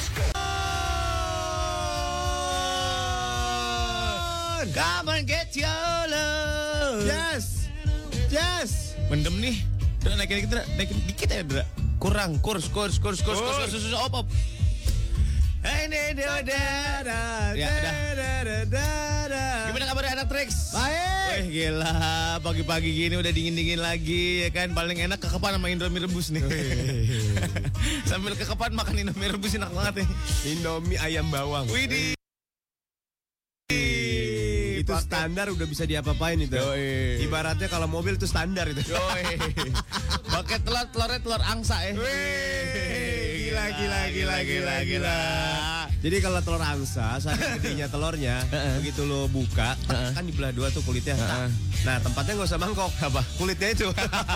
Come and get your love. Yes. Mendem nih. Udah naikin dikit ya, Dra. Kurang. Kurs. Op. Ya, gimana kabar anak Trax? Baik. Gila, pagi-pagi gini udah dingin-dingin lagi ya kan. Paling enak kekepan sama Indomie rebus nih. Sambil kekepan makan Indomie rebus enak banget nih. Indomie ayam bawang. Widih. Itu standar udah bisa diapa-apain itu. Yoi. Ibaratnya kalau mobil itu standar itu. Yoi. Pakai telurnya telur angsa ya. Gila. Jadi kalau telur angsa, saking gedenya telurnya, begitu lo buka, kan dibelah dua tuh kulitnya. Nah, tempatnya nggak usah mangkok, apa? Kulitnya itu.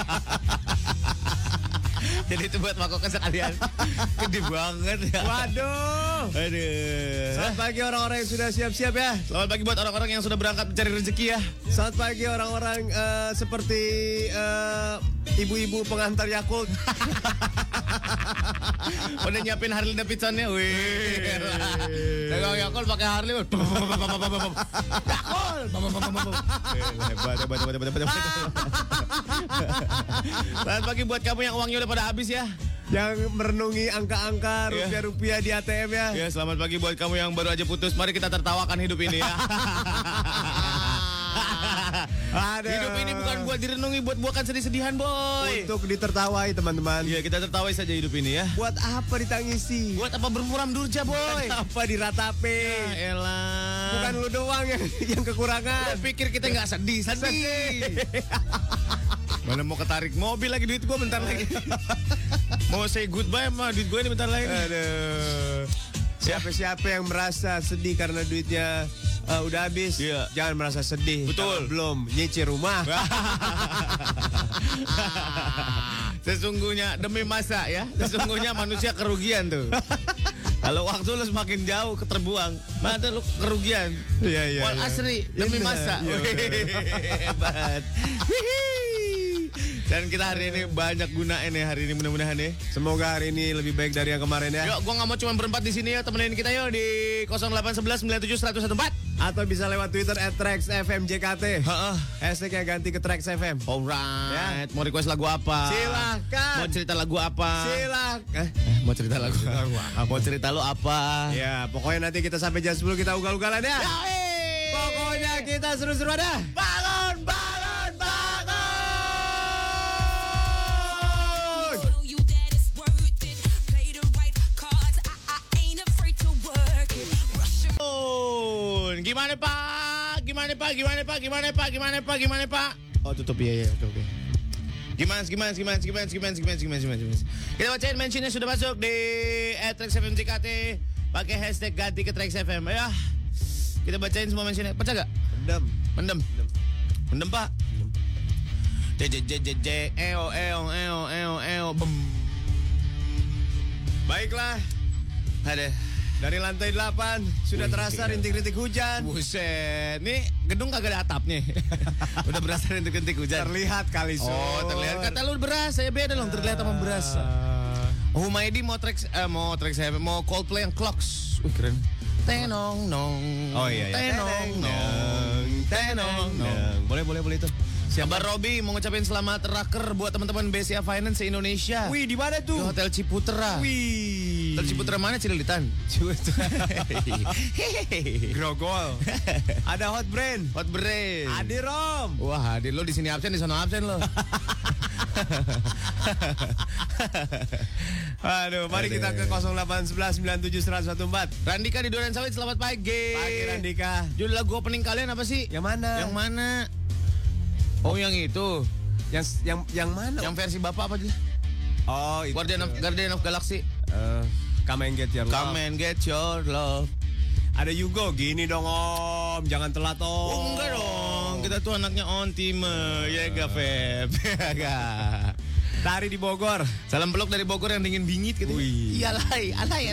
Jadi itu buat mangkoknya sekalian. Gede banget ya. Waduh. Aduh. Selamat pagi orang-orang yang sudah siap-siap ya. Selamat pagi buat orang-orang yang sudah berangkat mencari rezeki ya. Selamat pagi orang-orang seperti ibu-ibu pengantar Yakult. Udah nyiapin Harley Davidson-nya. Wih. Dagang Yakult pakai Harley. Yakult. Hebat. Selamat pagi buat kamu yang uangnya udah pada habis ya. Yang merenungi angka-angka rupiah-rupiah di ATM ya. Ya, selamat pagi buat kamu yang baru aja putus. Mari kita tertawakan hidup ini ya. Aduh. Hidup ini bukan buat direnungi, bukan sedih-sedihan, boy. Untuk ditertawai teman-teman. Iya, kita tertawai saja hidup ini ya. Buat apa ditangisi? Buat apa bermuram durja, boy? Buat apa diratape? Ya elah. Bukan lu doang yang kekurangan. Udah pikir kita nggak sedih. Mana mau ketarik mobil lagi, duit gua bentar lagi. Mau say goodbye sama duit gua ini bentar lagi. Aduh. Siapa-siapa yang merasa sedih karena duitnya udah habis, jangan merasa sedih. Betul. Belum nyicil rumah. Sesungguhnya demi masa ya. Sesungguhnya manusia kerugian tuh. Kalau waktu lu semakin jauh keterbuang, maka lu kerugian. Iya. Wal asri demi masa. Hebat. Dan kita hari ini banyak gunain ya hari ini, mudah-mudahan ya. Semoga hari ini lebih baik dari yang kemarin ya. Yuk, gua nggak mau cuma berempat di sini ya, temenin kita yuk di 0811 97 114. Atau bisa lewat Twitter @TraxFMJKT. Hashtagnya ganti ke Trax FM. Alright, mau request lagu apa? Silakan. Mau cerita lagu apa? Silakan. Mau cerita lagu apa? Mau cerita lu apa? Ya, pokoknya nanti kita sampai jam 10 kita ugal-ugalan ya. Pokoknya kita seru-seruan dah. Bangun. Gimana Pak? Oh, tutup ya. Oke. Gimana? Kita bacain mentionnya sudah masuk di @TraxFMJKT pakai hashtag ganti ke Trax FM ya. Kita bacain semua mentionnya. Baca gak? Mendem Pak. Baiklah. Ada. Dari lantai 8 sudah terasa rintik-rintik hujan. Buset, nih gedung kagak ada atapnya. Udah berasa rintik-rintik hujan. Terlihat kali, Sur. Oh, terlihat. Kata lu berasa ya, beda dong, terlihat sama berasa. Humaydi mau Trax mau Coldplay yang Clocks. Wih, keren. Tenong nong. Oh iya. Tenong nong. Boleh itu. Kabar Robi mau ngucapin selamat raker buat teman-teman BCA Finance se-Indonesia. Wih, di mana tuh? Di Hotel Ciputra. Wih. Hotel Ciputra mana, Cililitan? Grogol. Ada Hot Brain. Adi Rom. Wah, Adi lo di sini absen, di sana absen lo. Aduh, mari kita ke 0811 97 114. Randika di Duren Sawit, selamat pagi. Pagi Randika. Judul lagu opening kalian apa sih? Yang mana? Oh, yang itu. Yang mana? Yang versi Bapak apa aja? Oh, itu. Guardian of Galaxy. Come and get your love. Come and get your love. Ada Yugo, gini dong Om, jangan telat Om. Oh, enggak dong, kita tuh anaknya on time. Ya enggak, Feb. Enggak. Tari di Bogor. Salam peluk dari Bogor yang dingin bingit gitu. Alay.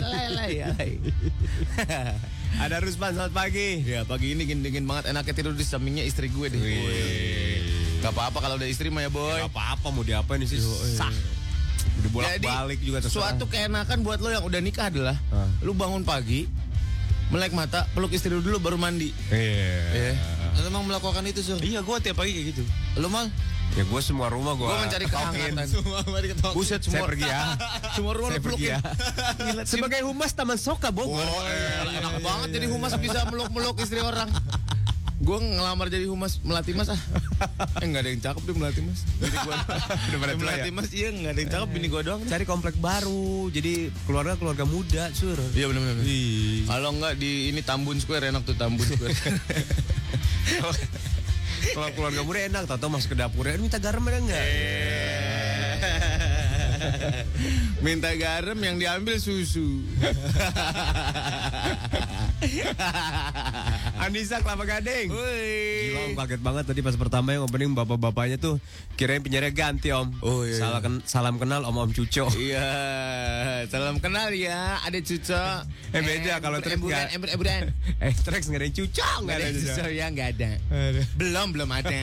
Ada Rusman, selamat pagi. Ya, pagi ini dingin banget, enaknya tidur di sampingnya istri gue deh. Gak apa-apa kalau udah istri mah ya, boy. Gak apa-apa, mau diapain sih? Sah. Dibolak-balik juga terserah. Suatu keenakan buat lo yang udah nikah adalah lu bangun pagi, melek mata, peluk istri lu dulu baru mandi. Iya. Lu emang melakukan itu, Sur? Iya, gue tiap pagi kayak gitu. Lu Mal? Ya gue semua rumah gue mencari kehangatan. Buset, Saya pergi ya. Semua rumah Saya lu pergi pelukin. ya. Sebagai humas Taman Soka Bogor. Enak banget jadi humas bisa meluk-meluk istri orang. Gue ngelamar jadi humas Melati Mas nggak ada yang cakep deh Melati Mas. Bini gue Udah pada tua Melati ya? Mas iya nggak ada yang cakep bini gue doang. Cari komplek baru. Jadi keluarga muda, Sur. Iya benar. Kalau nggak di ini Tambun Square enak tuh Tambun Square. Kalau keluarga muda enak, tau masuk ke dapurnya minta garam ada enggak? Minta garam yang diambil susu. Anissa Kelapa Gading. Woi. Gila, om kaget banget tadi pas pertama yang opening bapak-bapaknya tuh kirain penyiarnya ganti om. Oh iya. Salam kenal om Cuco. Iya, salam kenal ya, ada Cuco. Beda kalau Trax enggak. Eburan. Trax enggak ada Cuco, enggak ada Cuco ya enggak ada. Belum ada.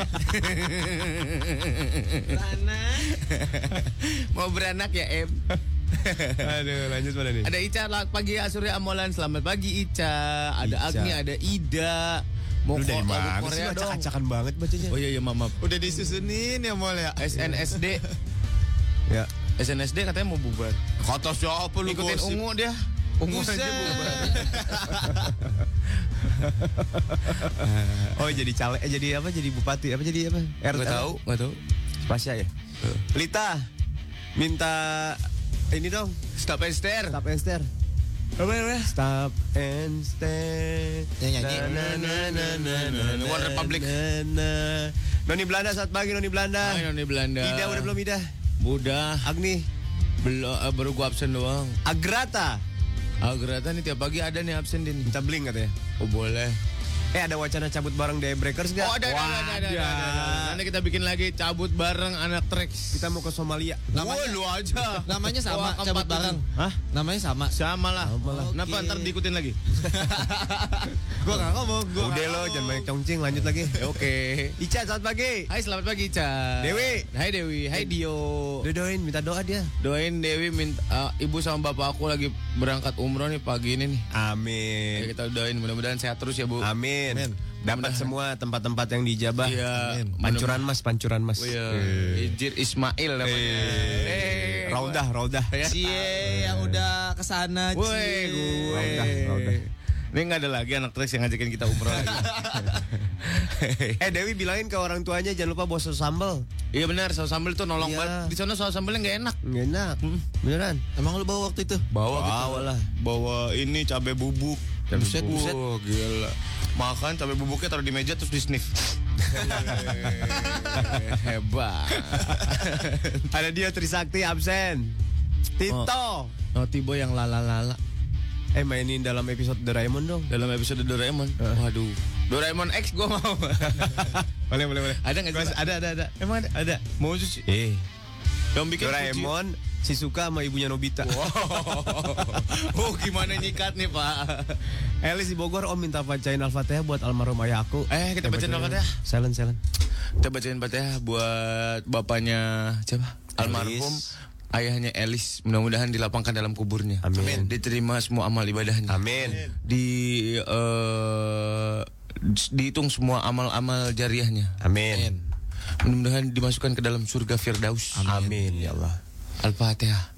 Mau beranak ya, Em? Aduh, lanjut mana nih? Ada Ica, selamat pagi Surya Amolan. Selamat pagi Ica. Ada Agni, ada Ida. Mau dari mana sih? Korea dong. Acak-acakan banget bacanya. Oh iya maaf. Udah disusunin ya Mal ya? SNSD. Ya. SNSD katanya mau bubar. Kata siapa lu Ikutin gosip? Ungu dia. Ungu aja bubar. Oh jadi caleg, jadi apa? Jadi bupati, apa jadi apa? Nggak tahu. Spasya ya. Lita minta ini dong. Stop and stare. Stop and stare. Apa? Stop and stare. Yang nyanyi. One Republic. Noni Belanda, saat pagi Noni Belanda. Hai Noni Belanda. Ida udah belum Ida? Udah. Agni. Belum, baru gua absen doang. Agrata. Agrata nih tiap pagi ada nih absen din. Minta bling katanya. Oh boleh. Ada wacana cabut bareng Daybreakers nggak? Oh ada. Nanti kita bikin lagi cabut bareng anak Trax. Kita mau ke Somalia. Namanya lu aja. Namanya sama, Wah, cabut bareng. Hah? Namanya sama. Sama lah. Oke. Kenapa ntar diikutin lagi? Gua nggak ngomong. Udah lo, jangan banyak congcing, lanjut lagi. Oke. Ica, selamat pagi. Hai selamat pagi Ica. Dewi. Hai Dewi. Hai Dio. Doain, minta doa dia. Doain Dewi minta ibu sama bapak aku lagi berangkat umroh nih pagi ini nih. Ya, Amin. kita doain mudah-mudahan sehat terus ya Bu. Amin. Dapat semua tempat-tempat yang dijabah. Iya. Pancuran Mas. Oh, iya. Ijir Ismail namanya. Raudah. Cie yang udah kesana. Woi, gue. Raudah. Ini nggak ada lagi anak Trax yang ngajakin kita umroh lagi. Dewi bilangin ke orang tuanya jangan lupa bawa saus sambal. Iya benar, saus sambal tuh nolong Iya. banget. Di sana saus sambalnya nggak enak. Nggak enak. Beneran. Emang lu bawa waktu itu? Bawa lah. Bawa ini cabai bubuk. Buset. Wah, gila. Makan cabai bubuknya taruh di meja terus di sniff. Hebat. Ada dia Trisakti absen. Tito. Oh, Tibo yang lala-lala. Mainin dalam episode Doraemon dong. Dalam episode Doraemon. Waduh. Doraemon X gue mau. Boleh. Ada nggak sih? Ada. Emang ada? Ada. Mau sih. Yang bikin Doraemon, Shizuka sama ibunya Nobita. Oh, gimana nyikat nih, Pak? Elis di Bogor, Om minta bacain Al-Fatihah buat almarhum ayah aku. Kita bacain Al-Fatihah. Silent. Kita bacain Al-Fatihah buat bapaknya siapa? Almarhum ayahnya Elis. Mudah-mudahan dilapangkan dalam kuburnya. Amin. Diterima semua amal ibadahnya. Amin. Dihitung semua amal-amal jariahnya. Amin. Mudah-mudahan dimasukkan ke dalam surga Firdaus. Amin ya Allah. Al-Fatihah.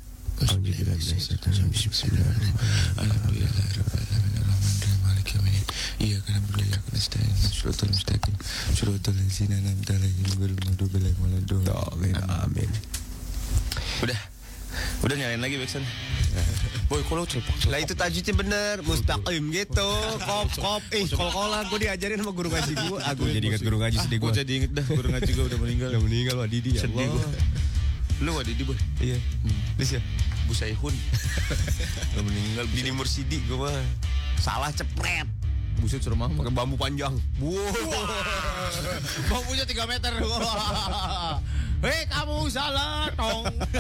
Iya karena beliau akan nasta'in Suratul mustaqim Suratul lazina an'amta alaihim ghairil maghdubi alaihim waladdallin. Amin. Udah nyalain lagi backsound. Boy, kalau cepak. Lah itu tajwidnya bener, mustaqim gitu. Kop. Kol-kolan gue diajarin sama guru ngaji gue. Aku jadi ingat guru ngaji sedih gue. Gue jadi inget dah, guru ngaji gue udah meninggal. Udah meninggal Wah Didi ya Sedih Allah. gue. Lu Didi boy. Iya. Bisa. Bu Saihun. Udah meninggal. Didi Mursidi gue mah. Salah cepret. Buset suruh mama. Pakai bambu panjang. Bambunya 3 meter. Hei kamu salah tong.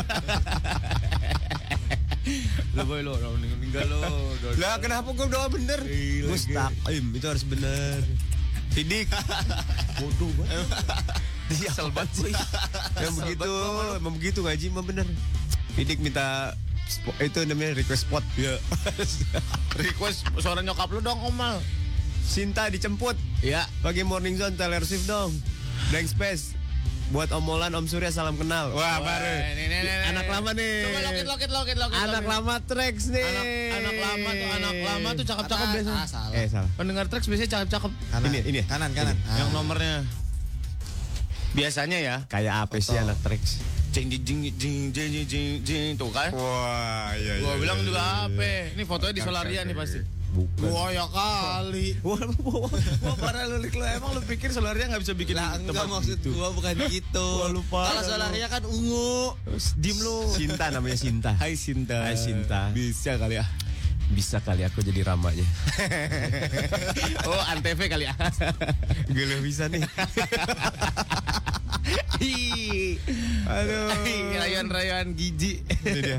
Lo boy lo meninggal lo. Lah kenapa gue doa bener? Mustaqim itu harus bener. Sidik. Bodoh banget. Dia Kesel banget sih. Yang begitu, emang begitu ngaji mah bener. Pidik minta itu namanya request spot. Ya. Request suara nyokap lu dong, Omal. Sinta dijemput. Ya. Pagi morning zone Taylor Swift dong. Blank space. Buat Om Molan, Om Surya salam kenal. Wah, baru. Nih. Anak lama nih. Coba lokit. Anak lama Trax nih. Anak lama tuh cakep-cakep biasanya. Salah. Salah. Pendengar Trax biasanya cakep-cakep. Kanan. Ini. Kanan. Yang nomornya. Biasanya ya. Kayak apa sih anak Trax? Jing tuh kan. Wah, iya. Gua bilang juga apa? Ini fotonya di Solaria nih pasti. Bukan. Wah ya kali. Wah parah lu emang lu pikir Solaria nggak bisa bikin Lah enggak maksud gua bukan gitu. Wah, lupa. Kalau Solaria kan ungu. Dim lu. Sinta namanya Sinta. Hai Sinta. Hai Sinta. Bisa kali ya. Bisa kali aku jadi ramanya. Oh Antv kali ya. Gak bisa nih. Aduh. Rayuan gizi. Ini dia.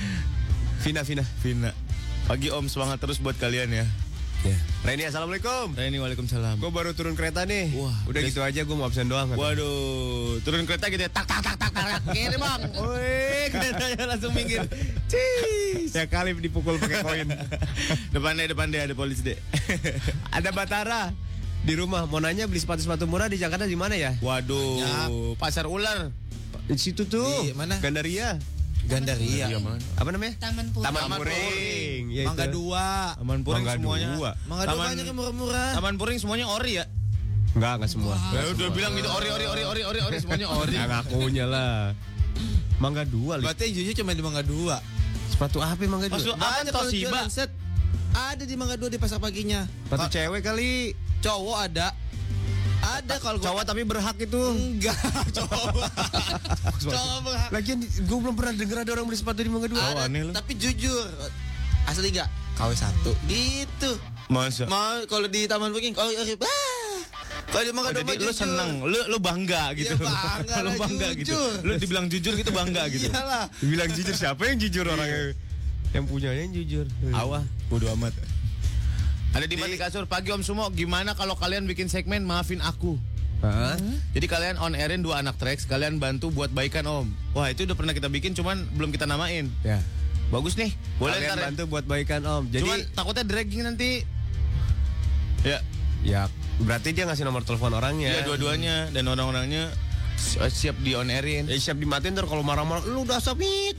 Vina. Pagi Om, semangat terus buat kalian ya. Reni, assalamualaikum. Reni, waalaikumsalam. Gue baru turun kereta nih. Wah, udah gitu aja gue mau absen doang. Waduh, turun kereta gitu ya. Tak. Gini bang. Wih, keretanya langsung minggir. Cis. Ya kali dipukul pakai koin. Depan deh ada polisi deh. Ada Batara di rumah. Mau nanya beli sepatu murah di Jakarta di mana ya? Waduh, pasar ular. Di situ tuh. Di mana? Gandaria. Apa namanya? Taman Puring. Taman Puring. Ya, Mangga itu. 2. Taman Puring Mangga semuanya. 2. Mangga 2 banyak yang murah-murah. Taman Puring semuanya ori ya? Enggak semua. Ya udah bilang gitu ori semuanya ori. Ya ngakunya lah. Mangga 2. Berarti yang jujur cuma di Mangga 2. Sepatu apa Mangga 2? Maksud apa Banyak kalau Toshiba? jualan set. Ada di Mangga 2 di pasar paginya. Sepatu cewek kali. Cowok ada. Ada kalau gua Cowok tapi berhak itu. enggak cowok. Cowok berhak. Lagian gue belum pernah denger ada orang beli sepatu di Mangga 2. Ada, aneh lu. tapi jujur. Asli enggak? KW 1. Gitu. Masa? Mau kalau di Taman Puring kalau kalau di Mangga 2 Jadi lu seneng, lu bangga gitu. Iya, bangga Lu lah, bangga gitu. jujur. Lu dibilang jujur gitu bangga gitu. Iyalah. Bilang jujur, siapa yang jujur orangnya? Yang punyanya yang jujur. Awah, bodo amat. Ada di mati kasur. Pagi Om Sumo, gimana kalau kalian bikin segmen Maafin Aku? Hah? Jadi kalian on airin 2 anak Trax, kalian bantu buat baikan Om. Wah itu udah pernah kita bikin, cuman belum kita namain. Ya. Bagus nih, boleh Kalian ntar ya. bantu buat baikan Om. Jadi Cuman takutnya dragging nanti. Ya, ya berarti dia ngasih nomor telepon orangnya. iya dua-duanya dan orang-orangnya siap di on airin. Siap dimatiin ntar kalau marah-marah. Lu udah sabit,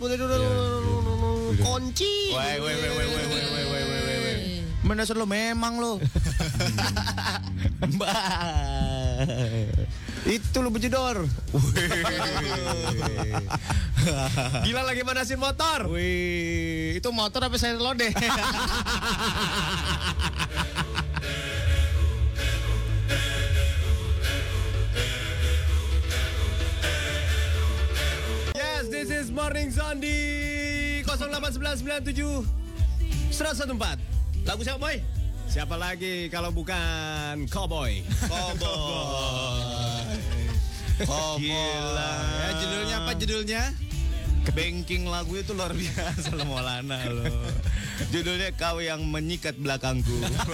kunci. Woi. Mendasar lo memang lo. Mbak. Itu lu bejedor. Gila lagi manasin motor. Wih, itu motor apa saya lodeh? Yes, this is Morning Zone di 081997 114. Lagu siapa boy? Siapa lagi kalau bukan Cowboy? Gila. Ya judulnya apa judulnya? Banking lagu itu luar biasa lo Maulana lo. Judulnya Kau Yang Menyikat Belakangku.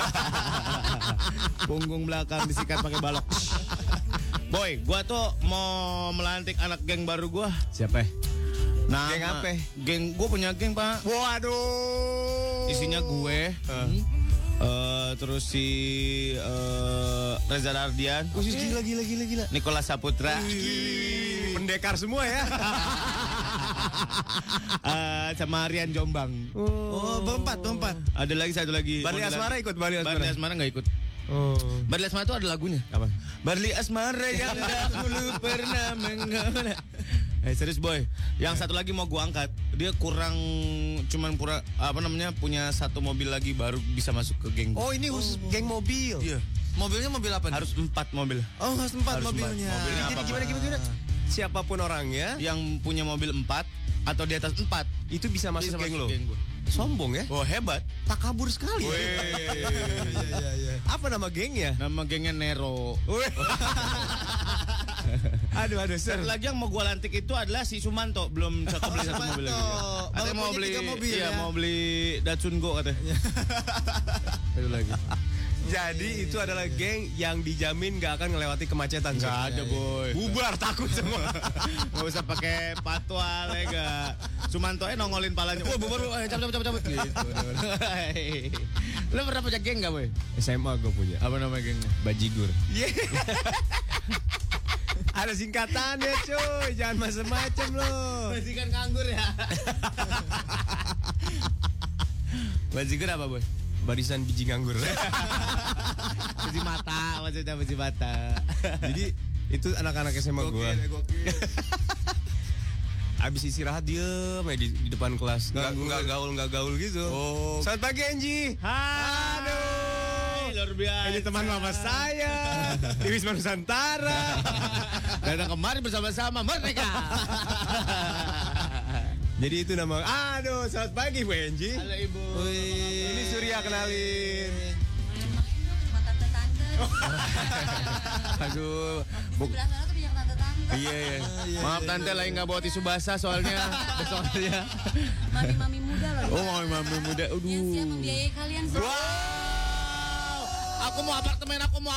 Punggung belakang disikat pakai balok. Boy, gua tuh mau melantik anak geng baru gua. Siapa? Nah, Geng apa? Geng gua punya geng, Pak. Waduh. Isinya gue. Terus si Reza Ardian. Gila. Nicholas Saputra. Pendekar semua ya. Sama Rian Jombang. Oh, berempat. Ada lagi satu lagi. Barli Asmara ikut Barli Asmara nggak ikut. Oh. Barli Asmara itu ada lagunya. Apa? Barli Asmara yang dahulu pernah mengenal. Serius boy. Yang satu lagi mau gua angkat. Dia kurang punya satu mobil lagi baru bisa masuk ke geng. Oh, ini khusus geng mobil. Iya. Mobilnya mobil apa nih? Harus 4 mobil. Oh, harus 4 Harus mobilnya. 4. Mobilnya Jadi apa? gimana? Siapapun orangnya Yang punya mobil 4 atau di atas 4 itu bisa masuk geng lo. gua. Sombong ya? Oh hebat. Takabur sekali. Iya. Apa nama gengnya? Nama gengnya Nero. Aduh, Satu lagi yang mau gua lantik itu adalah si Sumanto. Belum beli satu mobil lagi. Katanya mau punya beli 3 mobil iya, ya. mau beli Datsun Go katanya. Itu lagi. Jadi itu adalah geng yang dijamin gak akan ngelewati kemacetan. Gak ada boy. Bubar takut semua. Gak usah pakai patwal ya gak. Sumanto nongolin palanya. Wah bubar, cabut gitu. Lu pernah punya geng gak boy? SMA gue punya. Apa nama gengnya? Bajigur. Ada singkatannya cuy. Jangan macam-macam lo. Bajikan nganggur ya. Bajigur apa boy? Barisan biji nganggur. Biji mata, maksudnya biji mata. Jadi itu anak-anak SMA gue. Abis istirahat diem di depan kelas. Nggak gaul gitu. Oh. Selamat pagi Enji. Aduh, luar biasa. Ini teman mama saya di Wisma Nusantara. Dan kemarin bersama-sama mereka. Jadi itu nama. Aduh, selamat pagi Bu Enji. Halo Ibu. Ini Surya, kenalin. Sama tante-tante. Aduh. Sebelah sana tuh banyak tante-tante. Iya. Maaf tante lagi nggak bawa tisu basah soalnya. Soalnya. Mami-mami muda loh. Oh, mami muda. Yang siap Aduh. membiayai kalian semua. Wow. Aku mau apartemen. Aku mau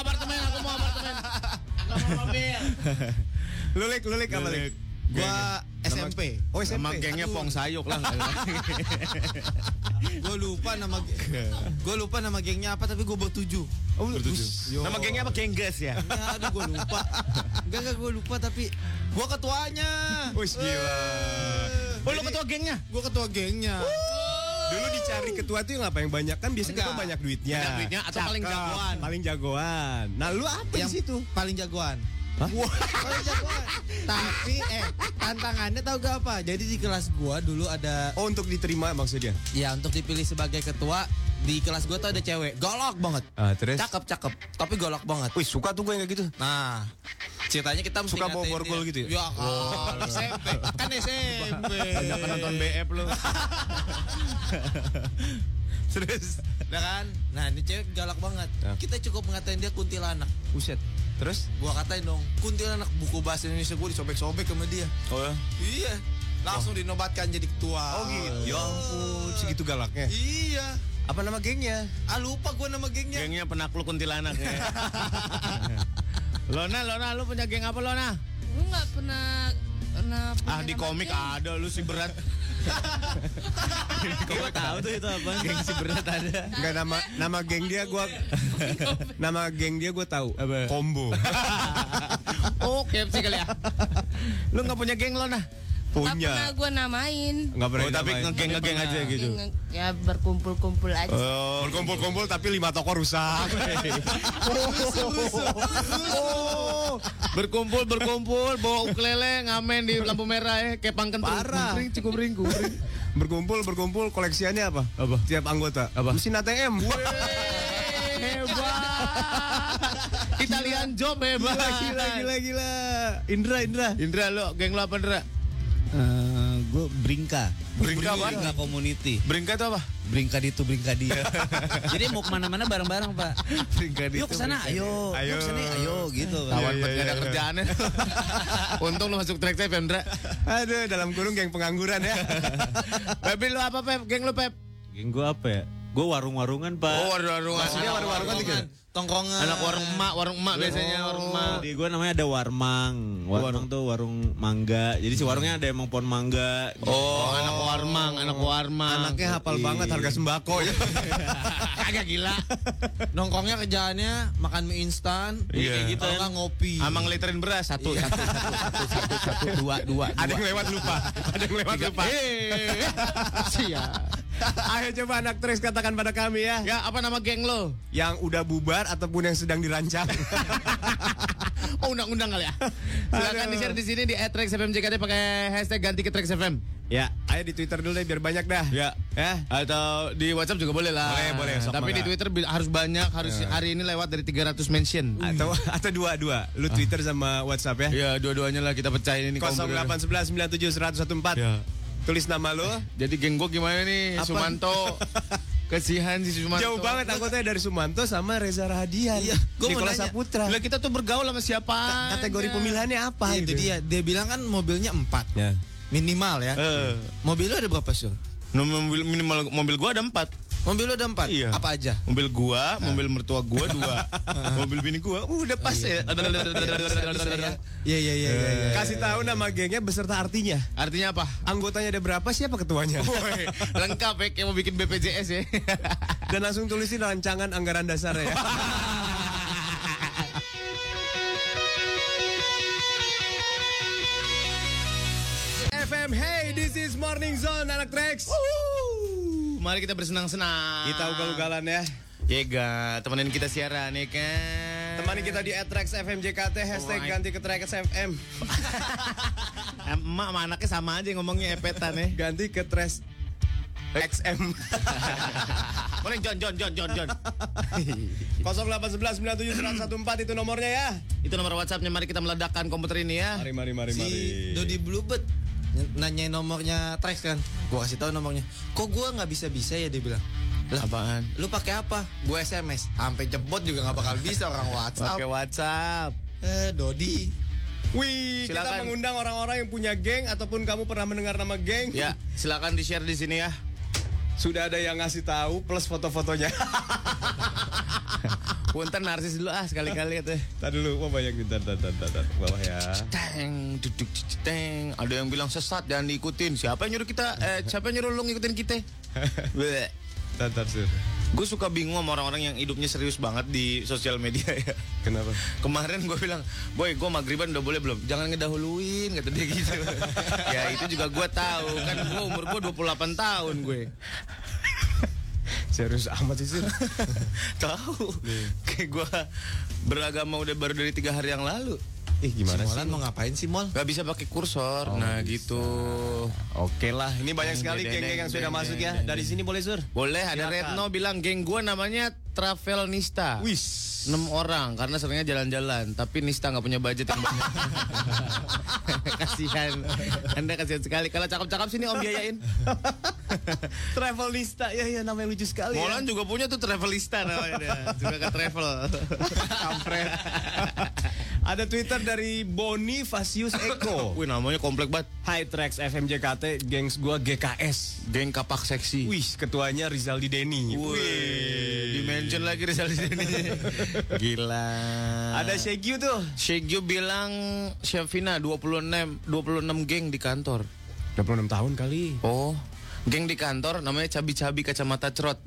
mobil. Lulik apa Lik? Gua SMP. Oh, SMP. Sama gengnya Pong Sayuk lah. Gue lupa nama gengnya apa tapi gue bertujuh. Oh, Nama gengnya apa? Gengges ya? Aduh gue lupa. Enggak gue lupa tapi gue ketuanya. Wih, gila. Oh, lu ketua gengnya? Gue ketua gengnya. Dulu dicari ketua tuh yang apa yang banyak kan biasanya ketua Enggak. banyak duitnya. Banyak duitnya atau paling jagoan? Paling jagoan. Nah, lu apa Yang di situ? paling jagoan. Hah? Paling jagoan. Tapi tantangannya tahu gak apa? Jadi di kelas gua dulu ada Oh, untuk diterima maksudnya. ya untuk dipilih sebagai ketua di kelas gua tuh ada cewek galak banget. Terus? Cakep tapi galak banget. Wih, suka tuh gue yang kayak gitu. Nah, ceritanya kita mesti Suka bawa ngatain borgol dia. gitu ya? Ya kan, SMP. Kan SMP. Banyak nonton BF lu. Terus, nah kan? Nah, ini cewek galak banget. Ya. Kita cukup ngatain dia kuntilanak. Buset. Terus? Gua katain dong, kuntilanak, buku bahasa Indonesia gua disobek-sobek sama dia. Oh ya? Iya. Langsung dinobatkan jadi ketua. Oh gitu. Ya ampun, segitu galaknya. Iya. Apa nama gengnya? Lupa gua nama gengnya. Gengnya penakluk kuntilanak ya. Lona, lu punya geng apa Lona? Gue nggak pernah punya Di nama komik geng. ada lu si berat. Gue tahu tuh itu apa. Geng si berat ada. Enggak, nama geng dia gua nama geng dia gua tahu. Apa? Combo. Oh, KFC kali ya. Lu nggak punya geng Lona? Nggak Punya. pernah gue namain. Enggak pernah. Oh, tapi dinamain. ngegeng aja gitu. Ya berkumpul-kumpul aja. Oh, berkumpul-kumpul tapi 5 toko rusak. Berkumpul bawa ukulele ngamen di lampu merah ya kayak pangken Parah. Cikumpring. Berkumpul koleksiannya apa? Apa? Tiap anggota. Apa? Mesin ATM. Hebat. Italian job hebat. Gila. Indra. Lu geng lu apa Indra? Gue Bringka. Bringka apa? Bringka Community. Bringka itu apa? Bringka itu Bringka dia. Jadi mau kemana-mana bareng-bareng Pak. Bringka Yuk kesana, ayo. Yuk kesana, ayo gitu. Tawan Iya, banget iya, gak ada iya. kerjaannya. Untung lu masuk track FM Indra. Aduh, dalam kurung geng pengangguran ya. Pep lu apa Pep? Geng lu Pep? Geng gue apa ya? Gue warung-warungan Pak. Oh, warung-warungan. Maksudnya warung-warungan tiga. Tongkrongan. Anak warung emak biasanya warung emak. Di gue namanya ada Warmang. Warmang tuh warung mangga. Jadi si warungnya ada emang pohon mangga. Oh, anak warmang. Anaknya hafal banget harga sembako ya. Agak gila. Nongkrongnya kerjaannya makan mie instan. Iya. Kayak gitu. Kalau nggak ngopi. Amang literin beras satu, dua. Ada yang lewat lupa. Siap. Ayo coba anak Trax katakan pada kami ya. Ya, apa nama geng lo? Yang udah bubar ataupun yang sedang dirancang. Oh, undang-undang kali ya. Silakan di-share di sini di @traxfmjkt pakai hashtag ganti ke Trax FM. Ya, ayo di Twitter dulu deh biar banyak dah. Ya. Atau di WhatsApp juga boleh lah. Boleh, sok Tapi di mangga. Twitter harus banyak, harus hari ini lewat dari 300 mention. Atau dua. Lu Twitter sama WhatsApp ya. Ya, dua-duanya lah kita pecahin ini. 0811 97 114. Ya. Tulis nama lu. Jadi geng gua gimana nih? Apa? Sumanto. Kesihan si Sumanto. Jauh banget anggotanya dari Sumanto sama Reza Rahadian. Iya, gua mau Nicholas nanya. Saputra. Lah kita tuh bergaul sama siapa? Kategori pemilihannya apa Itu itu? dia bilang kan mobilnya 4. Ya. Minimal ya. Mobil lu ada berapa, Sur? Mobil gua ada 4. Mobil lu ada 4? Iya. Apa aja? Mobil gua, mobil mertua gua 2. Mobil bini gua udah pas ya. Iya. Kasih tahu nama gengnya beserta artinya. Artinya apa? Anggotanya ada berapa, siapa ketuanya? Woi, lengkap ya kayak mau bikin BPJS ya. Dan langsung tulisin rancangan anggaran dasar ya. FM, hey, this is Morning Zone, anak Trax. Mari kita bersenang-senang. Kita ugal-ugalan ya. Yega, temenin kita siaran ya kan. Temani kita di @TraxFMJKT, hashtag ganti ke Trax FM. Emak sama anaknya sama aja ngomongnya epetan ya. Ganti ke Trax XM. Boleh John. 0811-97-114 itu nomornya ya. Itu nomor WhatsAppnya. Mari kita meledakkan komputer ini ya. Mari. Si Dodi Bluebird nanyain nomornya Trax kan. Gua kasih tahu nomornya. Kok gua nggak bisa ya, dia bilang. Lah, apaan? Lu pakai apa? Gua SMS. Sampai jebot juga nggak bakal bisa orang WhatsApp. Pakai WhatsApp. Dodi. Wih, kita Silakan. mengundang orang-orang yang punya geng ataupun kamu pernah mendengar nama geng. Ya, silakan di-share di sini ya. Sudah ada yang ngasih tahu plus foto-fotonya. Punten narsis dulu sekali-kali katanya. Tadi dulu, mau banyak bentar, bawah ya. Teng, duduk, teng. Ada yang bilang sesat, jangan diikutin. Siapa yang nyuruh kita? Siapa yang nyuruh lu ngikutin kita? Bentar, Sur. Gue suka bingung sama orang-orang yang hidupnya serius banget di sosial media ya. Kenapa? Kemarin gue bilang, boy, gue maghriban udah boleh belum? Jangan ngedahuluin, kata dia gitu. Ya itu juga gue tahu, kan gue umur gue 28 tahun gue. Serius amat sih, Sur. Tahu, kayak gue beragama udah baru dari 3 hari yang lalu. Gimana Si Molan mau ngapain sih, Mol? Gak bisa pakai kursor, nah gitu. Oke lah, ini banyak sekali geng-geng yang sudah masuk ya. Dari sini boleh, Sur? Boleh, ada Retno bilang geng gue namanya Travelnista. Wis. 6 orang karena seringnya jalan-jalan, tapi Nista nggak punya budget yang banyak. Kasihan, Anda kasihan sekali. Kalau cakep-cakep sini Om biayain. Travelista, ya namanya lucu sekali. Molan juga punya tuh Travelista namanya dia. Juga ke travel. Kampret. Ada Twitter dari Bonifacius Eko. Wih, namanya komplek banget. Hai Trax FMJKT, gengs gua GKS. Geng kapak seksi. Wih, ketuanya Rizaldi Denny. Wih, dimention lagi Rizal di sini. Gila. Ada Shegyu tuh. Shegyu bilang Syafina 26 geng di kantor. 26 tahun kali. Oh, geng di kantor namanya cabi-cabi kacamata cerot.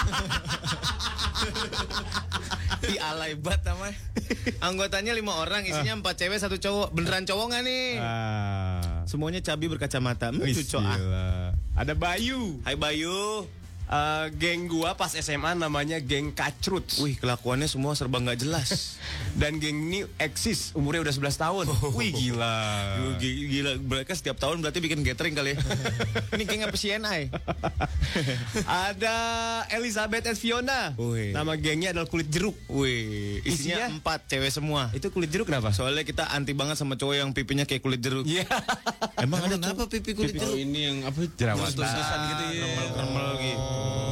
Ih, alay banget namanya. Anggotanya 5 orang, isinya 4 cewek 1 cowok. Beneran cowok gak nih? Semuanya cabi berkacamata. Lucu Ada Bayu. Hai Bayu. Geng gua pas SMA namanya geng Kacrut. Wih, kelakuannya semua serba nggak jelas. Dan geng ini eksis, umurnya udah 11 tahun. Wih, gila. Gila, mereka setiap tahun berarti bikin gathering kali ya. Ini geng apa CNI? Ada Elizabeth and Fiona. Wih. Nama gengnya adalah kulit jeruk. Wih, isinya 4 cewek semua. Itu kulit jeruk kenapa? Soalnya kita anti banget sama cowok yang pipinya kayak kulit jeruk. Iya. Emang ada kenapa pipi kulit jeruk? ini yang apa Jerawat. Terus-terusan gitu ya. Kermel gitu.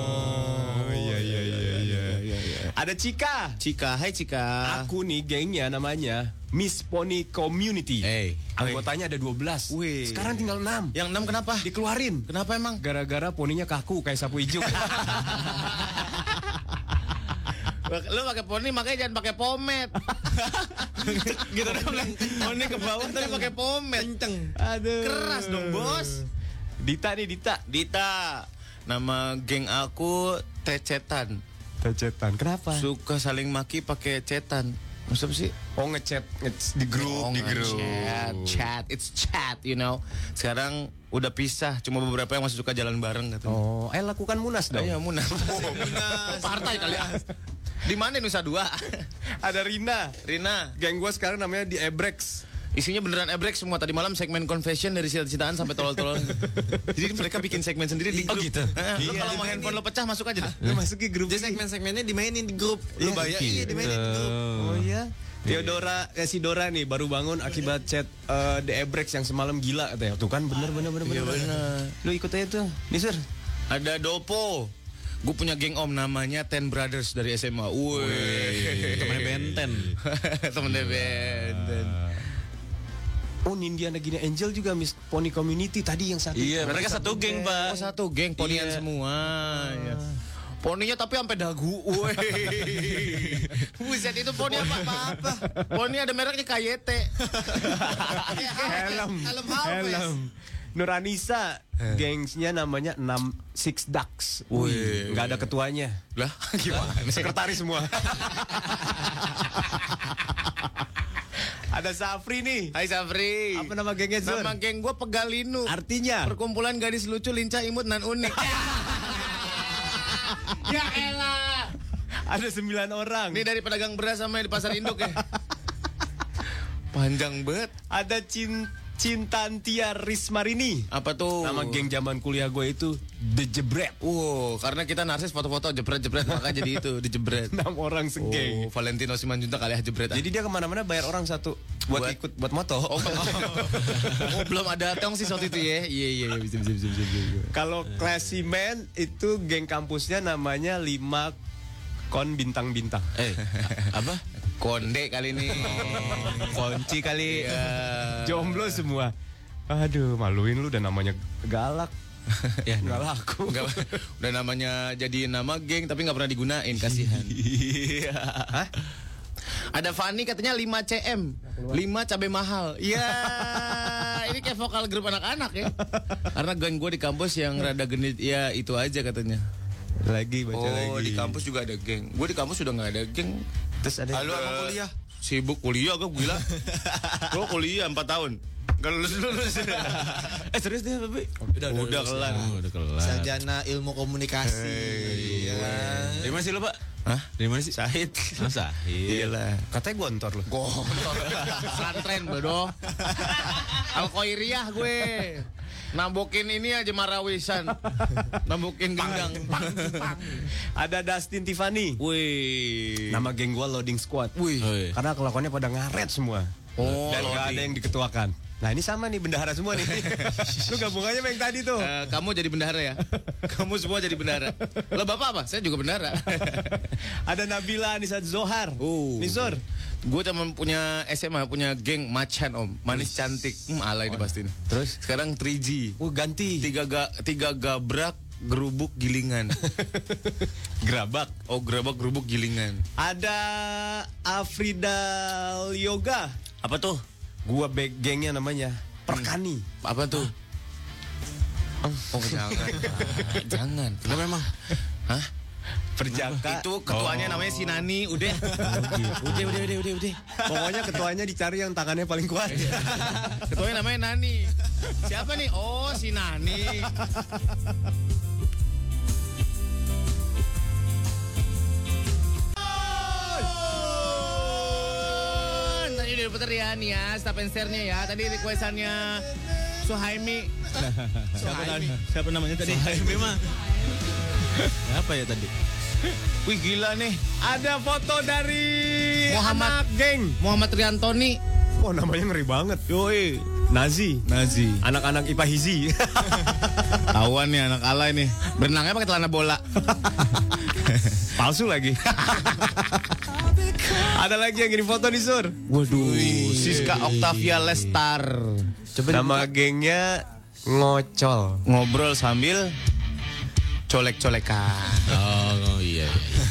Iya. Ada Cika. Cika, hai Cika. Aku nih gengnya namanya Miss Pony Community. Anggotanya ada 12. Wih. Sekarang tinggal 6. Yang 6 kenapa? Dikeluarin. Kenapa emang? Gara-gara poninya kaku kayak sapu hijau. Lu pakai poni makanya jangan pakai pomade. Gitu dong. Poni ke bawah tapi pakai pomade. Kenceng. Aduh. Keras dong, Bos. Dita nih, Dita. Nama geng aku Tecetan. Tecetan. Kenapa? Suka saling maki pakai cetan. Maksudnya sih? Oh, ngechat di grup, di grup. Chat, it's chat, you know. Sekarang udah pisah, cuma beberapa yang masih suka jalan bareng katanya. Oh, lakukan munas dong. Iya, Munas. Partai kali ya. Di mana Nusa Dua? Ada Rina. Geng gua sekarang namanya di Ebrex. Isinya beneran ebrek semua. Tadi malam segmen confession dari cita-citaan sampai tolol-tolol. Jadi mereka bikin segmen sendiri di grup. Oh gitu? Lu kalau mau handphone lo pecah masuk aja. Lu masuk ke grup. Jadi segmen-segmennya dimainin di grup. Lu bayar, iya dimainin di grup. Oh iya. Theodora, si Dora nih baru bangun akibat chat The Ebrex yang semalam gila katanya. Tuh kan bener. Iya bener. Lu ikut aja tuh. Nih Sir. Ada Dopo. Gue punya geng om namanya Ten Brothers dari SMA. Wih. Temennya Benten. Temennya Benten. Oh, Nindiana Gina Angel juga Miss Pony Community tadi yang satu. Iya, mereka satu geng, Pak. Oh, satu geng, ponian Iya. semua. Iya. Poninya tapi sampai dagu. Woi. Buset, itu poni apa? Poni ada mereknya KYT. Helm. Nuranisa, gengsnya namanya 6 Ducks. Wih. Nggak ada ketuanya. Lah, gimana? Sekretaris semua. Ada Safri nih. Hai Safri. Apa nama gengnya, Zur? Nama geng gue Pegalinu. Artinya? Perkumpulan gadis lucu, lincah, imut, nan unik. Ya elah. Ada 9 orang. Ini dari pedagang beras sama yang di pasar induk ya. Panjang banget. Ada Cintantia Rismarini. Apa tuh? Nama geng zaman kuliah gue itu The Jebret. Wow, karena kita narsis foto-foto jebret-jebret makanya jadi itu dijebret. 6 orang segeng. Valentino Simanjuntak kali ya jebret. Jadi dia kemana-mana bayar orang satu buat ikut buat moto. Oh, belum ada tongsis waktu itu ya. Iya, bisa. Kalau Klasimen itu geng kampusnya namanya 5 kon bintang-bintang. Apa? Konde kali ini. Kunci kali. Jomblo semua. Aduh, maluin lu udah namanya galak. Ya, nggak laku. Udah namanya jadi nama geng tapi nggak pernah digunain, kasihan. Hah? Ada Fanny katanya 5 CM, 5 cabai mahal. Iya, ini kayak vokal grup anak-anak ya. Karena geng gue di kampus yang rada genit, ya itu aja katanya. Lagi baca lagi. Oh, di kampus juga ada geng. Gue di kampus sudah nggak ada geng. Terus ada. Halo, emang kuliah? Sibuk kuliah, gue gila. Gue kuliah 4 tahun. Gak lulus. Serius deh, Babi? Udah kelar. Sarjana ilmu komunikasi. Iya. Dari mana sih lo, Pak? Hah? Dari mana sih? Sahid. Sahid. Iyalah. Katanya gontor lu. Gontor. Santren bodoh. Al-Khoiriyah gue. Nambokin ini aja marawisan. Nambokin gendang. Ada Dustin Tiffany. Wih. Nama geng gua Loading Squad. Wih. Karena kelakuannya pada ngaret semua. Oh, dan gak ada yang diketuakan. Nah ini sama nih bendahara semua nih. Lu gabungannya sama yang tadi tuh. Kamu jadi bendahara ya? Kamu semua jadi bendahara. Lo bapak apa? Saya juga bendahara. Ada Nabila Anissa Zohar. Nisor. Gue cuma punya SMA, punya geng Macan om. Manis cantik. Alay ini pasti. Terus? Sekarang 3G. Ganti. Tiga gabrak, gerubuk, gilingan. Gerabak. Oh, gerabak, gerubuk, gilingan. Ada Afrida Yoga. Apa tuh? Gua gengnya namanya Perkani. Apa tuh? Oh, jangan. Jangan. Kenapa memang? Hah? Perjaka. Itu ketuanya namanya Sinani. Udah. Udah. Pokoknya ketuanya dicari yang tangannya paling kuat. Ketuanya namanya Nani. Siapa nih? Oh, si Nani. Tadi udah puter ya nih ya, stop and stare-nya ya. Tadi requestannya Suhaimi. Siapa namanya tadi? Suhaimi mah. Apa ya tadi? Wih gila nih. Ada foto dari Muhammad anak geng. Muhammad Riantoni. Oh namanya ngeri banget. Yoi. Nazi. Anak-anak IPA Hizi. Tahuan nih anak alay nih. Berenangnya pakai celana bola. Palsu lagi. Ada lagi yang ngirim foto nih Sur. Waduh. Siska Octavia Lestar. Coba nama gengnya Ngocol. Ngobrol sambil colek-colekan. Oh iya.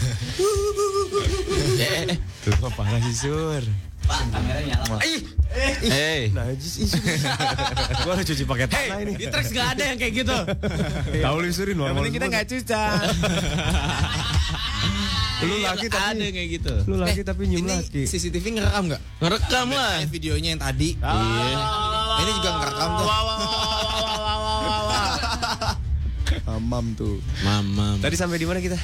Tuh parah sih Sur. Pak, kameranya nyala. Najis isu. Gua harus cuci pakai tanah ini. Di Trax gak ada yang kayak gitu. Tahu lu Surin normal. Yang kita gak cuca. Lu laki tapi ada yang kayak gitu. Lu laki tapi nyium laki. CCTV ngerekam nggak? Ngerekam lah. Videonya yang tadi. Iya. Ini juga ngerekam tuh. Mamam tuh. Mamam. Tadi sampai di mana kita?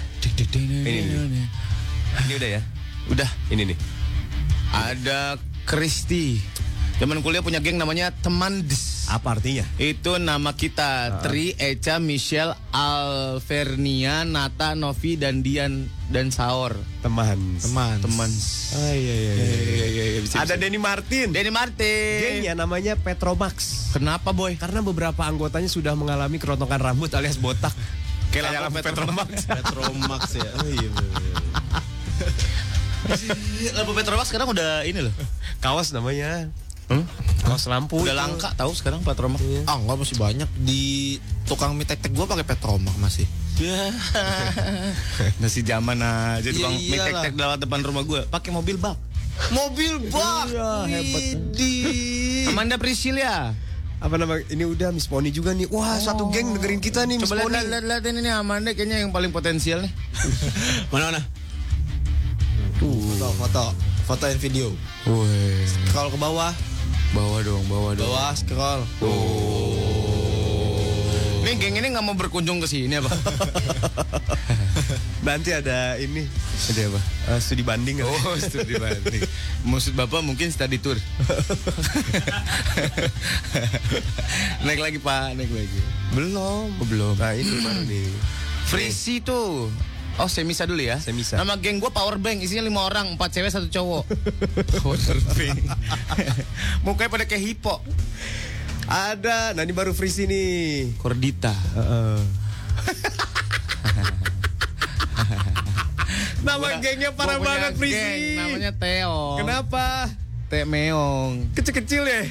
Ini udah ya? Udah. Ini nih. Ada Kristi. Zaman kuliah punya geng namanya Teman Des. Apa artinya? Itu nama kita. Tri, Eca, Michelle, Alvernia, Nata, Novi, dan Dian dan Saor. Teman. Oh iya. Ada Denny Martin. Denny Martin. Gengnya namanya Petromax. Kenapa boy? Karena beberapa anggotanya sudah mengalami kerontokan rambut alias botak. Kayak lampu Petromax. Petromax ya. Oh iya. Lampu Petromax sekarang udah ini loh. Kaos namanya. Kaos lampu Udah itu. langka tahu sekarang Petromax. Ah, enggak, masih banyak di tukang mie tek-tek gua pakai Petromax masih. Ya. Masih zaman aja tukang Iya, mie iyalah. tek-tek lewat depan rumah gue pakai mobil bak. Mobil bak. Iya, hebat. Widih. Amanda Priscilia. Apa nama ini udah Miss Pony juga nih. Wah, satu geng dengerin kita nih Miss Coba Pony. lihat ini Amanda kayaknya yang paling potensial nih. Mana? Foto and video. Wih. Scroll ke bawah. Bawa dong. Bawah scroll. Nih geng ini nggak mau berkunjung ke sini apa? Nanti ada ini. Ada apa? Studi banding. Oh, studi banding. Maksud Bapak mungkin study tour. Naik lagi Pak, naik lagi. Belum. Belum. Nah, ini baru nih. Frisi tuh. Oh, Semisa dulu ya. Semisa. Nama geng gue Power Bank, isinya 5 orang, 4 cewek 1 cowok. Power Bank. Mukanya pada kayak hipo. Ada. Nah, ini baru free nih. Kordita. Nama gengnya parah Gua punya banget free. geng, namanya Teong. Kenapa? Te Meong. Kecil-kecil ya?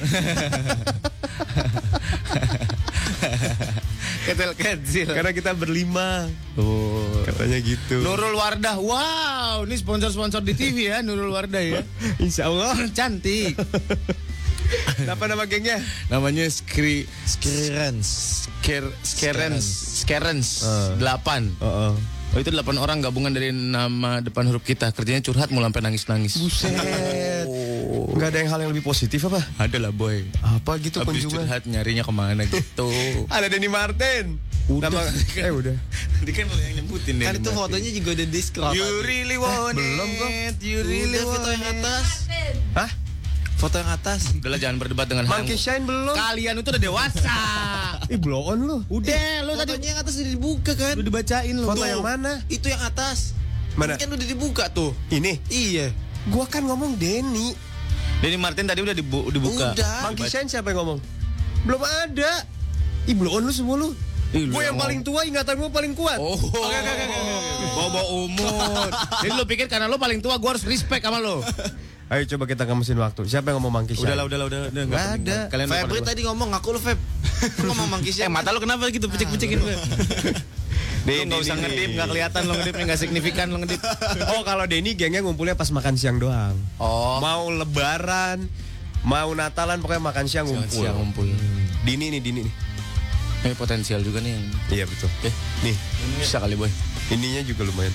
Kecil. Karena kita berlima. Oh. Katanya gitu. Nurul Wardah. Wow, ini sponsor-sponsor di TV ya, Nurul Wardah ya. Insya Allah. Cantik. Apa nama gengnya? Namanya Skerens. Skerens 8. Oh, itu 8 orang gabungan dari nama depan huruf kita. Kerjanya curhat mulu sampai nangis-nangis. Buset. Nggak ada yang hal yang lebih positif apa? Ada lah boy. Apa gitu Habis kunjungan? curhat nyarinya kemana gitu. Ada Denny Martin. Udah. Udah. Tadi kan lo yang nyebutin deh. Kan itu fotonya juga ada di scroll. You really want Belum kok. it. You really Udah, foto want yang it. atas. Hah? Foto yang atas. Udahlah jangan berdebat dengan hal Monkey yang- Shine belum? Kalian itu udah dewasa. Ih, blow on lu. Udah, lo tadi Fotonya yang atas udah dibuka kan? udah dibacain lo. Foto yang mana? Itu yang atas. Mana? Kan udah dibuka tuh. Ini. Iya. Gua kan ngomong Denny. Denny Martin tadi udah dibuka. Udah. Monkey Shine siapa yang ngomong? Belum ada. Ih, blow on lu semua lu. Ih, lu Gue yang ngomong. paling tua, ingatan gue paling kuat. Oh, bawa umur. Jadi lo pikir karena lo paling tua, gue harus respect sama lo. Ayo coba kita ngemesin waktu. Siapa yang ngomong Monkey Shine? Udahlah. Nggak ada. Kalian Febri tadi ngomong ngaku lu Feb. Lu ngomong mangkisnya. mata lo kenapa gitu pecik-pecikin? Lo nggak usah ngedip, nggak kelihatan lo ngedipnya, nggak signifikan lo ngedip. Oh, kalau Denny gengnya ngumpulnya pas makan siang doang. Oh, Mau lebaran, mau Natalan, pokoknya makan siang ngumpul. siang ngumpul. Dini nih. Ini potensial juga nih yang Iya betul. Nih, bisa kali boy. ininya juga lumayan.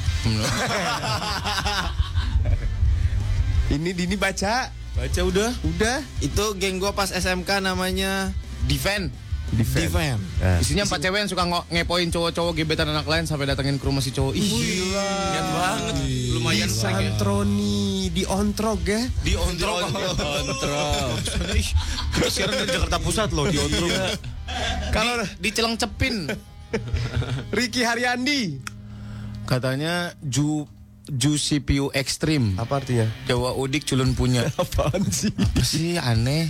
Ini Dini baca. Baca udah. Itu geng gua pas SMK namanya Defend. Defend. Nah, Isinya 4 cewek yang suka ngepoin cowok-cowok gebetan anak lain sampai datengin ke rumah si cowok. Ih, niat banget. Lumayan di banget. Santroni, di Ontrog ya. Di Ontrog. Kita siaran dari Jakarta Pusat loh di Ontrog. Kalau di Celengcepin Ricky Haryandi. katanya Ju CPU Extreme. Apa artinya? Jawa udik culun punya. Apaan sih? Apa sih aneh?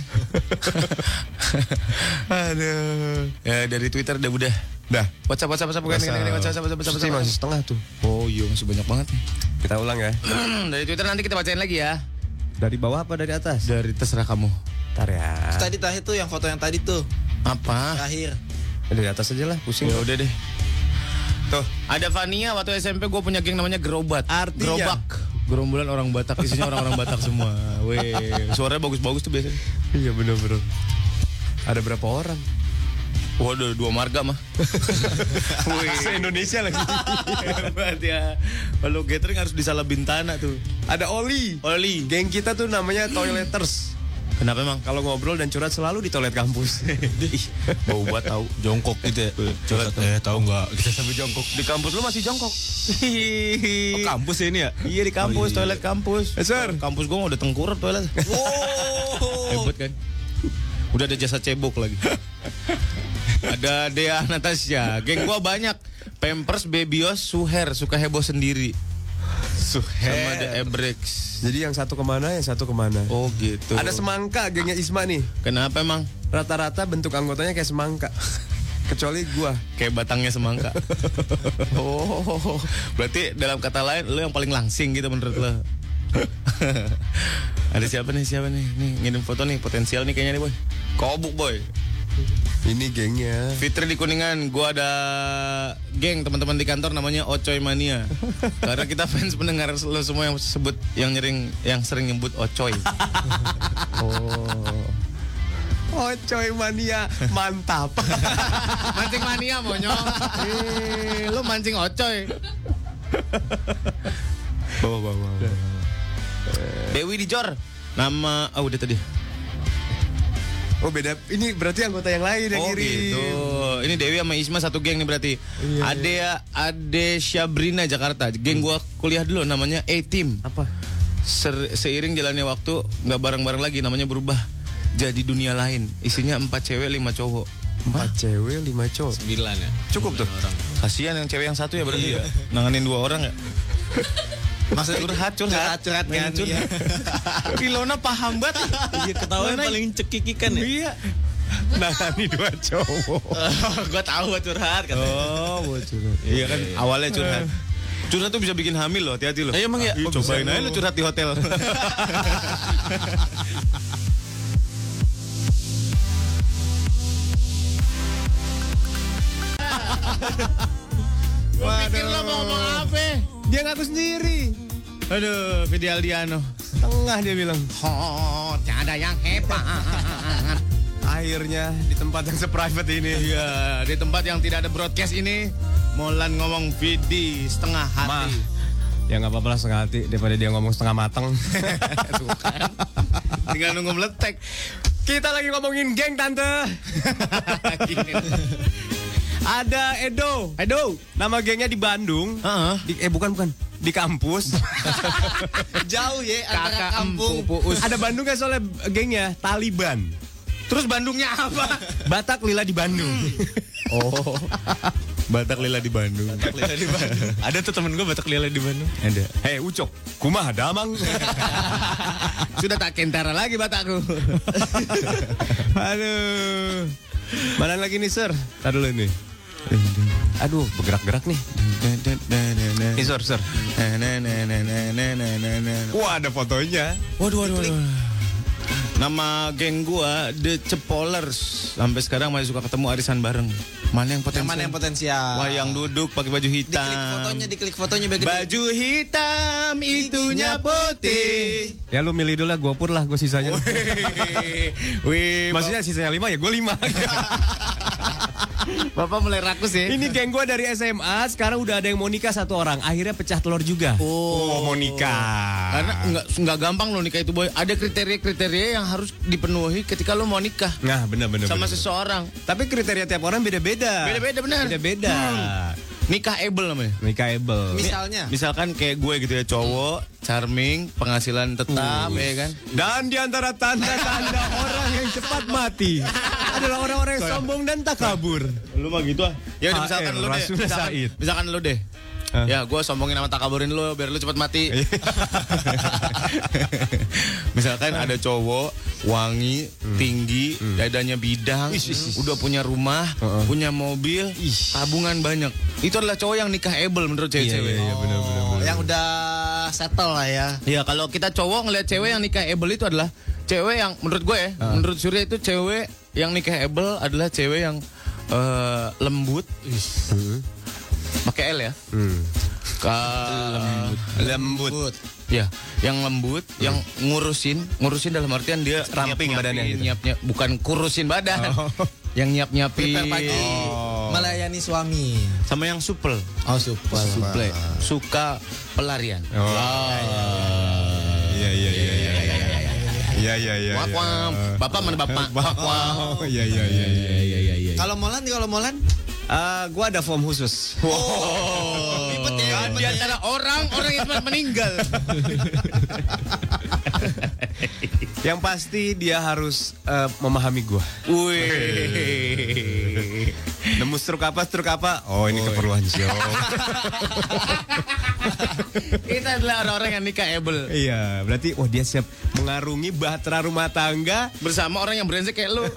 Aduh. Ya dari Twitter udah. Dah. WhatsApp bukan ini WhatsApp. Pasti masih setengah tuh. Oh iya masih banyak banget. Kita ulang ya. Dari Twitter nanti kita bacain lagi ya. Dari bawah apa dari atas? Dari terserah kamu. Ntar ya. Tadi tuh yang foto yang tadi tuh. Apa? Terakhir. Dari atas aja lah, pusing. Ya udah deh. Tuh. Ada Vania waktu SMP gue punya geng namanya Gerobat. Artinya? Gerobak. Gerombolan orang Batak, isinya orang-orang Batak semua. Weh, suaranya bagus-bagus tuh biasanya. Iya bener. Ada berapa orang? Waduh, 2 marga mah. Wih, Se-Indonesia lagi. hebat ya. Kalau gathering harus di Salabintana tuh. Ada Oli. Oli. Geng kita tuh namanya Toileters. Kenapa emang? Kalau ngobrol dan curhat selalu di toilet kampus. Bau buat tahu. Jongkok gitu ya. Coba Tahu nggak? Kita sampai jongkok. di kampus lu masih jongkok. Oh, kampus ya ini ya? Iya di kampus, toilet kampus. Sir. Kampus gua udah tengkurap toilet. Hebat kan? Udah ada jasa cebok lagi. Ada Dea Natasha. Geng gua banyak. Pampers, Bebios, Suher, suka heboh sendiri. Sama The Ebrex. Jadi yang satu kemana, yang satu kemana. Oh gitu. Ada semangka gengnya Isma nih. Kenapa emang? Rata-rata bentuk anggotanya kayak semangka. Kecuali gua. Kayak batangnya semangka. Oh, berarti dalam kata lain lo yang paling langsing gitu menurut lo. Ada siapa nih? Nih ngirim foto nih, potensial nih kayaknya nih boy. Kobuk boy. Ini gengnya. Fitri di Kuningan, gua ada geng teman-teman di kantor namanya Ocoy Mania. Karena kita fans pendengar lo semua yang sebut yang sering nyebut Ocoy. Ocoy Mania, mantap. Mancing mania monyong. Lu mancing Ocoy. Bawa. Dewi di Jor. Nama udah tadi. Oh beda, ini berarti anggota yang lain yang ngirim. Gitu. Ini Dewi sama Isma satu geng nih berarti. Ade Syabrina Jakarta. Geng gua kuliah dulu namanya A-Team. Apa? Seiring jalannya waktu nggak bareng-bareng lagi, namanya berubah jadi dunia lain. Isinya 4 cewek 5 cowok. 4 cewek 5 cowok. 9 ya. Cukup tuh. Kasihan yang cewek yang satu ya berarti ya. Nanganin 2 orang ya. Maksudnya Curhat kan. Iya. Ilona paham banget. Iya, ketahuan paling cekikikan ya. Iya. Nangani 2 cowok. Gua tahu buat curhat katanya. Oh, curhat. Iya kan awalnya curhat. Curhat tuh bisa bikin hamil loh, hati-hati loh. Emang ya? Cobain aja lu curhat di hotel. Gua pikir lo mau ngomong apa? Dia ngaku sendiri. Aduh, Vidi Aldiano. Tengah dia bilang. Oh, tiada yang hebat. Akhirnya di tempat yang seprivate ini. Iya, di tempat yang tidak ada broadcast ini, Molan ngomong Vidi setengah hati. Ya nggak apa-apa lah setengah hati daripada dia ngomong setengah matang. Tinggal nunggu meletek. Kita lagi ngomongin geng tante. Ada Edo. Nama gengnya di Bandung. Bukan. Di kampus. Jauh ya antara Kakak kampung. Ada Bandung kan soalnya gengnya Taliban. Terus Bandungnya apa? Batak Lila di Bandung. Oh. Batak Lila di Bandung. Ada tuh temen gue Batak Lila di Bandung. Ada. Hei Ucok, kumaha damang. Sudah tak kentara lagi Batakku. Aduh. Mana lagi nih, Sir? Tar dulu nih. Aduh, bergerak-gerak nih. Nih, Sir. Wah, ada fotonya. Waduh. Nama geng gua The Cepolers. Sampai sekarang masih suka ketemu arisan bareng. Mana yang potensial? Mana yang potensial? Wah, yang duduk pakai baju hitam. Diklik fotonya biar gede. Baju hitam itunya putih. Ya lu milih dulu lah, gua pur lah, gua sisanya. Wih, Maksudnya sisanya 5 ya, gua 5. Bapak mulai rakus ya. Ini geng gua dari SMA, sekarang udah ada yang mau nikah 1 orang. Akhirnya pecah telur juga. Oh, mau nikah. Karena nggak gampang loh nikah itu boy. Ada kriteria yang harus dipenuhi ketika lo mau nikah Nah, benar. sama seseorang. Tapi kriteria tiap orang beda-beda. Beda-beda benar. Beda-beda. Nikahable namanya. Nikahable. Misalnya. Misalkan kayak gue gitu ya, cowok, charming, penghasilan tetap ya kan. Dan di antara tanda-tanda orang yang cepat mati adalah orang-orang yang sombong dan takabur. Lu mah gitu ah. Ya udah, misalkan HR, lu deh. Rasul Said. Misalkan lu deh. Ya gue sombongin sama takaburin lu biar lu cepat mati. Misalkan ada cowok wangi, tinggi, dadanya bidang, udah punya rumah, punya mobil, tabungan banyak. Itu adalah cowok yang nikahable menurut cewek-cewek. Iya, benar. Yang udah settle lah ya. Ya kalau kita cowok ngeliat cewek yang nikahable itu adalah cewek yang menurut gue ya, menurut Surya itu cewek yang nikahable adalah cewek yang lembut, pakai L ya, lembut. Ya, yang lembut, yang ngurusin dalam artian dia Ramping badannya gitu. nyiap, bukan kurusin badan, yang nyiapin, Prepare pagi. Melayani suami. sama yang supel, Suple. suka pelarian. Iya. Wak, wak. Bapak mana bapak? Wak, wak. Iya. Kalau Molan? Gua ada form khusus. Ribet ya. Di antara orang yang cepat meninggal. Yang pasti dia harus memahami gua. Wih. Nemu struk apa? Oh, ini keperluan show. Kita adalah orang-orang yang nikahable. Iya, berarti dia siap mengarungi bahtera rumah tangga Bersama orang yang brengsek kayak lu.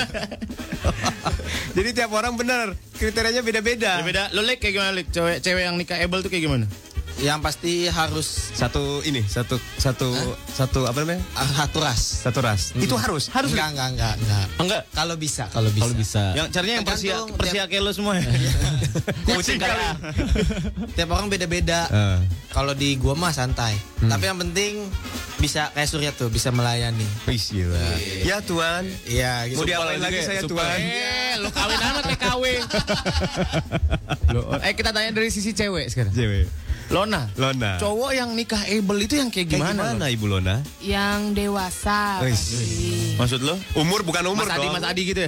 Jadi tiap orang benar kriterianya beda-beda. Beda. Lo Lek kayak gimana Lek? Cewek yang nikahable tuh kayak gimana? Yang pasti harus Satu apa namanya? satu ras. Satu ras. Itu harus. Enggak. Enggak. Kalau bisa. Kalau bisa. Yang caranya yang Tergantung persia kayak lo semua ya. Kucing kali. Tiap orang beda-beda. Kalau di gua mah santai. Tapi yang penting bisa kayak Surya tuh, bisa melayani. Wih, gila. Ya Tuan. Iya, gitu. Mau diapain lagi saya Tuan? Lo kawin amat TKW. Kita tanya dari sisi cewek sekarang. Cewek. Lona. Cowok yang nikah able itu yang kayak gimana? Ibu Lona? Yang dewasa. Wih. pasti. Maksud lo? Umur bukan umur Mas Adi, dong. Mas Adi gitu ya?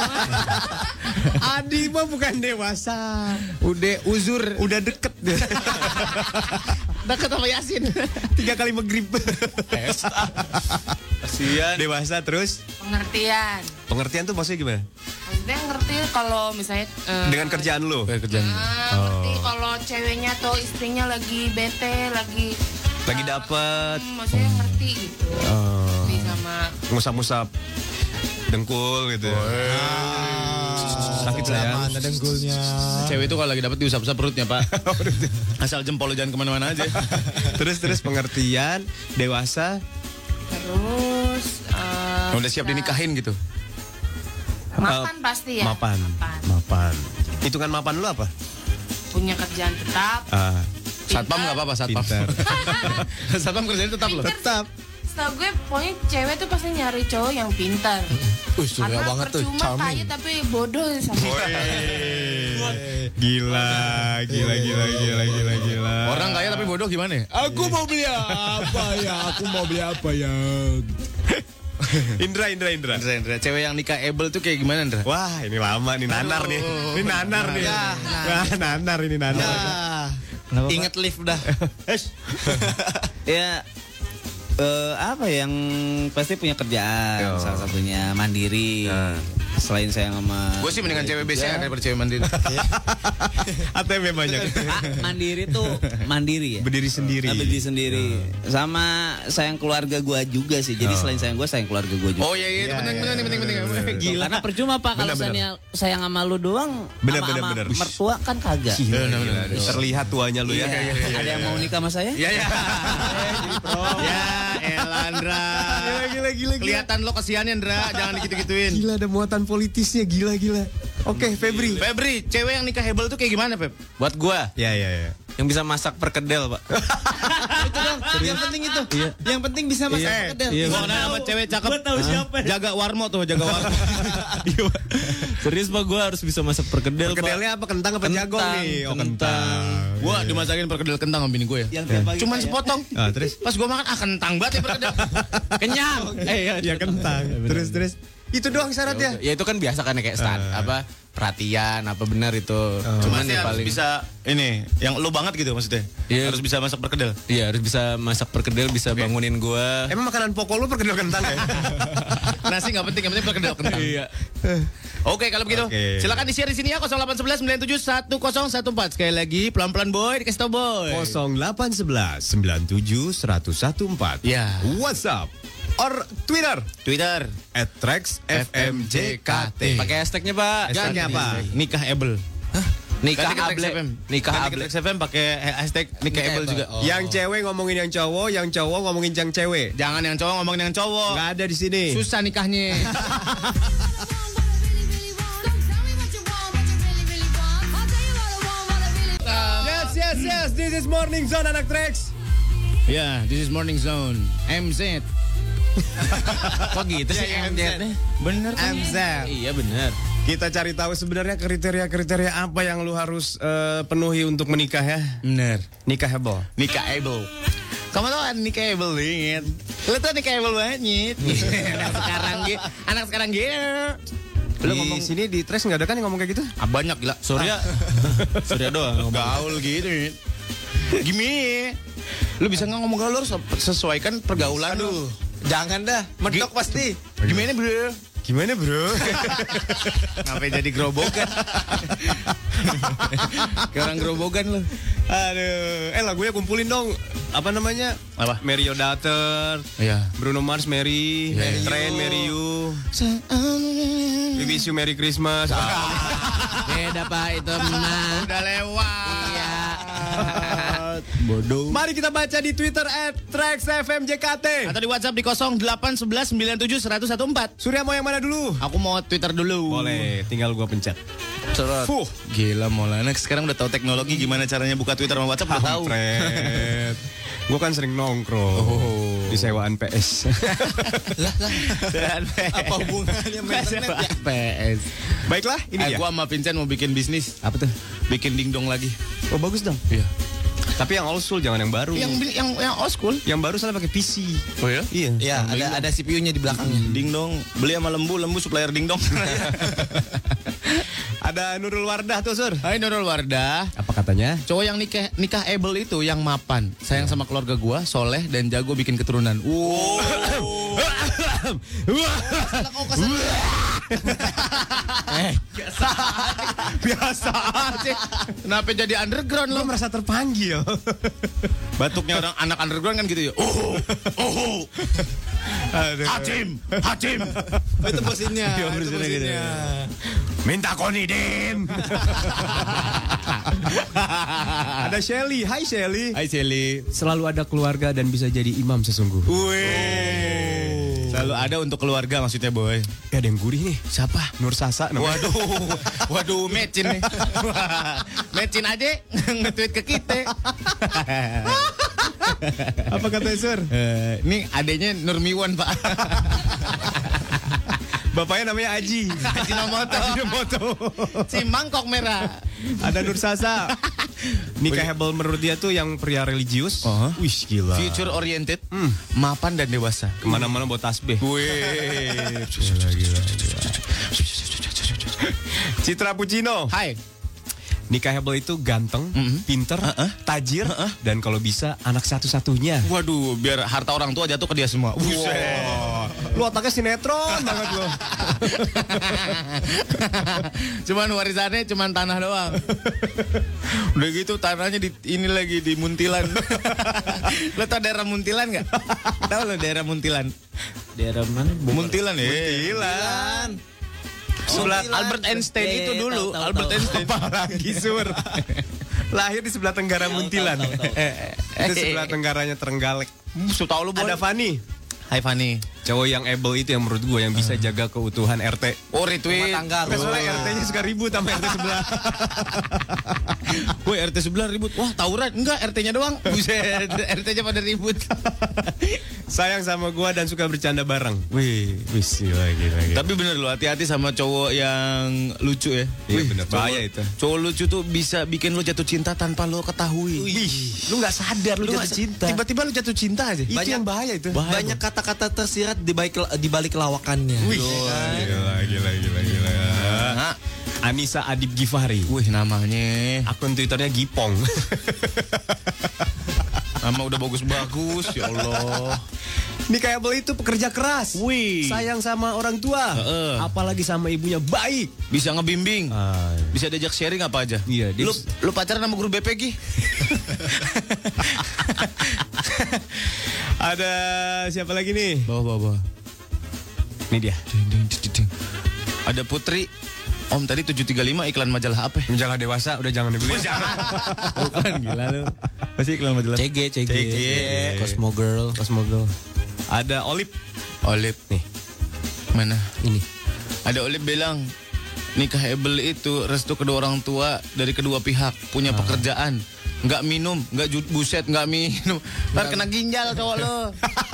Adi mah bukan dewasa. Udah uzur. Udah deket deh. Deket sama Yasin. 3 kali maghrib. Kasian. Dewasa terus. Pengertian. Pengertian tuh maksudnya gimana? Maksudnya ngerti kalau misalnya Dengan kerjaan lo. Kerjaan. ngerti kalau ceweknya atau istrinya lagi bete, lagi dapet. maksudnya ngerti gitu. Bisa sama Ngusap-ngusap dengkul gitu. Sakit sayang. Ada dengkulnya. Cewek itu kalau lagi dapat diusap-usap perutnya, Pak. Asal jempol lo jangan kemana-mana aja. Terus pengertian, dewasa. terus Udah siap dinikahin gitu. mapan pasti ya. Mapan. Hitungan mapan lu apa? Punya kerjaan tetap. Satpam nggak apa-apa, satpam. Pintar. Satpam kerjanya tetap loh. Tetap. Setahu gue pokoknya cewek tuh pasti nyari cowok yang pintar. Surya Karena banget tuh, percuma charming. kaya tapi bodoh sama. Gila. Orang kaya tapi bodoh gimana ya? Aku mau beli apa ya? Indra. Indra. Cewek yang nikah able tuh kayak gimana, Indra? Wah, ini lama nih nanar nih. Ini nanar nih. Nanar ini nanar. Ingat lift dah. Ya apa yang pasti punya kerjaan, salah satunya mandiri. Selain saya sama Gue sih mendingan cewek BCA daripada cewek mandiri. ATM banyak. mandiri tuh mandiri ya. Berdiri sendiri. Berdiri sendiri. Sama sayang keluarga gua juga sih. Jadi selain sayang gua, sayang keluarga gua juga. Oh iya itu penting. Gila. Karena percuma Pak kalau sayang sama lu doang, Bener. mertua kan kagak. Bener. Terlihat tuanya lu ya. Ada yang mau nikah sama saya? Ya. Ya, Elandra. Gila. Kelihatan lo kasihannya, Ndra. Jangan digitu-gituin. Gila, ada muatan politisnya, gila. Oke, Febri, cewek yang nikah hebel tuh kayak gimana, Feb? Buat gua Ya. yang bisa masak perkedel, Pak. Itu dong. Yang penting itu. Yang penting bisa masak perkedel. Gua kenal sama cewek cakep. Gua tahu siapa. Jaga warmo. Serius Pak, gua harus bisa masak perkedel, Pak. perkedelnya apa kentang apa jagong nih? Oh, kentang. Gua dimasakin perkedel kentang sama bini gue ya. Yang tiap pagi Cuman kayak- sepotong. Terus? Pas gua makan, kentang banget ya perkedel. Kenyang. Ya kentang. Terus. Itu doang syaratnya. Ya itu kan biasa kan kayak apa perhatian apa benar itu. Cuman Pasti ya harus paling bisa ini yang lo banget gitu maksudnya. Iya. Harus bisa masak perkedel. Iya harus bisa masak perkedel, bisa bangunin gua. Emang makanan pokok lu perkedel kentang ya? Nasi nggak penting, yang penting perkedel kentang. Iya. Oke, kalau begitu Oke. silakan di-share di sini ya 0811 97 1014. Sekali lagi pelan-pelan boy, dikasih tau boy. 0811 97 1014. Ya. WhatsApp or Twitter Twitter @TrexFMJKT. Pakai hashtagnya Pak. Hashtagnya apa? Nikah able. Nikah Ganti ke Trax able. FM. Nikah Ganti ke able. Trax FM pakai hashtag nikah able juga. Yang cewek ngomongin yang cowok ngomongin yang cewek. Jangan yang cowok ngomongin yang cowok. Nggak ada di sini. Susah nikahnya. Yes. This is Morning Zone anak Trax. Ya, this is Morning Zone. MZ. Kok gitu sih MZ? Bener kan? MZ. Iya benar. Kita cari tahu sebenarnya kriteria apa yang lu harus penuhi untuk menikah ya. Bener. Nikahable. Nikah able. Kamu tau kan nikah able banget. Lu tuh nikah able banget. Anak sekarang gitu. Lu ngomong sini di Trax nggak ada kan yang ngomong kayak gitu? Banyak gila. Surya doang ngomong. Gaul gitu. Gimana? Lu bisa nggak ngomong gaul, lu harus sesuaikan pergaulan lu. Jangan dah, medok pasti. Gimana bro? Gimana bro? Ngapain jadi gerobogan? Kayak orang gerobogan lu. Aduh, lagunya kumpulin dong. Apa namanya? Apa? Mary Your Daughter. Iya. Bruno Mars, Mary. Iya. Train, Mary You. We wish you Merry Christmas. Beda Pak itu mah. Udah lewat. Iya. Bodoh. Mari kita baca di Twitter @TraxFMJKT. Atau di WhatsApp di 0811971014. Surya mau yang mana dulu? Aku mau Twitter dulu. Boleh, tinggal gua pencet. Gila Maulana sekarang udah tahu teknologi gimana caranya buka Twitter sama WhatsApp udah tahu. Gue kan sering nongkrong di sewaan PS. Apa hubungannya main internet ya? PS. Baiklah, ini dia. Gua sama Vincent mau bikin bisnis. Apa tuh? Bikin dingdong lagi. Oh bagus dong. Iya. Tapi yang old school jangan yang baru. Yang old school. Yang baru soalnya pakai PC. Oh ya? Iya. Ya, ada CPU-nya di belakangnya. Dingdong. Beli sama lembu supplier dingdong. Ada Nurul Wardah tuh, Sur. Hai Nurul Wardah. Apa katanya? Cowok yang nikah able itu yang mapan, sayang sama keluarga gua, soleh dan jago bikin keturunan. Biasa aja. Kenapa jadi underground lo? Merasa terpanggil. Batuknya orang anak underground kan gitu ya. Hacim. Itu mesinnya. Minta koniden. Ada Shelly. Hai Shelly. Hai Shelly. Selalu ada keluarga dan bisa jadi imam sesungguhnya. Selalu ada untuk keluarga maksudnya boy. Ada yang gurih nih. Siapa? Nur Sasa namanya. Waduh, mecin nih. Mecin aja nge-tweet ke kita. Apa kata Sur? Ini adanya Nurmiwan Pak. Bapaknya namanya Aji. Haji Nomoto. Si mangkok merah. Ada Nur Sasa. Nikahable menurut dia tuh yang pria religius. Wih gila. Future oriented, mapan dan dewasa. Kemana-mana bawa tasbih. Wih. Gila. Citra Pucino. Hai. Nikahable itu ganteng, pinter, tajir, dan kalau bisa anak satu-satunya. Waduh, biar harta orang tua jatuh ke dia semua. Lu otaknya sinetron banget lu. Cuman warisannya cuman tanah doang. Udah gitu tanahnya ini lagi di Muntilan. Lo tau daerah Muntilan nggak? Tahu lo daerah Muntilan? Daerah mana? Muntilan ya. Muntilan. Sebelah Albert Einstein itu dulu. Tahu. Albert Einstein. Apalagi Sur. Lahir di sebelah tenggara Muntilan. Itu sebelah tenggaranya Trenggalek. Tahu lu Ada Fani. Hai Fani. Cowok yang able itu yang menurut gue yang bisa jaga keutuhan RT. Oh retweet. Soalnya RT-nya suka ribut sama RT sebelah. Woi RT sebelah ribut. Wah tawuran. Enggak RT-nya doang. Buset. RT-nya pada ribut. Sayang sama gue dan suka bercanda bareng. Wih gila. Tapi bener lo hati-hati sama cowok yang lucu ya. Iya bener. Bahaya itu. Cowok lucu tuh bisa bikin lo jatuh cinta tanpa lo ketahui. Lu gak sadar lu jatuh cinta. Tiba-tiba lo jatuh cinta aja. Itu yang bahaya itu. Banyak kata-kata tersirat di balik lawakannya. Wih, gila. Anissa Adib Gifari. Wih namanya. Akun Twitternya Gipong. Nama udah bagus-bagus ya Allah. Nikahable itu pekerja keras. Wih. Sayang sama orang tua. Apalagi sama ibunya baik. Bisa ngebimbing. Bisa diajak sharing apa aja. Iya. Lu pacaran sama guru BPG? Ada siapa lagi nih? Bawa. Ini dia. Ada Putri. Om tadi 735 iklan majalah apa? Majalah dewasa udah jangan dibeli. Bukan gila lu. Pasti iklan majalah. CG. Cosmo Girl. Ada Olip. Nih. Mana? Ini. Ada Olip bilang nikahable itu restu kedua orang tua dari kedua pihak, punya pekerjaan. Nggak minum, nggak minum. Ntar kena ginjal cowok lo.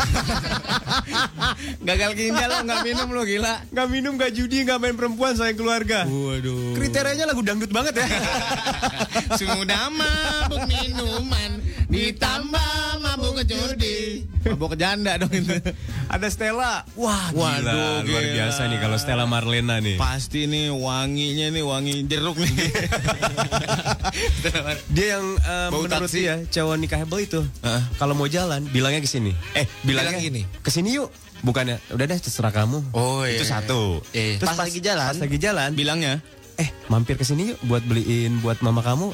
Gagal ginjal lo, nggak minum lo gila. Nggak minum, nggak judi, nggak main perempuan, sayang keluarga. Waduh. Kriterianya lagu dangdut banget ya. Sudah mabuk minuman, ditambah mabuk judi. Mabuk janda dong itu. Ada Stella. Wah, waduh, luar biasa nih kalau Stella Marlena nih. Pasti nih wanginya nih wangi jeruk nih. Dia yang menurut taksi. dia cowok nikahable itu kalau mau jalan bilangnya ke sini. Bilangnya gini. Ke sini yuk. Bukannya udah deh terserah kamu. Oh iya. Itu satu. Terus pas lagi jalan Bilangnya mampir ke sini yuk buat beliin buat mama kamu.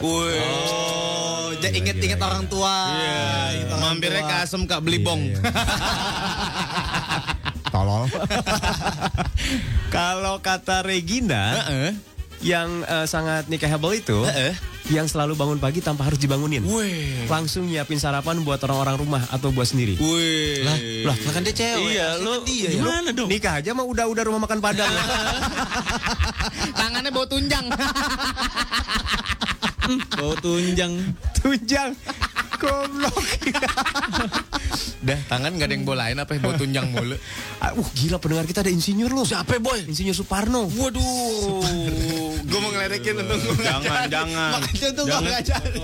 inget orang tua. Iya. Mampirnya ke Asem Kak beli bong. Tolol. Kalau kata Regina yang sangat nikahable itu yang selalu bangun pagi tanpa harus dibangunin. Wih. Langsung nyiapin sarapan buat orang-orang rumah atau buat sendiri. Wih. Lah kan dia cewek. Iya, lu gimana dong? Nikah aja mah udah rumah makan Padang. Tangannya bau tunjang. Bau tunjang. Tunjang. Goblok. Dah, tangan gak ada yang bolain apa bau tunjang mulu. Gila pendengar kita ada insinyur loh. Siapa boy? Insinyur Suparno. Waduh. Gue mau ngeledekin untung gue jangan. Makanya tuh gak jadi.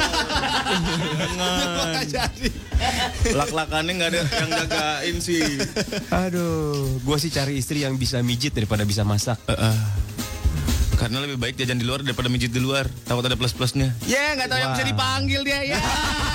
Lak-lakannya gak ada yang jagain sih. Aduh, gue sih cari istri yang bisa mijit daripada bisa masak. Karena lebih baik jajan di luar daripada mijit di luar. Takut ada plus-plusnya. Ya, nggak tahu yang bisa dipanggil dia ya.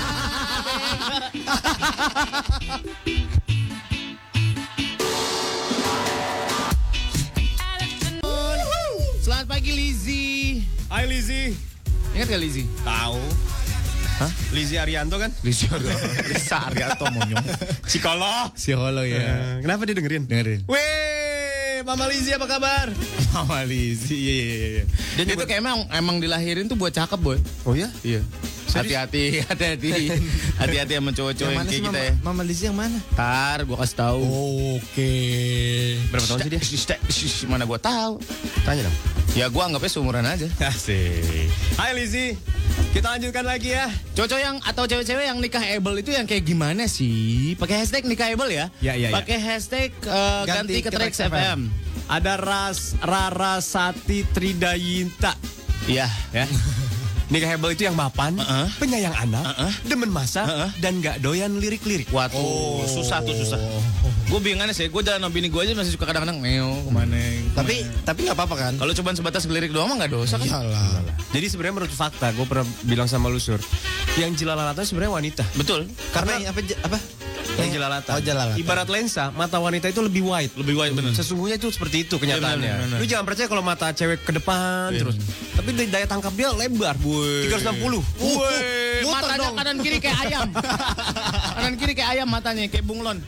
Selamat pagi Lizzy. Hai Lizzy. Ingat gak Lizzy? Tahu. Hah? Lizzy Arianto kan? Lizzy Arianto monyong. Psikolog ya. Kenapa dia dengerin? Dengerin. Weh, Mama Lizzy apa kabar? Mama Lizzy, iya. Dia tuh kayak emang dilahirin tuh buat cakep boy. Oh ya? Iya. Hati-hati sama cowok-cowok yang kayak kita ya. Mama Lizzy yang mana? Ntar gue kasih tahu. Oke. Berapa tahun sih dia? Mana gue tahu? Tanya dong. Ya gue anggapnya seumuran aja. Asik. Hai Lizzy. Kita lanjutkan lagi ya. Cowok yang atau cewek-cewek yang nikah able itu yang kayak gimana sih? Pakai hashtag nikah able ya? Ya. Pakai hashtag ganti ke Trax FM. Ada Rara Sati Tridayinta. Iya. Ya. Nikah able itu yang mapan, penyayang anak, demen masak, dan gak doyan lirik-lirik. Waduh, susah. Gue bingung sih, gue jalan sama bini gue aja masih suka kadang-kadang neo kemana. Tapi nggak apa-apa kan? Kalau cuma sebatas ngelirik doang mah nggak dosa kan? Iyalah. Jadi sebenarnya menurut fakta, gue pernah bilang sama lu Sur, yang jelalatan sebenarnya wanita. Betul. Karena apa? Yang jelalatan. Oh, jelalatan. Ibarat lensa, mata wanita itu lebih wide. Bener. Sesungguhnya itu seperti itu kenyataannya. Bener. Lu jangan percaya kalau mata cewek ke depan terus. Tapi daya tangkap dia lebar. 360. Matanya kanan kiri kayak ayam. Kanan kiri kayak ayam matanya, kayak bunglon.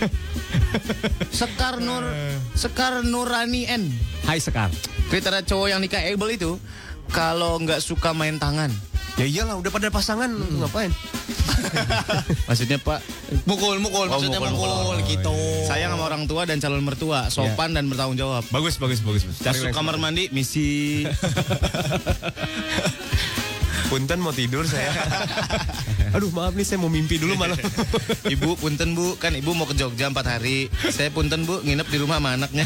Sekar Nurani N. Hai Sekar. Kriteria cowok yang nikah able itu kalau nggak suka main tangan. Ya iyalah, udah pada pasangan ngapain? Maksudnya Pak, Maksudnya mukul gitu. sayang sama orang tua dan calon mertua, sopan dan bertanggung jawab. Bagus. Masuk kamar mandi, misi. Punten mau tidur saya. Aduh maaf nih, saya mau mimpi dulu malam. Ibu, punten Bu, kan Ibu mau ke Jogja 4 hari. Saya punten Bu, nginep di rumah sama anaknya.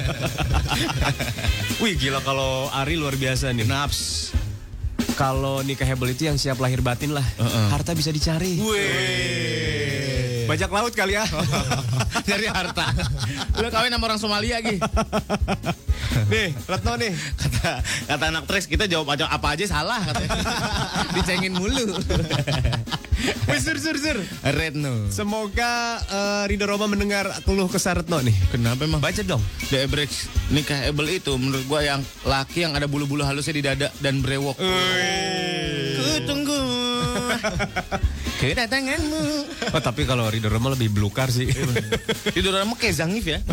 Wih gila, kalau Ari luar biasa nih. Naps. Kalau nikah hebel itu yang siap lahir batin lah. Harta bisa dicari. Wih. Bajak laut kali ya. Dari harta. Lu kawin sama orang Somalia lagi. Nih, Retno nih. Kata anak Trax, kita jawab apa aja salah katanya. Dicengin mulu. Wih, sur. Retno. Semoga Ridho Roma mendengar keluh kesah Retno nih. Kenapa emang? Baca dong. The average nikah able itu menurut gua yang laki yang ada bulu-bulu halusnya di dada dan brewok. Kutunggu kedatanganmu. Oh, tapi kalau Ridho Roma lebih belukar sih. Ridho Roma kayak Zangief ya.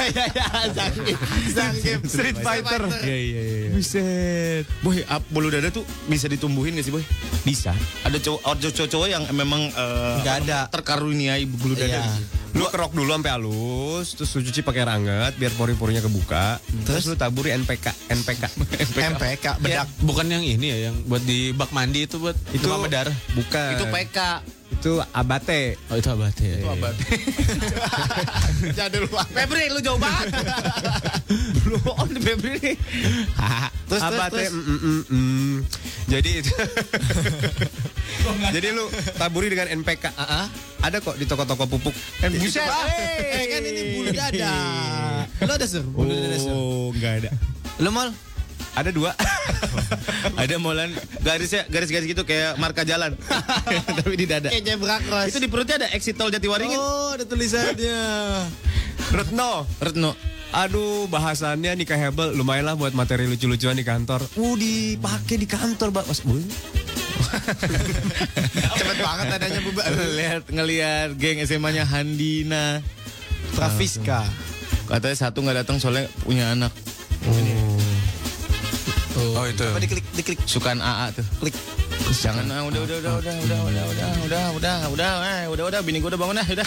Zangief. Street Fighter. Iya. Buset. Boy, bulu dada tuh bisa ditumbuhin gak sih, Boy? Bisa. Ada cowok-cowok yang memang Nggak ada. terkaruniai bulu dada. Iya. Lu kerok dulu sampai halus, terus lu cuci pakai air hangat biar pori-porinya kebuka. Terus lu taburi NPK. MPK bedak. Bukan yang ini ya, yang buat di bak mandi itu buat Itu demam berdarah. Bukan. Itu PK. Itu abate. Oh itu abate ya. Itu abad. Jadul banget. Febri, lu jauh banget. Belum on Febri. Terus Abate. Jadi itu. Jadi lu taburi dengan NPK. Ada kok di toko-toko pupuk. Buset. Kan ini bulu dada. Lo ada Sur? Bulu dada Sur. Oh, enggak ada. Lo Mol? Ada 2. Ada molan garis-garis gitu kayak marka jalan. Tapi di dada. Kayak zebra cross. Itu di perutnya ada exit tol Jatiwaringin. Oh, ada tulisannya. Retno. Aduh, bahasannya nikah hebel lumayan lah buat materi lucu-lucuan di kantor. Dipakai di kantor, Pak. Cepet banget adanya Bu. Ngelihat geng SMA-nya Handina, Trafiska. katanya satu nggak datang soalnya punya anak. Oh itu. Apa diklik. Sukaan AA tuh. Klik. Jangan udah bini gue udah bangun udah.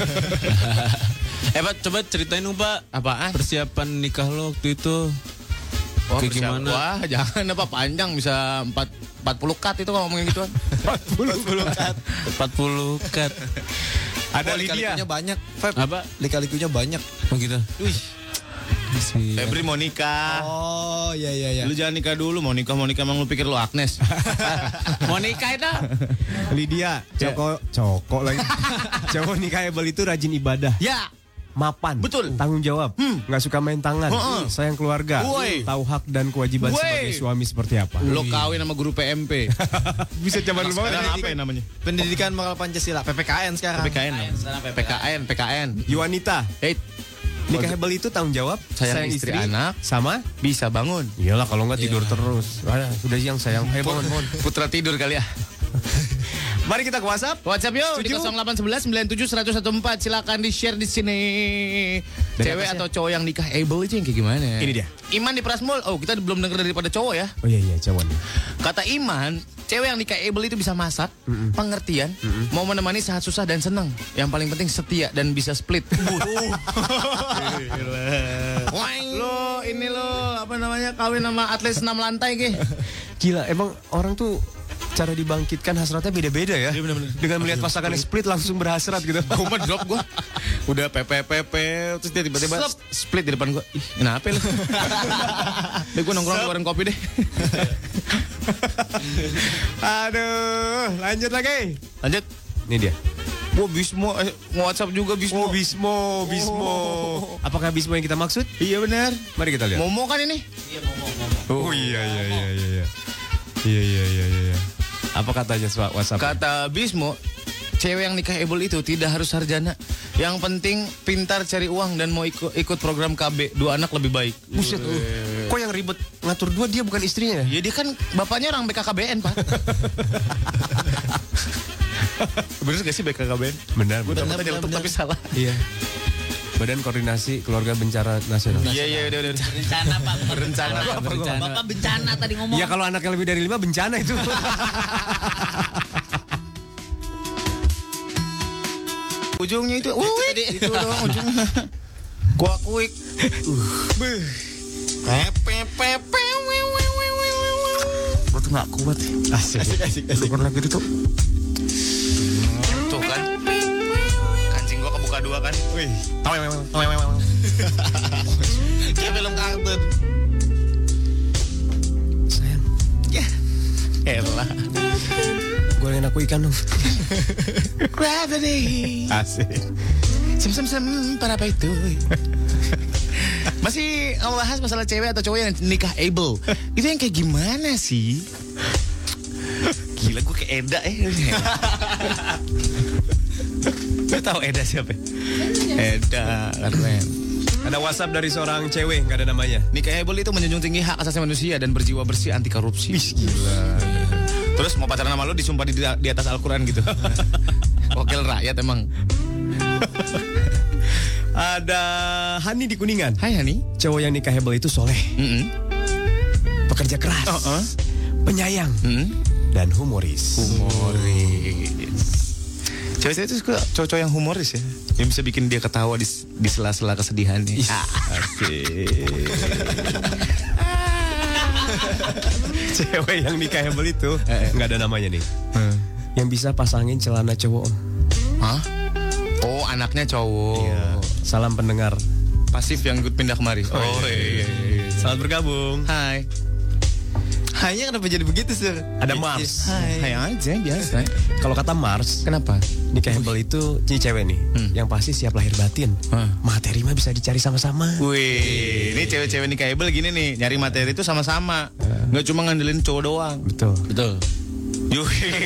Pak, coba ceritain dong Pak. Apaan? Persiapan nikah lo waktu itu. Wah, kayak gimana? Wah, jangan apa panjang bisa 40 cut itu kalau ngomongin gituan. 40 cut. 40 cut. Ada lika-likunya banyak. Feb. Apa? Lika-likunya banyak. Oh gitu. Wih. Febri mau nikah. Oh, iya. Lu jangan nikah dulu, mau nikah emang lu pikir lu Agnes. Mau nikah itu? Lydia, coko lagi. Cowok nikahable itu rajin ibadah. Ya. Mapan, betul, tanggung jawab, nggak suka main tangan, sayang keluarga, tahu hak dan kewajiban sebagai suami seperti apa. Lo kawin sama guru PMP. Bisa coba dulu apa ya namanya? Pendidikan Moral Pancasila, PPKN sekarang. PKN. Yuanita, nikahable itu tanggung jawab, sayang istri, anak, sama bisa bangun. Iyalah kalau nggak tidur terus. Sudah siang sayang, bangun. Putra tidur kali ya. Mari kita ke WhatsApp. WhatsApp yuk di 0811 97 114. Silakan di-share di sini. Cewek atau cowok yang nikah able itu yang kayak gimana? Ini dia. Iman di Prasmul. Oh, kita belum dengar daripada cowok ya. Oh iya cowok nih. Kata Iman, cewek yang nikah able itu bisa masak, pengertian, mau menemani saat susah dan senang. Yang paling penting setia dan bisa split. Lo ini lo apa namanya kawin sama atlet 6 lantai ke? Gila, emang orang tuh cara dibangkitkan hasratnya beda-beda ya. Iya, bener-bener. Dengan melihat pasangannya split langsung berhasrat gitu. Gue mah drop gue. Udah pepe terus dia tiba-tiba split di depan gue. Ih, kenapa lu? Deh gue nongkrong keluarin kopi deh. Aduh, lanjut lagi. Lanjut. Ini dia. Wah, Bismo WhatsApp juga Bismo. Bismo. Apakah Bismo yang kita maksud? Iya benar. Mari kita lihat. Momo kan ini? Iya, Momo. Oh iya. Iya. Apa katanya WhatsApp? Kata Bismo, cewek yang nikah able itu tidak harus sarjana. Yang penting pintar cari uang dan mau ikut program KB. 2 anak lebih baik. Buset. Kok yang ribet ngatur 2 dia bukan istrinya ya? Ya dia kan bapaknya orang BKKBN, Pak. Bener gak sih BKKBN? Benar. Gue udah betul tapi salah. Iya. Badan Koordinasi Keluarga Bencana Nasional. Iya, udah. Bencana, Pak. Berencana. Bapak bencana tadi ngomong. Ya kalau anaknya lebih dari 5 bencana itu. Ujungnya itu, itu dong ujungnya. Kuik. Gue tuh gak kuat. Asik. Syukur lagi itu. Tuh kan. Kancing gue kebuka 2 kan. Wih. Kayak film kartun. Sayang. Ya. Elah. Gorengin aku ikan dong. Gravity. Asik. Sem para apa itu? Masih ngebahas masalah cewek atau cowok yang nikah able. Itu yang kayak gimana sih? Gila gue kayak Eda Lu tahu Eda siapa? Eda keren. Ada WhatsApp dari seorang cewek, nggak ada namanya. Nikah able itu menjunjung tinggi hak asasi manusia dan berjiwa bersih anti korupsi. Gila. Terus mau pacaran sama lu disumpah di atas Al-Quran gitu. Wakil rakyat emang. Ada Hani di Kuningan. Hai Hani. Cowok yang nikahable itu soleh, pekerja keras, penyayang, dan humoris. Cewek-cewek itu suka cowok-cowok yang humoris ya, yang bisa bikin dia ketawa di sela-sela kesedihannya. Cewek yang nikahable itu nggak ada namanya nih. Yang bisa pasangin celana cowok. Hah? Oh, anaknya cowok. Iya. Salam pendengar. Pasif yang ikut pindah kemari. Oh iya. Selamat bergabung. Hai. Hanya kenapa jadi begitu, Sir? Ada Mars. Hai aja biasa. Kalau kata Mars, Kenapa? nikahable itu cewek nih, yang pasti siap lahir batin. Materi mah bisa dicari sama-sama. Wih, ini cewek-cewek nikahable gini nih, nyari materi itu sama-sama. Nggak cuma ngandelin cowok doang. Betul. Yuh.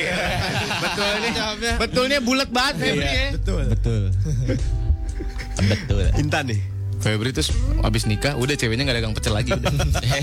Betulnya bulat banget Febri ya. Betul. Intan nih. Febri terus abis nikah udah ceweknya nggak dagang pecel lagi udah.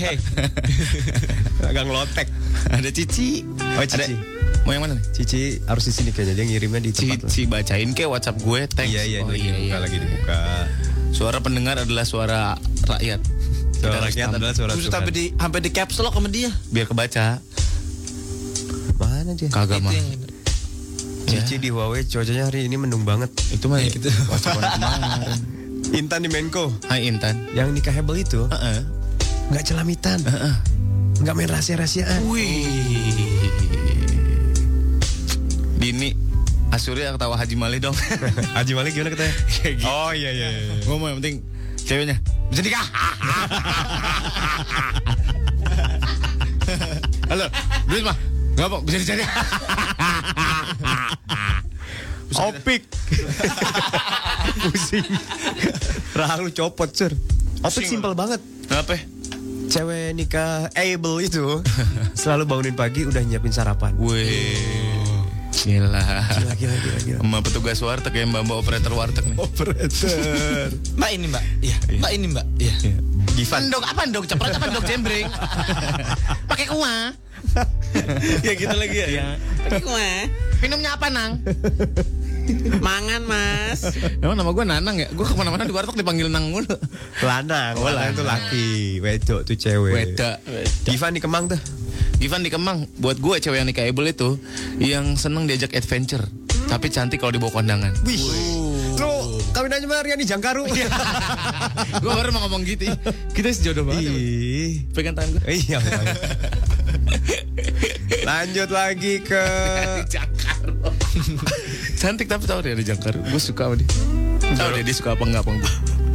Agak ngelotek. Ada Cici. Oh, Cici. Mau yang mana nih? Cici harus di sini kayaknya, dia ngirimnya di tempat. Cici bacain ke WhatsApp gue thanks. Iya, lagi dibuka. Suara pendengar adalah suara rakyat. Suara rakyat adalah suara Terus Tuhan. sampai di caps lock sama dia. Biar kebaca. Mana dia? Kagak mah. Cici di Huawei cuacanya hari ini mendung banget. Itu mah gitu. Kemarin. Intan di Menko. Hai Intan. Yang nikah hebel itu Heeh. nggak celamitan, nggak main rahasia-rahasiaan. Wih. Dini Asurya ketawa Haji Mali dong. Haji Malik gimana katanya? Kayak gitu. Oh iya. Gue mau yang penting ceweknya bisa nikah. Halo, duit mah nggak apa bisa dicari. Opik. Pusing. Rahang lu copot, Sur. Opik simpel banget. Apa? Cewek nikah able itu selalu bangunin pagi udah nyiapin sarapan. Wih. Gila. Gila. Sama petugas warteg ya, mbak operator warteg nih. Operator. Mbak ini Mbak. Iya. Mbak ini Mbak. Iya. Givan. Endok apa endok? Cepet apa endok jembreng? Pakai kuah. Ya gitu lagi ya. Pakai kue. Minumnya apa nang? Mangan mas. Emang nama gue Nanang ya? Gue kemana-mana di warteg dipanggil Nang mulu. Lanang. Lanang itu laki. Wedok tuh cewek. Weda. Givan di Kemang tuh. Givan di Kemang. Buat gue cewek yang nikahable itu yang seneng diajak adventure, tapi cantik kalau dibawa kondangan. Wih. Lu kawin aja sama Riani Jangkaru. Gue baru mau ngomong gitu. Kita sejodoh banget. Ih. Pegang tangan gue. Iya. Lanjut lagi ke Cantik tapi tahu dia ada jangkar. Gue suka sama dia. Tahu dia suka apa enggak gue.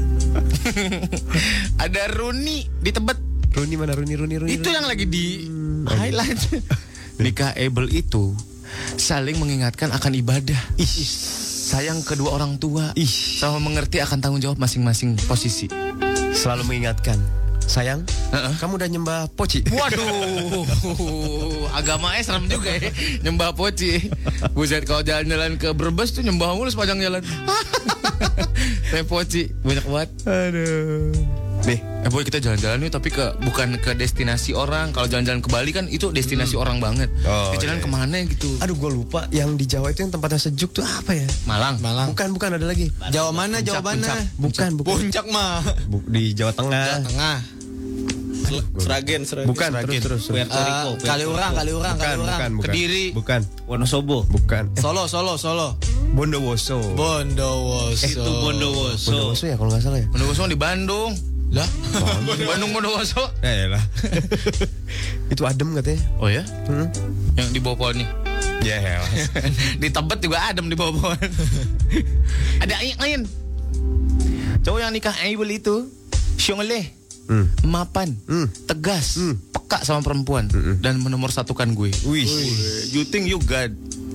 Ada Runi di Tebet. Runi mana Runi. Itu yang lagi di highlight. Nikah able itu saling mengingatkan akan ibadah. Sayang kedua orang tua. Sama mengerti akan tanggung jawab masing-masing posisi. Selalu mengingatkan. Sayang, kamu udah nyembah poci? Waduh, agamanya serem juga ya. Nyembah poci. Buset, kalau jalan-jalan ke Brebes tuh nyembah mulu sepanjang jalan. Teh poci, banyak banget. Aduh. Nih, Boy kita jalan-jalan yuk, tapi bukan ke destinasi orang. Kalau jalan-jalan ke Bali kan itu destinasi orang banget. Oh, Kita jalan iya. kemana gitu? Aduh gue lupa yang di Jawa itu yang tempatnya sejuk tuh apa ya? Malang. Bukan ada lagi. Jawa mana? Jawa mana? Bukan. Puncak mah. Di Jawa Tengah. Tengah. Seragen. Bukan, terus. Puerto Rico. Kaliurang. Bukan. Kediri. Bukan. Wonosobo. Bukan. Solo. Bondowoso. Bondowoso. Itu Bondowoso. Bondowoso ya kalau nggak salah ya. Bondowoso di Bandung. Lah, Di Bandung Bondowoso. Lah. Itu adem katanya. Oh ya? Yang di bawah pohon nih. Ya. Di Tebet juga adem di bawah pohon. Ada angin. Cowok yang nikah able itu syongleh, mapan, tegas, peka sama perempuan dan menomorsatukan gue. Wih. You think you God?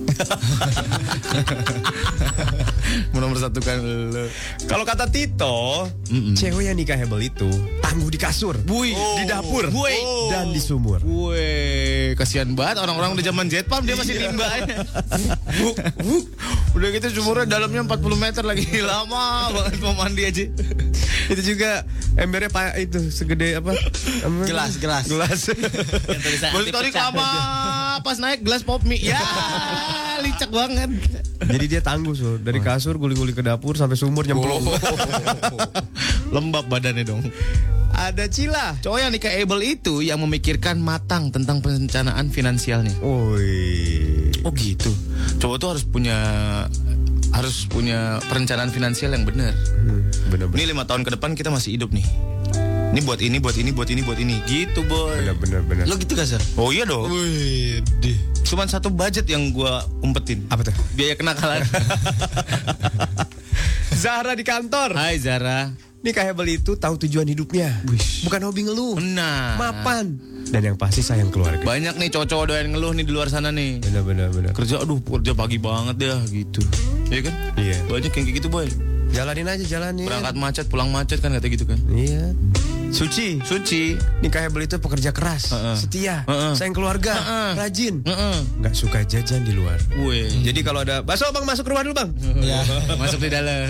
Menomorsatukan lo. Kalau kata Tito, cewek yang nikah hebel itu tangguh di kasur, di dapur, dan di sumur. Wih, kasihan banget orang-orang udah zaman jet pump dia masih nimba aja. Udah gitu sumurnya dalamnya 40 meter lagi. Lama banget mau mandi aja. Itu juga embernya itu segede apa? Gelas. Baru tadi lama pas naik gelas pop mie. Ya, licak banget. Jadi dia tangguh dari kasur guling-guling ke dapur sampai sumur nyemplung. Lembab badannya dong. Ada Cila. Cowok yang nikah able itu yang memikirkan matang tentang perencanaan finansialnya. Oi. Oh gitu. Cowok tuh harus punya perencanaan finansial yang benar. Bener. Ini 5 tahun ke depan kita masih hidup nih. Ini buat ini. Gitu, boy. Bener. Lo gitu gak, Sir? Oh iya dong. Wih, Cuman satu budget yang gua umpetin. Apa tuh? Biaya kenakalan. Zahra di kantor. Hai Zara. Nikah hebel itu tahu tujuan hidupnya. Bukan hobi ngeluh. Nah. Mapan. Dan yang pasti sayang keluarga. Banyak nih cowok-cowok doyan ngeluh nih di luar sana nih. Bener. Kerja pagi banget dah gitu. Iya kan? Iya. Banyak yang kayak gitu, boy. Jalanin. Berangkat macet, pulang macet kan kata gitu kan. Iya. Suci. Nikah hebel itu pekerja keras, setia, sayang keluarga, rajin, nggak suka jajan di luar. Wih. Jadi kalau ada bakso bang masuk rumah dulu bang. Ya. Masuk di dalam.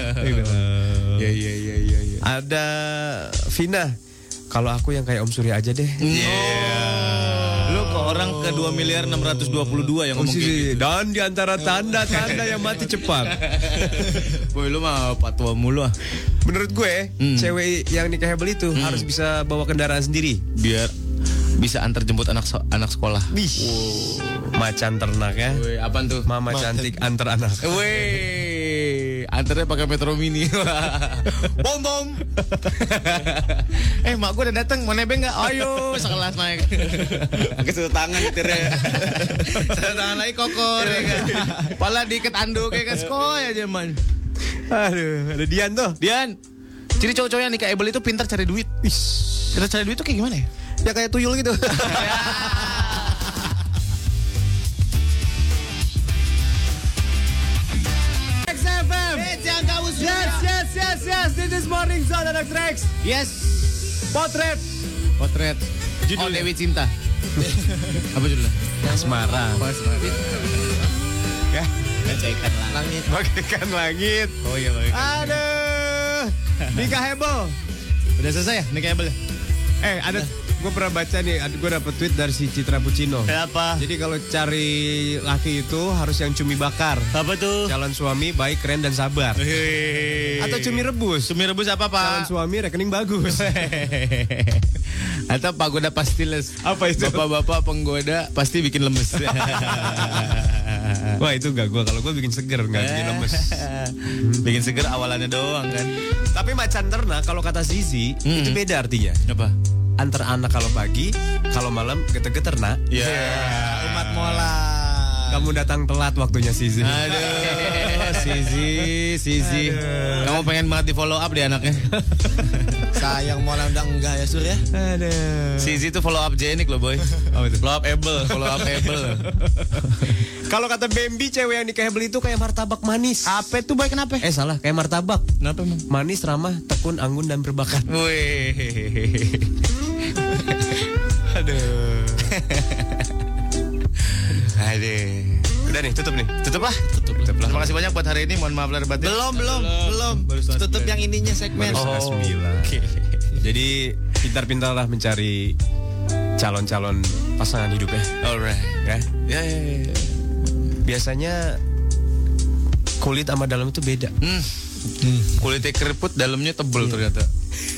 Iya. Ada Vina. Kalau aku yang kayak Om Surya aja deh. Yeah. Lu ke orang ke 2.622 yang ngomong kayak gitu. Dan di antara tanda-tanda yang mati cepat. Boy, lu mah patwa mulu ah. Menurut gue, cewek yang nikahable itu harus bisa bawa kendaraan sendiri. Biar bisa antar jemput anak sekolah. Macan ternak ya. Woi, apaan tuh? Mama cantik antar anak. Woi, antarnya pakai Metro Mini. Bom bom. Mak gue udah datang, mau nebeng nggak? Ayo, sekelas naik. Pakai satu tangan nyetirnya. Satu tangan lagi kokor, ya kan? Pala diikat anduk kayak skoy aja man. Aduh, ada Dian tuh. Dian, ciri cowok-cowok yang nikahable itu pintar cari duit. Pintar cari duit tuh kayak gimana ya? Ya kayak tuyul gitu. XFM. Yes. This is Morning Zone anak Rex. Yes. Potret. Judul Dewi Cinta. Apa judulnya? Asmara. Ya. Bagaikan langit. Oh iya baik. Aduh. Nikah heboh. Udah selesai ya nikahable? Ada gue pernah baca nih, gue dapet tweet dari si Citra Pucino. Apa? Jadi kalau cari laki itu harus yang cumi bakar. Apa tuh? Calon suami baik, keren dan sabar. Atau cumi rebus. Cumi rebus apa Pak? Calon suami rekening bagus. Atau pagoda pastiles. Apa itu? Bapak-bapak penggoda pasti bikin lemes. Wah itu gak gue, kalau gue bikin seger, gak bikin lemes. Bikin seger awalannya doang kan. Tapi macan ternak kalau kata Zizi itu beda artinya. Apa? Antar anak kalau pagi, kalau malam geter-geter nak. Ya. Umat mola. Kamu datang telat waktunya Zizi. Aduh, Zizi. Kamu pengen banget di follow up di anaknya. Sayang mola udah enggak ya Sur ya. Aduh. Zizi itu follow up Jenik loh boy. Oh, itu. Follow up able. Kalau kata Bambi, cewek yang nikah beli itu kayak martabak manis. Apa itu boy kenapa? Salah, kayak martabak. Kenapa emang? Manis, ramah, tekun, anggun, dan berbakat. Wih. Aduh. Udah nih, tutup nih. Tutup lah. Terima kasih banyak buat hari ini. Mohon maaf lahir batin. Belum. Tutup yang ininya segmen. Baru setengah 9. Jadi pintar-pintarlah mencari calon-calon pasangan hidup ya. Alright. Ya. Biasanya kulit sama dalam itu beda. Kulitnya keriput, dalamnya tebel ternyata.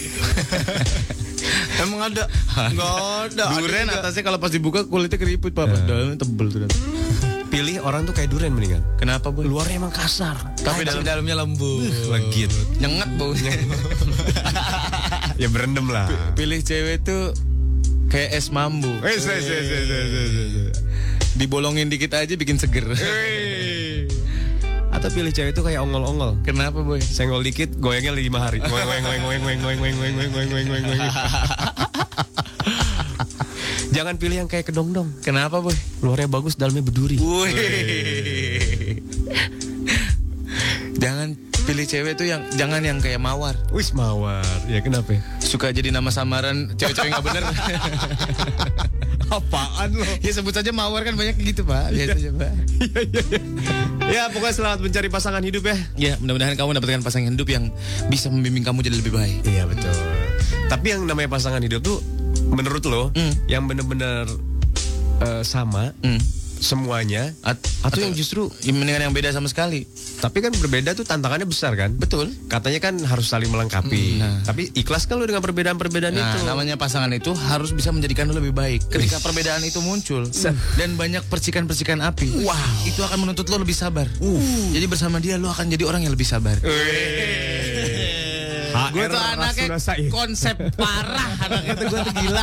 Emang ada? Enggak ada. Duren atasnya kalau pas dibuka kulitnya keriput Pak. Dalamnya tebel ternyata. Pilih orang tuh kayak duren mendingan. Kenapa boy? Luarnya emang kasar, Tapi dalamnya lembut. legit. Nyengat baunya. Ya berendam lah. Pilih cewek tuh kayak es mambu. Dibolongin dikit aja bikin seger. Atau pilih cewek itu kayak ongol-ongol. Kenapa boy? Senggol dikit, goyangnya 5 hari. Goyang. Jangan pilih yang kayak kedongdong. Kenapa boy? Luarnya bagus, dalamnya berduri. Wih. Jangan pilih cewek tuh yang jangan yang kayak mawar. Wis mawar. Ya kenapa? Suka jadi nama samaran cewek-cewek nggak bener. Apaan lo? Ya sebut saja mawar kan banyak gitu Pak. Lihat aja Pak. Ya pokoknya selamat mencari pasangan hidup ya. Ya mudah-mudahan kamu mendapatkan pasangan hidup yang bisa membimbing kamu jadi lebih baik. Iya betul. Tapi yang namanya pasangan hidup tuh menurut lo yang bener-bener sama semuanya atau yang justru mendingan yang beda sama sekali. tapi kan berbeda tuh tantangannya besar kan? Betul. Katanya kan harus saling melengkapi. Tapi ikhlas kan lo dengan perbedaan-perbedaan itu? Namanya pasangan itu harus bisa menjadikan lo lebih baik. Ketika perbedaan itu muncul dan banyak percikan-percikan api, itu akan menuntut lo lebih sabar. Jadi bersama dia lo akan jadi orang yang lebih sabar. Gue tuh anaknya konsep parah, anaknya tuh gue tuh gila.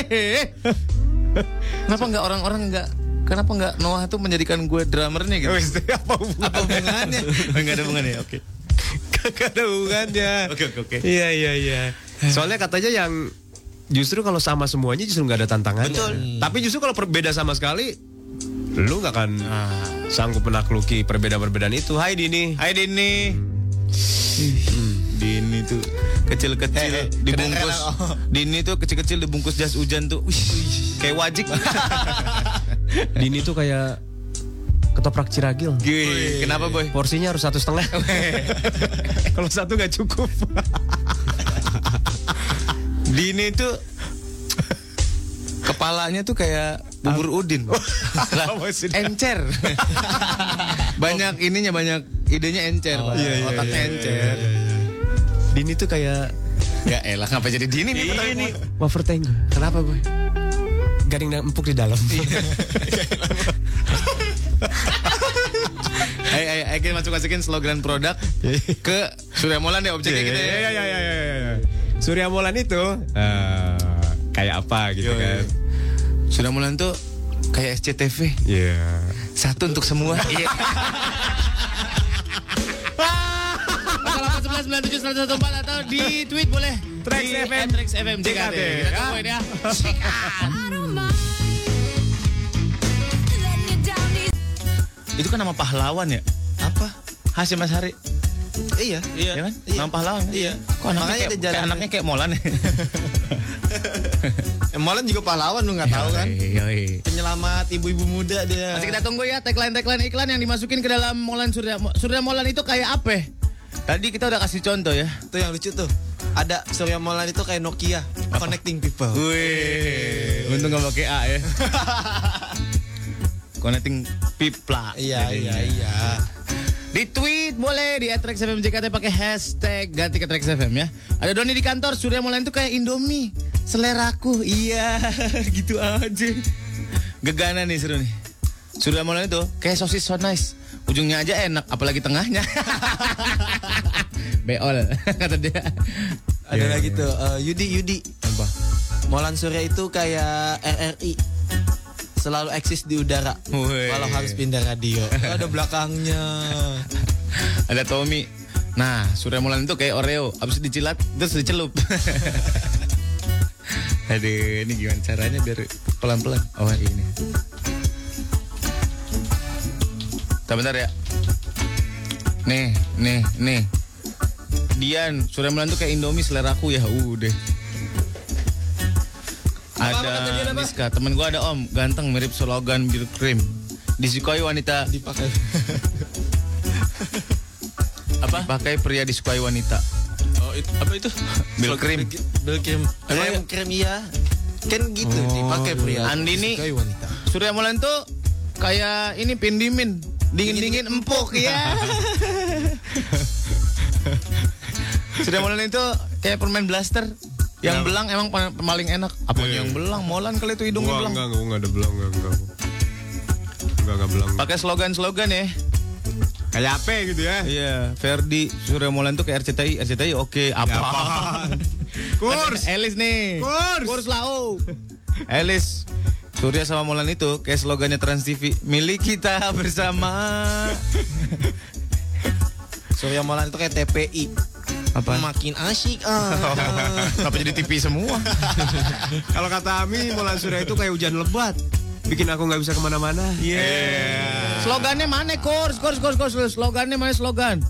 Kenapa nggak orang-orang kenapa nggak Noah tuh menjadikan gue drummernya gitu? Apa hubungannya? Nggak ada hubungannya, oke. Gak ada hubungannya. Oke. Iya. Soalnya katanya yang justru kalau sama semuanya justru nggak ada tantangannya. Betul. Tapi justru kalau berbeda sama sekali, lu nggak akan sanggup menakluki perbedaan-perbedaan itu. Hai Dini. Dini tuh kecil-kecil dibungkus. Dini tuh kecil-kecil dibungkus jas hujan tuh. Kayak wajik. Dini tuh kayak ketoprak Ciragil. Kenapa boy? Porsinya harus 1,5. Kalau 1 nggak cukup. Dini tuh kepalanya tuh kayak bubur udin. Lah, encer. Banyak ininya, banyak idenya encer. Otaknya encer. Dini tuh kayak Ya elah, ngapa jadi Dini nih? ini wafer tank. Kenapa boy? Garing dan empuk di dalam. Ayo kita masukin slogan produk ke Surya Molan deh, objeknya gitu ya. Ya. Surya Molan itu kayak apa gitu kan? Surya Molan tuh kayak SCTV. Iya. Satu untuk semua. Iya. 0811971114 atau di tweet boleh. Trax Di FM. Trax FM JKT. Kita tungguin ya. Itu kan nama pahlawan ya? Apa? Hasyim Asyari. Iya. Iya kan? Iya. Nama pahlawan kan? Iya. Kok anaknya Makanya kayak, ada jalan- anaknya kayak Molan ya? Molan juga pahlawan lu nggak tahu kan? Yoi. Penyelamat ibu-ibu muda dia. Masih kita tunggu ya tagline iklan yang dimasukin ke dalam Molan Surya Molan itu kayak apa? Tadi kita udah kasih contoh ya. Tuh yang lucu tuh. Ada Surya Molan itu kayak Nokia, connecting people. Wih, untung gak pakai A ya. Connecting pipla. Iya. Di tweet boleh di @traxfmjkt pakai hashtag ganti ke Trax FM ya. Ada Doni di kantor, Surya Molan itu kayak Indomie, seleraku. Iya, gitu aja. Gegana nih seru nih. Surya Molan itu kayak sosis so nice. Ujungnya aja enak, apalagi tengahnya. Beol kata dia. Ada lagi tuh Yudi. Apa? Molan Surya itu kayak RRI. Selalu eksis di udara. Wih. Walau harus pindah radio. Ada belakangnya. Ada Tommy. Nah, Surya Molan itu kayak Oreo, abis dicilat terus dicelup. Aduh, ini gimana caranya biar pelan-pelan? Oh, ini. Bentar ya. Nih. Dian, Surya Molan tuh kayak Indomie seleraku ya, udah. Ada Miska, temen gue ada Om, ganteng mirip slogan bir krim. Disukai wanita. Dipakai. Apa? Pakai pria disukai wanita. Oh, apa itu? Bil krim. Bil krim. Rem krim iya. Kan gitu dipakai pria. Andini. Disukai wanita. Surya Molan tuh kayak ini pindimin, dingin empuk ya. Surya Molan itu kayak permen blaster. Yang belang emang paling enak. Apanya yang belang? Molan kali itu hidungnya belang. Enggak ada belang, enggak belang. Pakai slogan ya. Kayak apa gitu ya? Iya, Ferdi, Surya Molan tuh kayak RCTI oke. Apa? Kurs. Elis nih. Kurs lau. Elis. Surya sama Molan itu kayak slogannya Trans TV, milik kita bersama. Surya Molan itu kayak TPI. Apa? Makin asyik. Kenapa jadi TV semua? Kalau kata Ami, Molan Surya itu kayak hujan lebat. Bikin aku nggak bisa kemana-mana. Yeah. Slogannya mana? Kurs. Slogannya mana slogan?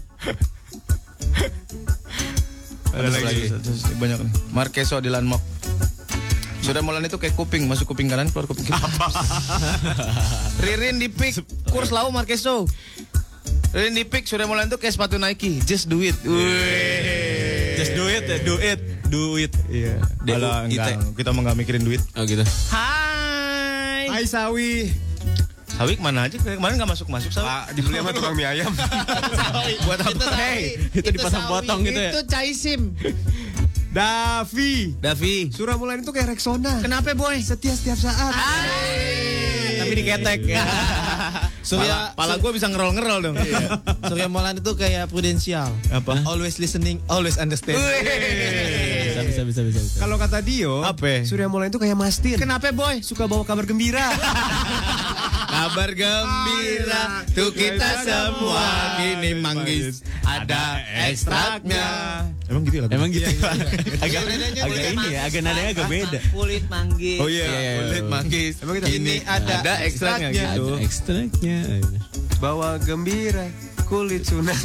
Ada lagi. Banyak nih. Markeso di Landmark. Surya Molan itu kayak kuping, masuk kuping kanan, keluar kuping kiri. Ririn di pick, kurs lau Markeso. Ririn di pick, Surya Molan itu kayak sepatu Nike, just do it. Just do it. Iya. Alah, enggak, kita mau nggak mikirin duit. Oh gitu. Hai Sawi. Sawi kemana aja? Kemarin nggak masuk Sawi. Dibeli sama tukang mie ayam. Buat apa? Itu dipotong-potong gitu ya. Itu Caisim. Davi. Surya Molan itu kayak Rexona. Kenapa boy? Setia setiap saat. Tapi diketek. Pala gue bisa ngerol dong. Surya Molan itu kayak prudensial. Apa? Always listening, always understand. Bisa. Kalau kata Dio, Apa? Surya Molan itu kayak Mastin. Kenapa boy? Suka bawa kabar gembira. Kabar gembira tuh kita semua kini manggis ada ekstraknya. Emang gitu ya? Emang gitu. Agak ini ya, agak nadanya agak beda. Kulit manggis. Oh iya, kulit manggis. Emang gitu? Ini ada ekstraknya gitu. Ada ekstraknya. Bawa gembira, kulit sunat.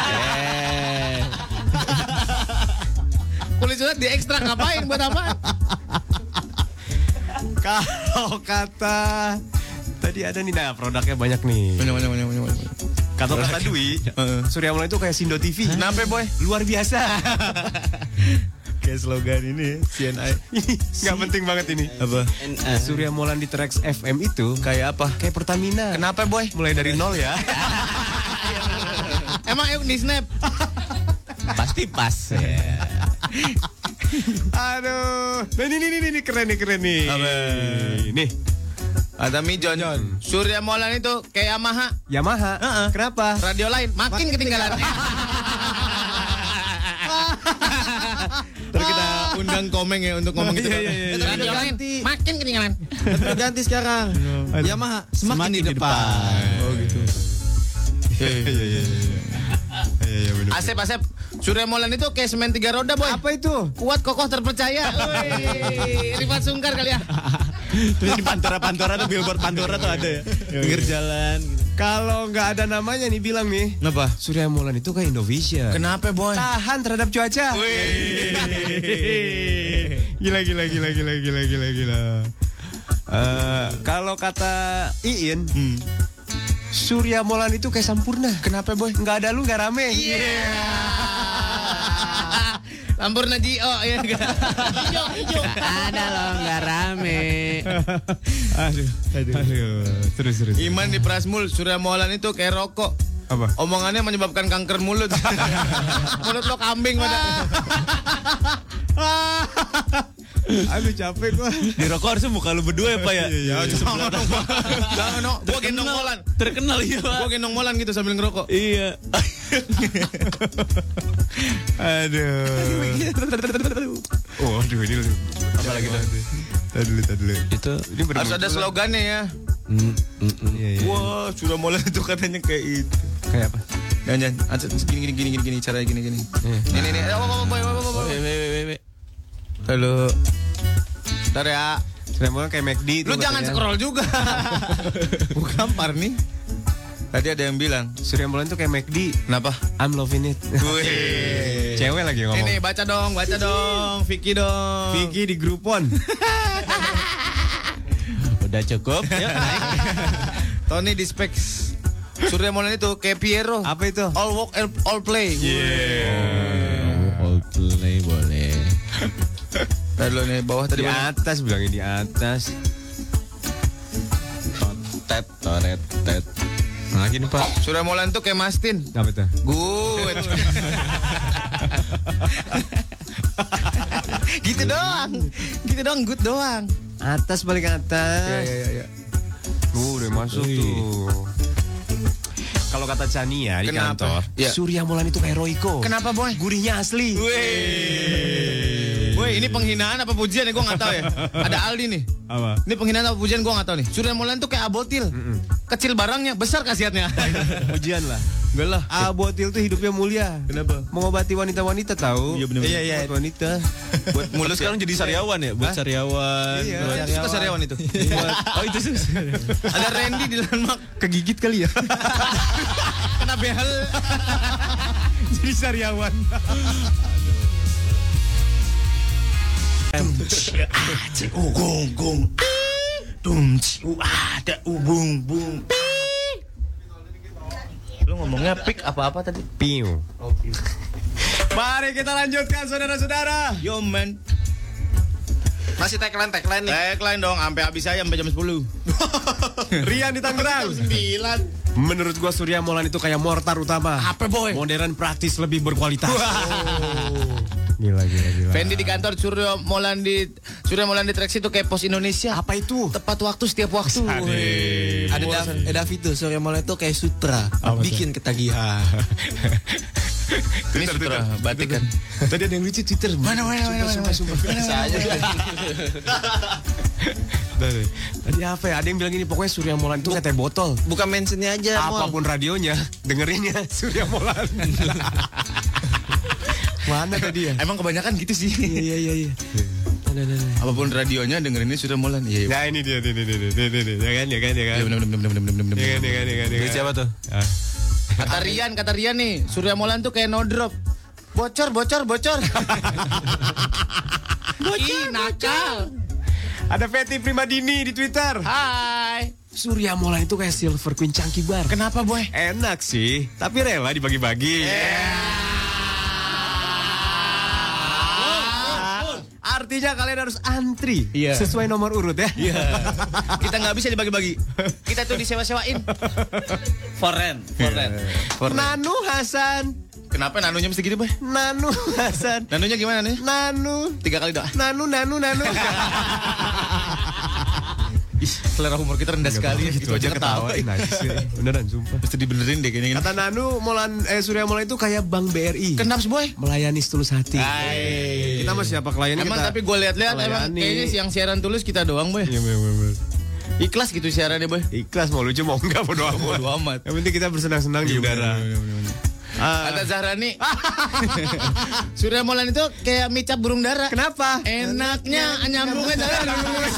Kulit sunat diekstrak ngapain? Buat apa? Kalau kata tadi ada nih, nah produknya banyak nih. Banyak. Kalau kata Dwi, Surya Molan itu kayak Sindo TV. Kenapa boy? Luar biasa. Kayak slogan ini CNI. Nggak penting banget ini. Apa? Surya Molan di Trax FM itu Kayak apa? kayak Pertamina. Kenapa boy? Mulai dari nol ya. Emang di snap? Pasti pas ya. Aduh. Nah ini keren nih. Apa? Nih. Ada Mijon. Surya Molan itu kayak Yamaha. Kenapa? radio lain makin ketinggalan. Terus kita undang Komeng ya untuk ngomong gitu. Radio lain makin ketinggalan. Tapi ganti sekarang. Yamaha semakin di depan. Oh gitu. Iya, bener. Asep. Surya Molan itu kayak semen 3 roda boy. Apa itu? Kuat, kokoh, terpercaya. Wih, Rifat Sungkar kali ya. Terus di Pantora tuh billboard Pantora tuh ada ya. Pinggir jalan gitu. Kalau nggak ada namanya nih bilang nih. Kenapa? Surya Molan itu kayak Indovision. Kenapa boy? Tahan terhadap cuaca. Gila. Kalau kata Iin, Surya Molan itu kayak Sampurna. Kenapa boy? Nggak ada lu nggak rame. Sampurna Gio ya. Hijau. Ada loh nggak rame. Aduh. Terus. Iman di Prasmul, Surya Molan itu kayak rokok. Apa? Omongannya menyebabkan kanker mulut. Mulut lo kambing pada. Aduh capek gua. Di rokok harusnya muka lu berdua ya Pak ya. Jangan no, gua gendong Molan. Terkenal ya Pak. Gua gendong Molan gitu sambil ngerokok. Iya. Aduh. Aduh ini Apa lagi tuh? Tadi dulu. Itu Ini Harus ada slogannya ya. Iya. Wah, Surya Molan itu katanya kayak itu. Kayak apa? Jangan. Gini, caranya gini. Ini. Boy. Halo. Bentar ya. Surya Molan kayak McD itu. Lu jangan scroll juga. Bukan Parni. Tadi ada yang bilang Surya Molan tuh kayak McD. kenapa? I'm loving it. Wih. Cewek lagi ngomong. Ini baca dong. Vicky dong. Vicky di Groupon. udah cukup. Yuk naik. Tony di Specs. Surya Molan itu kayak Piero. Apa itu? All work, all play. All play boleh. Tadi lo nih bawah tadi Di mana? atas bilangnya di atas. Toret. Nah gini Pak. Surya Molan tuh kayak Mastin. Apa itu? Good. Gitu doang, good doang. Atas paling atas. Iya. Udah masuk tuh. Kalau kata Chania di Kenapa? kantor, Ya. Surya Molan itu kayak Royco. Kenapa boy? Gurihnya asli. Woi, ini penghinaan apa pujian ya? Gue nggak tahu ya. Ada Aldi nih. Apa? Ini penghinaan apa pujian gue nggak tahu nih. Surya Molan tuh kayak Abotil. Kecil barangnya, besar khasiatnya. Ujian lah. Enggak lah. Abotil tuh hidupnya mulia. Kenapa? Mengobati wanita-wanita tahu. Iya, bener. Iya. Buat wanita. Buat Lu sekarang jadi sariawan ya? Buat sariawan. Iya. Itu suka sariawan itu. Oh itu susah. Ada Randy di Landmark. Kegigit kali ya. Kena behel. Jadi sariawan. Gong. Ada bung. Lu ngomongnya pick apa tadi? Piu. Mari kita lanjutkan saudara-saudara. Yo man. Masih tagline nih. Tagline dong, sampai habis aja sampai jam 10. Rian di Tangerang. 9. Menurut gua Surya Molan itu kayak mortar utama. Apa boy? Modern, praktis, lebih berkualitas. Gila. Fendi di kantor, Surya Molan di Trax itu kayak Pos Indonesia. Apa itu? Tepat waktu setiap waktu. Ada David tuh, Surya Molan itu kayak sutra. Bikin ketagihan. Ini sutra batik kan. Tadi ada yang lucu Twitter. Mana. Sumpah. Tadi apa ya? Ada yang bilang gini, pokoknya Surya Molan itu kayak teh botol. Bukan mentionnya aja. Apapun radionya, dengerinnya Surya Molan. Mana tadi ya? Emang kebanyakan gitu sih. Iya. Apapun radionya dengerinnya Surya Molan. Iya. Nah ini dia. Ya kan. Iya benar. Ini siapa tuh? Kata Rian nih, Surya Molan tuh kayak no drop. Bocor. Ih, nakal. Ada Feti Primadini di Twitter. Hai. Surya Molan itu kayak Silver Queen Chunky Bar. Kenapa boy? Enak sih, tapi rela dibagi-bagi. artinya kalian harus antri Iya. sesuai nomor urut ya. Iya. Kita nggak bisa dibagi-bagi. Kita tuh disewa-sewain. Foren. Nanu Hasan. Kenapa nanunya mesti gitu, Boy? Nanu Hasan. Nanunya gimana nih? Nanu. 3 kali doang. Nanu. Ih, selera humor kita rendah sekali. Gitu aja ketawain aja sih. Beneran sumpah. Mesti dibenerin deh kayaknya. Kata Nanu, Surya Molan itu kayak Bank BRI. Kenapa, Boy? Melayani setulus hati. Hai. Kita mah siapa kliennya Emang kita. tapi gue lihat-lihat emang melayani. kayaknya yang siaran tulus kita doang, Boy. Iya bener. Ikhlas gitu siarannya, Boy. Ikhlas mau lucu mau enggak bodo amat. Bodo amat. Yang penting kita bersenang-senang di udara. Kata Zahrani, Surya Molan itu kayak micap burung dara. Kenapa? Enaknya nyambungnya dari lurus.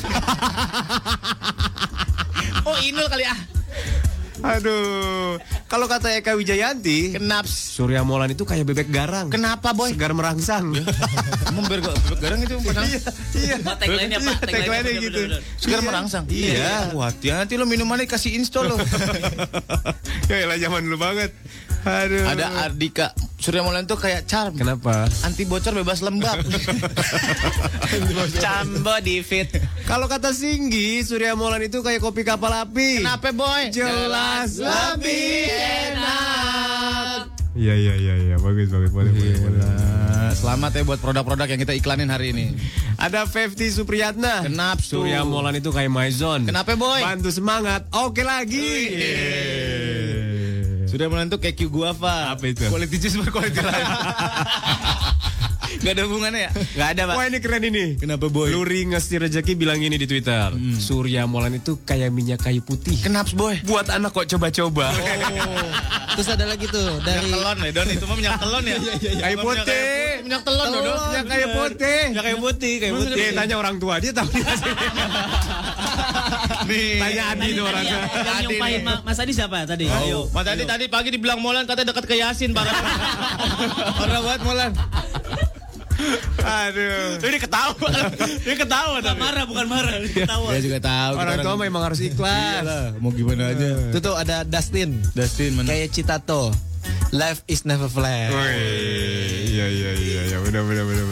Oh, Inul kali ah. Aduh. Kalau kata Eka Wijayanti, Kenapa? Surya Molan itu kayak bebek garang. Kenapa, Boy? Segar merangsang. Emang bebek garang itu padahal Iya. Tagline-nya Pak. Tagline-nya gitu. segar merangsang. Iya. Wah, hati-hati lo minumannya kasih install lo. Ya elah zaman dulu banget. Aduh. Ada Ardika. Surya Molan tuh kayak charm. Kenapa? Anti bocor bebas lembab. Cambo di fit. Kalau kata Singgi, Surya Molan itu kayak kopi kapal api. Kenapa, Boy? Jelas lebih enak. Iya. Bagus. Boleh. Selamat ya buat produk-produk yang kita iklanin hari ini. Ada Fefti Supriyatna. Kenapa tuh? Surya Molan itu kayak Maison. Kenapa, Boy? Bantu semangat. Oke lagi. Surya Molan tuh kayak Q Guava. Apa itu? Quality juice berquality life. Gak ada hubungannya ya? Gak ada, Pak. Wah ini keren ini. Kenapa, Boy? Luri Ngesti Rezeki bilang ini di Twitter. Surya Molan itu kayak minyak kayu putih. Kenapa, Boy? Buat anak kok coba-coba. Terus ada lagi tuh dari Minyak telon ya, Don. Itu mah minyak telon ya? Kayu putih. Minyak telon, Don. Minyak kayu putih. Ya kayak putih, Dia tanya orang tua, dia tahu dia sih. Nih. Tanya Adi tuh orang tua. Yang nyumpahin Mas Adi siapa tadi? Ayo. Mas tadi pagi dibilang Molan katanya dekat ke Yasin parah. Parah banget Molan. Aduh. Ini ketawa. Dia ketawa Bukan marah, bukan marah. Ketawa. Dia juga tahu. Orang tua memang harus ikhlas. Mau gimana aja. itu tuh ada Dustin. Dustin mana? Kayak Citato. Life is never flat. Iya. Benar.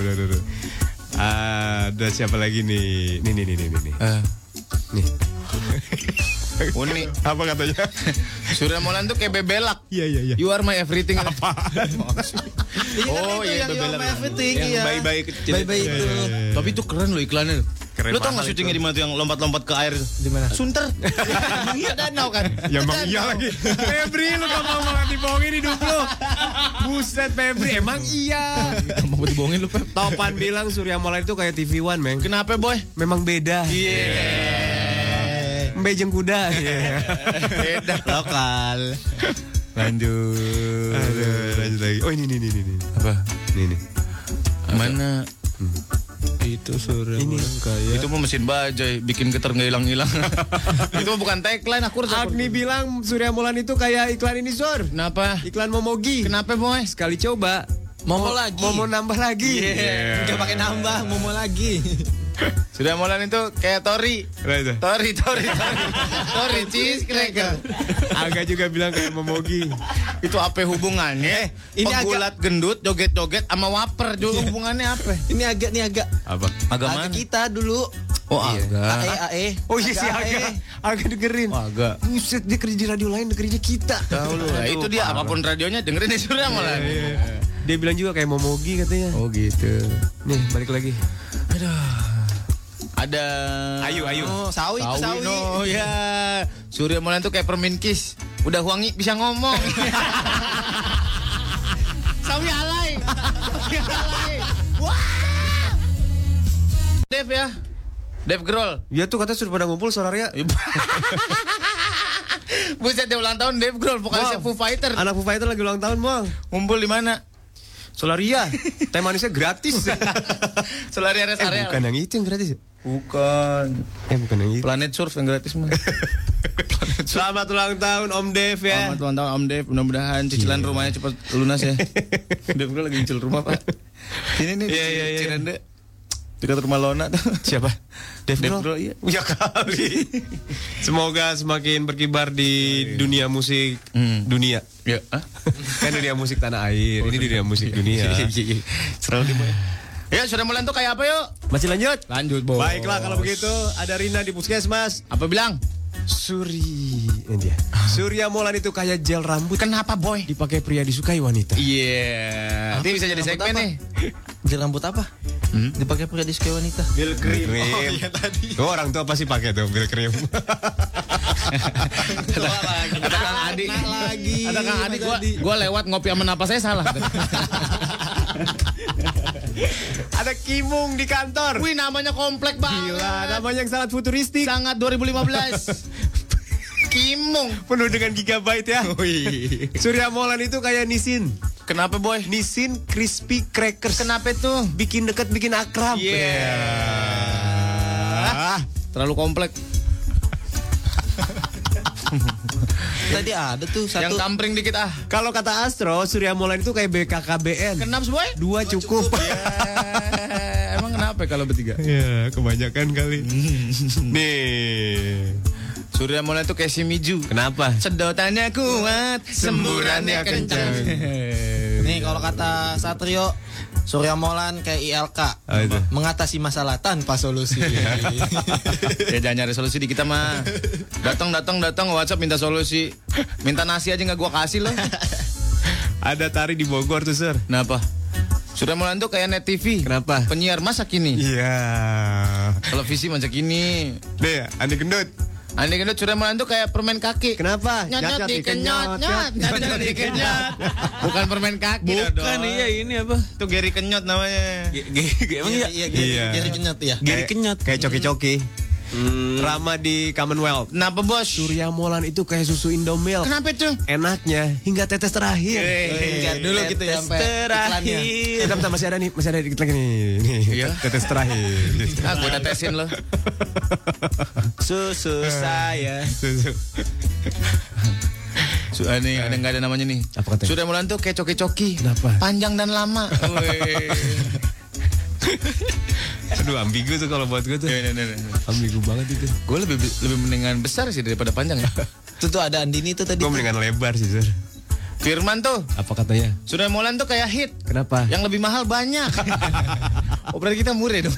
Ada siapa lagi nih? Nih. Nih. Unik. Apa katanya? Surya Molan tuh kayak bebelak. Iya. You are my everything. Apa? Oh iya bebelak. Yang bayi-bayi kecil. Bayi-bayi itu. Tapi itu keren loh iklannya. Keren Lu tau mahal gak syutingnya itu. di mana tuh yang lompat-lompat ke air itu? Di mana? Sunter. Iya danau kan. Ya emang iya lagi. Febri lu gampang banget dibohongin hidup lu. Buset Febri emang iya. Mau dibohongin lu, Pep. Topan bilang Surya Molan itu kayak TV One, Meng. Kenapa, Boy? Memang beda. Mbejeng kuda. Beda lokal. Lanjut. Lanjut lagi. Oh ini. Apa? Nih. Mana? Itu Surya Molan kayak. Itu mah mesin bajai, bikin getar nggak hilang-hilang. Itu mah bukan tagline, aku harus. Agni bilang Surya Molan itu kayak iklan ini, Sor. Kenapa? Iklan Momogi. Kenapa, Boy? Sekali coba. Momo lagi. Momo nambah lagi. Enggak pakai nambah, Momo lagi. Surya Molan itu kayak Tori. Tori cheese cracker. Aga juga bilang kayak Momogi. Itu apa hubungannya? Ini Pegulat gendut, joget-joget sama waper. Juga hubungannya apa? Ini agak. Apa? Agak Agak mana? kita dulu. Oh, agak. AE. Oh iya sih Aga dengerin. Oh, agak. Buset, dia kerja di radio lain, dengerinnya kita. Tahu lu. Nah, itu dia apapun radionya dengerin di Surya Molan. Dia bilang juga kayak Momogi katanya. Oh gitu. Nih, balik lagi. Ada Ayu. Oh, sawi. Oh ya. Surya Molan tuh kayak Permin Kiss. Udah wangi bisa ngomong. Sawi alay. Wah. Dev ya. Dev Grol. Ya tuh katanya sudah pada ngumpul Solaria. Buset dia ulang tahun Dev Grol, vokalisnya Foo Fighter. Anak Foo Fighter lagi ulang tahun, Bang. Ngumpul di mana? Solaria. Teh manisnya gratis. Solaria Rest Area. Bukan yang itu yang gratis ya? Bukan. Bukan yang itu. Planet Surf yang gratis mah. Selamat ulang tahun Om Dev ya. Selamat ulang tahun Om Dev. Mudah-mudahan cicilan rumahnya cepat lunas ya. Dev Grol lagi nyicil rumah, Pak. Ini nih di Cirende. Dekat rumah Lona tuh. Siapa? Dev Grol, Grol? iya. Ya kali. Semoga semakin berkibar di dunia musik dunia. Ya, Kan dunia musik tanah air. Ini dunia musik dunia. Selalu di mana? Ya, Surya Molan tuh kayak apa yuk? Masih lanjut? Lanjut, Bos. Baiklah kalau begitu ada Rina di Puskesmas. Apa bilang? Ini dia. Surya Molan itu kayak gel rambut. Kenapa, Boy? Dipakai pria disukai wanita. Iya. Ini bisa jadi segmen nih. Gel rambut apa? Dipakai pria disukai wanita. Gel krim. Oh iya tadi. Tuh orang tua pasti pakai tuh gel krim. Ada Kang Adi. Ada Kang Adi. Gua lewat ngopi sama napas saya salah. Ada Kimung di kantor. Wih, namanya komplek banget. Gila, namanya yang sangat futuristik. Sangat 2015. Kimung. Penuh dengan gigabyte ya. Surya Molan itu kayak Nissin. Kenapa, Boy? Nissin Crispy Crackers. Kenapa itu? Bikin dekat, bikin akrab. Terlalu komplek. Tadi ada tuh satu. Yang kampring dikit ah. Kalau kata Astro, Surya Molan itu kayak BKKBN. Kenapa, Boy? 2 cukup. Emang kenapa kalau bertiga? Ya, kebanyakan kali. Nih. Surya Molan itu kayak si Miju. Kenapa? Sedotannya kuat, semburannya kencang. Nih kalau kata Satrio, Surya Molan kayak ILK. Itu? Mengatasi masalah tanpa solusi. Ya jangan nyari solusi di kita mah. Datang WhatsApp minta solusi. Minta nasi aja nggak gua kasih loh. Ada Tari di Bogor tuh, Sir. Kenapa? Surya Molan tuh kayak Net TV. Kenapa? Penyiar masa kini. Iya. Televisi masa kini. Deh, Andi Gendut. Andi Gendut, Surya Molan tuh kayak permen kaki. Kenapa? Nyot dikenyot. Bukan permen kaki. Bukan, iya ini apa? Itu Geri Kenyot namanya. Emang iya? Iya. Geri kenyot ya. Geri kenyot. Kayak coki-coki. Rama di Commonwealth. Kenapa, Bos? Surya Molan itu kayak susu Indomilk. Kenapa itu? Enaknya hingga tetes terakhir. Enggak dulu gitu ya sampai iklannya. Bentar, masih ada dikit lagi nih. Iya. Tetes terakhir. Gue tetesin loh. Susu saya. Susu. Nih, ada nggak ada namanya nih? Apa katanya? Surya Molan tuh kayak coki-coki. Kenapa? Panjang dan lama. Aduh, ambigu tuh kalau buat gue tuh. Ambigu banget itu. Gue lebih mendingan besar sih daripada panjang ya. Itu tuh ada Andini tuh tadi. Gue mendingan lebar sih, Sir. Firman tuh, Apa katanya? Surya Molan tuh kayak hit. Kenapa? Yang lebih mahal banyak. Oh, berarti kita murah dong.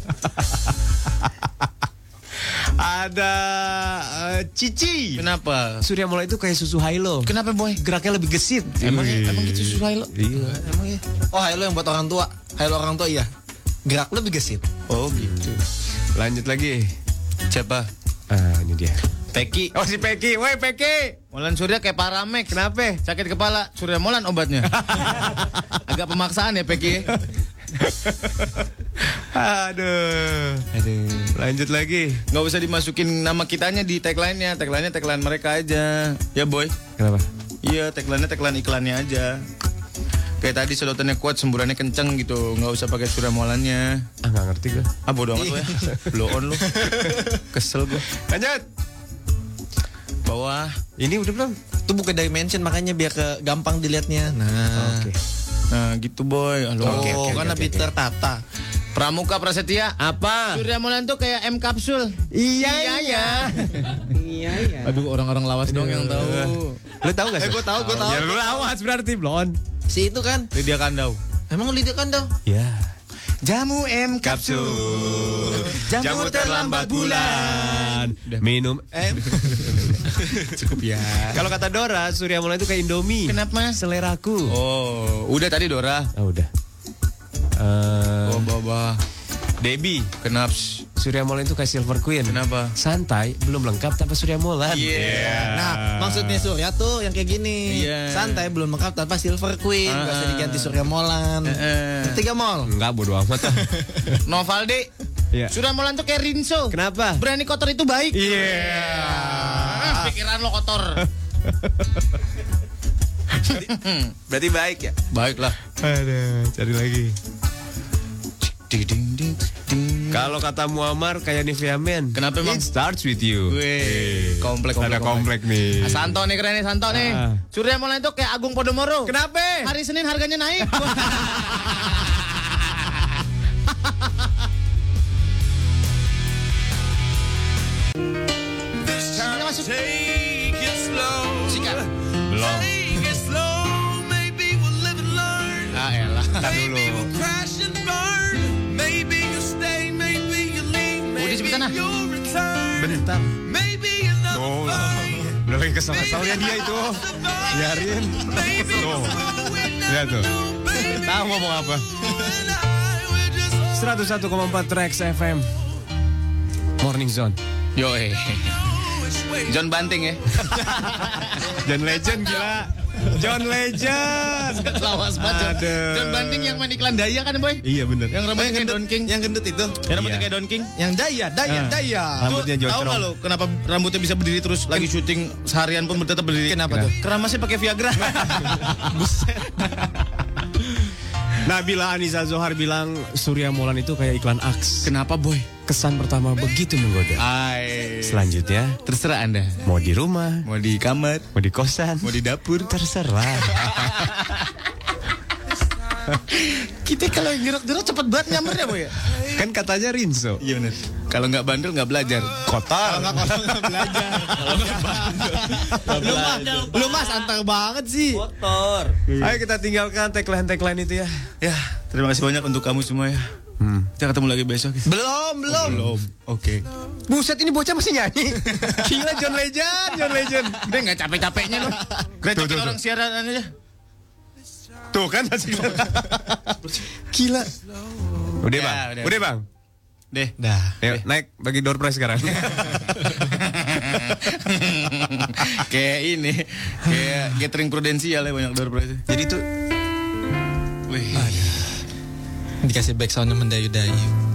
Ada Cici. Kenapa? Surya Molan itu kayak susu Hilo. Kenapa, Boy? Geraknya lebih gesit. Emang gitu susah lo? Iya. Emang ya? Oh, Hilo yang buat orang tua. Hilo orang tua iya. Gerak lebih gesit. Oh gitu. Lanjut lagi. Siapa? Ini dia. Peki. Oh, si Peki. Woi, Peki. Molan Surya kayak Paramex. Kenapa? Sakit kepala. Surya Molan obatnya. Agak pemaksaan ya Peki. Aduh. Lanjut lagi. Nggak usah dimasukin nama kitanya di tagline-nya. Tagline mereka aja. Ya, Boy. Kenapa? Iya, tagline iklannya aja. Kayak tadi sedotannya kuat, semburannya kenceng gitu. Nggak usah pakai Surya Molannya. Nggak ngerti gue. Bodo amat lo ya. Blow on lo. Kesel gue. Lanjut. Bawah. Ini udah belum? Itu bukan dimension makanya biar gampang dilihatnya. Nah. Oke. Nah gitu, Boy. Oke, kan lebih tertata. Pramuka Prasetya. Apa? Surya Molan tuh kayak M kapsul. Iya. Iya. Aduh, orang-orang lawas dong yang tahu. Lu tahu gak sih? Gue tahu. Ya lu lawas berarti blon. Si itu kan. Lydia Kandau. Emang Lydia Kandau? Ya. Jamu M kapsul. Jamu terlambat bulan. Minum Cukup ya. Kalau kata Dora, Surya Molan itu kayak Indomie. Kenapa? Seleraku. Oh, udah tadi Dora. Udah. Oh, Baba. Debbie. Kenapa? Surya Molan itu kayak Silver Queen. Kenapa? Santai, belum lengkap tanpa Surya Molan. Yeah. Nah, maksudnya Surya tuh yang kayak gini. Iya. Santai belum lengkap tanpa Silver Queen. Gak usah diganti Surya Molan. 3 mall. Enggak, bodo amat. Novalde. Iya. Surya Molan tuh kayak Rinso. Kenapa? Berani kotor itu baik. Iya. Pikiran lo kotor. Berarti baik ya? Baiklah. Aduh, cari lagi. Ding ding ding ding. Kalau kata Muammar kayak Nivea Men. Kenapa emang? It starts with you. Wih, komplek. Ada komplek nih. Santo nih keren nih, Santo nih. Surya Molan itu kayak Agung Podomoro. Kenapa? Hari Senin harganya naik. Masuk. Sikat. Belum. Ah elah. Tar dulu. sebentar. Oh, udah lagi kesal-kesalnya dia itu. Biarin. Tuh. Lihat tuh. Tahu ngomong apa. 101,4 Trax FM. Morning Zone. Yoi. John Banting ya. John Legend gila. John Legend. Lawas banget. Aduh. John Banting yang main iklan Daya kan, Boy? Iya bener. Yang rambutnya kayak Don King. Yang gendut itu. Yang rambutnya Iya. kayak Don King. Yang Daya. Rambutnya Tahu jocrong. nggak lo kenapa rambutnya bisa berdiri terus lagi syuting seharian pun tetap berdiri? Kenapa tuh? Keramasnya pakai Viagra. Nabila Anissa Zohar bilang Surya Molan itu kayak iklan Axe. Kenapa, Boy? Kesan pertama begitu menggoda. Selanjutnya Terserah Anda. mau di rumah, Mau di kamar, mau di kosan, mau di dapur. terserah. Kita kalau gerok-gerok cepet banget nyampernya, Boy ya? Kan katanya Rinso. Iya benar. Kalau nggak bandel nggak belajar. Kotor. Lu mah santai banget sih. Kotor. Ayo kita tinggalkan tagline itu ya. Ya, terima kasih banyak untuk kamu semua ya. Kita ketemu lagi besok. Belum. Oke. Buset ini bocah masih nyanyi. Gila John Legend. Udah nggak capek-capeknya loh. Grecokin Tuh. orang siaran aja. Tuh kan masih. Gila. Udah Ya, bang. udah. Udah bang. Deh. Dah. Yuk naik bagi door prize sekarang. Kayak ini, kayak gathering prudensial ya banyak door prize. Jadi tuh Wih. Dikasih back soundnya mendayu-dayu.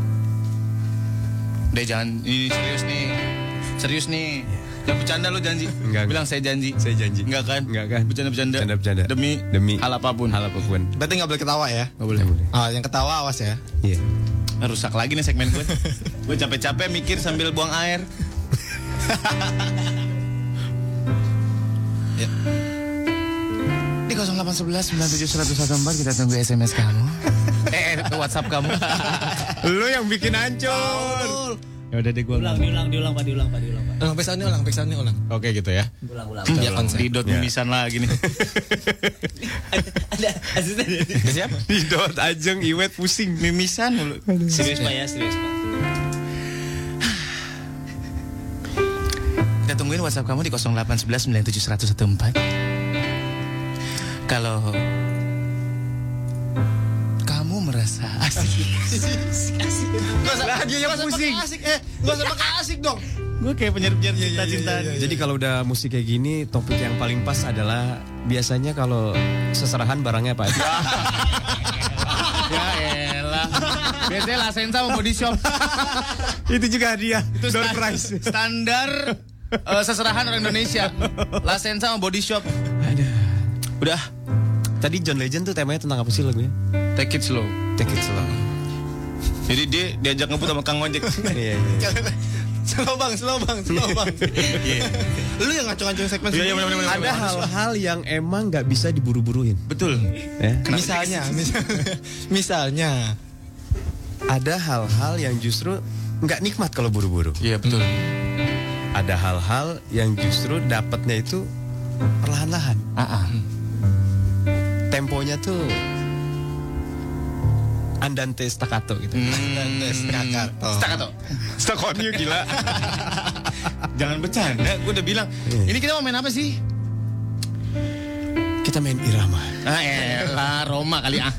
Deh jangan ini serius nih. Jangan bercanda lo janji. Enggak. Bilang saya janji. Saya janji. Enggak kan? Enggak kan? Bercanda-bercanda. Bercanda-bercanda. Demi hal apapun. Berarti nggak boleh ketawa ya? Nggak boleh. Oh, yang ketawa awas ya. Iya. Rusak lagi nih segmen gue. Gue capek-capek mikir sambil buang air. Ya. Di 0811 97114 kita tunggu SMS kamu. WhatsApp kamu. Lu yang bikin hancur. Ya udah deh gue. Diulang, Pak. Ulang back soundnya ulang. Oke gitu ya. Ulang. Ya konsep. Didot Ya. mimisan lagi nih. Ada asisten. Siap? Didot Ajeng Iwet pusing. Mimisan mulu. Serius, Pak. Kita tungguin WhatsApp kamu di 0811 97114. Kalau kamu merasa asik. Dia yang pusing. Gak usah pakai asik dong. Gue kayak penyiar-penyiar cinta-cintaan. Jadi kalau udah musik kayak gini, topik yang paling pas adalah biasanya kalau seserahan barangnya apa aja. Ya elah. Biasanya Lasenza sama Body Shop. Itu juga hadiah. Itu Door prize. standar seserahan orang Indonesia. Lasenza sama Body Shop. Udah. Tadi John Legend tuh temanya tentang apa sih lagunya? Take it slow. Take it slow. Jadi dia diajak ngebut sama Kang Ojek. Iya. Slow bang. Lu yang ngacung-ngacung segmen Iya, semua. bener. Ada hal-hal yang emang nggak bisa diburu-buruin. Betul. Ya? Misalnya. Ada hal-hal yang justru nggak nikmat kalau buru-buru. Iya betul. Ada hal-hal yang justru dapatnya itu perlahan-lahan. Temponya tuh andante staccato gitu. Staccato. Staccato gila. Jangan bercanda. Gue udah bilang. Ini kita mau main apa sih? Kita main irama. Elah Roma kali ah.